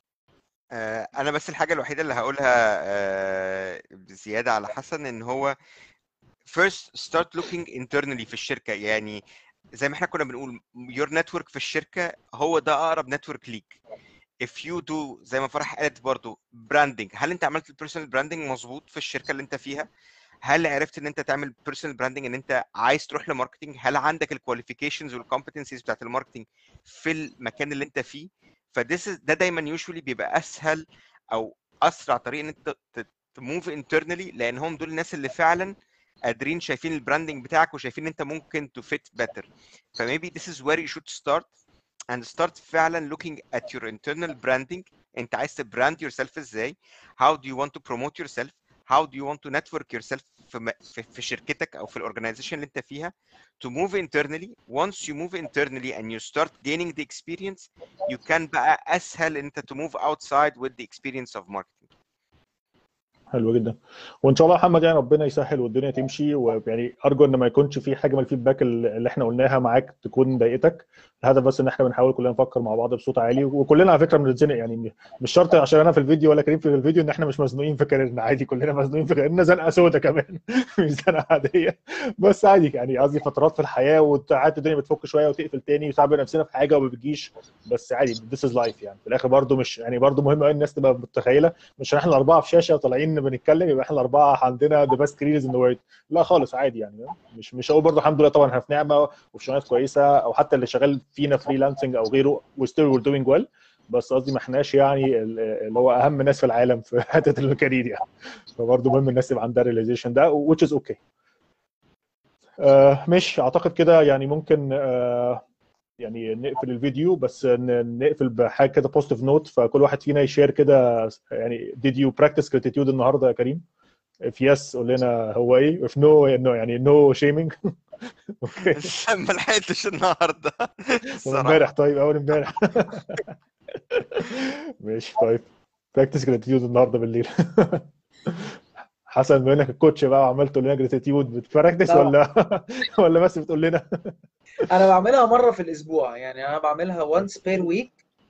انا بس الحاجه الوحيده اللي هقولها زياده على حسن ان هو first start looking internally في الشركه. يعني زي ما احنا كنا بنقول your network في الشركه هو ده اقرب network ليك. if you do زي ما فرح قالت برضو branding، هل انت عملت البيرسونال براندنج مظبوط في الشركه اللي انت فيها؟ هل عرفت ان انت تعمل بيرسونال براندنج ان انت عايز تروح لماركتنج؟ هل عندك الكواليفيكيشنز والكومبتنسيز بتاعت الماركتنج في المكان اللي انت فيه؟ ده دايما يوجوالي بيبقى اسهل او اسرع طريق ان انت تموف انترنالي، لان هم دول الناس اللي فعلا قادرين شايفين البراندنج بتاعك وشايفين ان انت ممكن to fit better. فmaybe this is where you should start and start فعلا looking at your internal branding. انت عايز تبراند yourself ازاي؟ how do you want to promote yourself؟ how do you want to network yourself في شركتك او في الاورجنايزيشن اللي انت فيها to move internally. once you move internally and you start gaining the experience you can بقى اسهل انت to move outside with the experience of marketing. حلو جدا، وان شاء الله محمد يعني ربنا يسهل والدنيا تمشي، ويعني ارجو ان ما يكونش في حاجه من الفيدباك اللي احنا قلناها معاك تكون ضايقتك. الهدف بس ان احنا بنحاول كلنا نفكر مع بعض بصوت عالي، وكلنا على فكره بنتزنق، يعني مش شرط عشان انا في الفيديو ولا كريم في الفيديو ان احنا مش مزنوقين في كاريرنا، عادي كلنا مزنوقين في كاريرنا، زنقه سودا كمان مش زنقه عاديه، بس عادي يعني قصدي فترات في الحياه وساعات الدنيا بتفك شويه وتقفل تاني، وساعات بنبقى نفسنا في حاجه وما بتجيش، بس عادي this is life يعني. في الاخر برضو مش يعني برضو مهم قوي الناس تبقى متخيله مش احنا الاربعه في شاشه طالعين بنتكلم يبقى احنا الاربعه عندنا ذا بيست كاريرز ان ذا وورلد، لا خالص عادي يعني. مش هقول برضه الحمد لله طبعا احنا في نعمه وفي شغلانات كويسه، او حتى اللي شغال فينا فريلانسنج او غيره وستيل وير دوينج ويل، بس قصدي ما احناش يعني اللي هو اهم ناس في العالم في حته الكارير يعني. فبرضه مهم الناس يبقى عندها ريلايزيشن ده which is okay. مش اعتقد كده يعني ممكن يعني نقفل الفيديو، بس نقفل بحاجه كده بوزيتيف نوت، فكل واحد فينا يشير كده يعني did you practice gratitude النهارده يا كريم؟ if yes قول لنا هو ايه، if no يعني no shaming. اوكي. ما لحقتش النهارده امبارح طيب اول امبارح. ماشي طيب براكتس جراتيتيود النهارده بالليل. حسن بما انك الكوتش بقى وعمال تقول لنا جراتيتيود، بتبراكتس ولا بس بتقول لنا؟ انا بعملها مره في الاسبوع، يعني انا بعملها once per week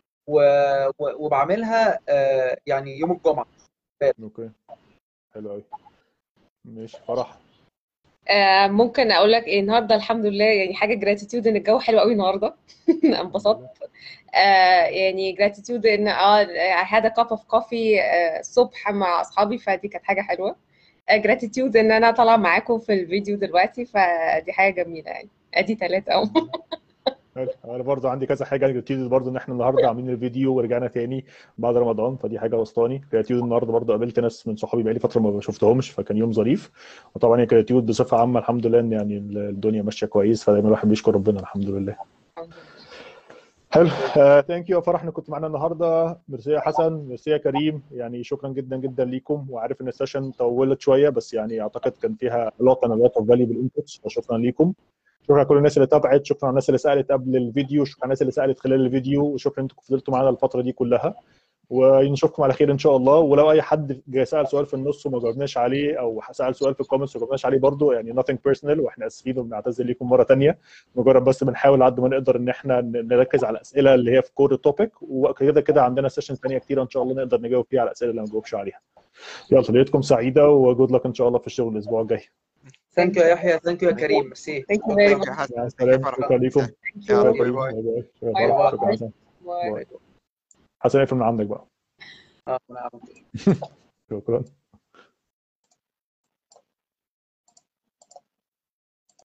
وبعملها يعني يوم الجمعه. اوكي حلو قوي. ماشي. فرح. ممكن اقول لك ايه النهارده؟ الحمد لله يعني حاجه جراتيتيود ان الجو حلو قوي النهارده. انبسطت. يعني جراتيتيود ان I had a cup of coffee الصبح مع اصحابي، فدي كانت حاجه حلوه. جراتيتيود ان انا طالعه معاكم في الفيديو دلوقتي، فدي حاجه جميله يعني. ادي 3 اهو. انا برضو عندي كذا حاجه جراتيود، برضو ان احنا النهارده عاملين الفيديو ورجعنا تاني بعد رمضان، فدي حاجه وسطاني. جراتيود النهارده برضو قابلت ناس من صحابي بقالي فتره ما شفتهمش، فكان يوم ظريف. وطبعا يا جراتيود بصفه عامه الحمد لله ان يعني الدنيا ماشيه كويس، فدايما الواحد بيشكر ربنا الحمد لله. حلو. ثانك يو يا فرح انك كنت معانا النهارده. ميرسي يا حسن، ميرسي يا كريم، يعني شكرا جدا جدا ليكم. وعارف ان السيشن طولت شويه بس يعني اعتقد كان فيها lot of valuable inputs، فشكرا ليكم. شكرا لكل الناس اللي تابعت، شكرا على الناس اللي سالت قبل الفيديو، شكرا على الناس اللي سالت خلال الفيديو، وشكرا انكم فضلتوا معانا الفتره دي كلها، ونشوفكم على خير ان شاء الله. ولو اي حد جاي سال سؤال في النص وما جاوبناش عليه، او سال سؤال في الكومنتس وما جاوبناش عليه، برضه يعني nothing personal، واحنا اسفين وبنعتذر لكم مره ثانيه. مجرد بس بنحاول على قد ما نقدر ان احنا نركز على الاسئله اللي هي في كور التوبيك، وكده كده عندنا سيشن ثانيه كتير ان شاء الله نقدر نجاوب فيها على الاسئله اللي ما نجاوبش عليها. يلا ليلتكم سعيده وجود لك ان شاء الله في الشغل الاسبوع الجاي. ثانك يو يا يحيى، ثانك يو يا كريم، ميرسي. Thank you very much. مع السلامه، شكرا لكم. يلا شكرا باي كريم. باي. باي باي. باي باي. شكرا حسن. باي. باي. حسن اقفل من عندك بقى. نعم. شكرا.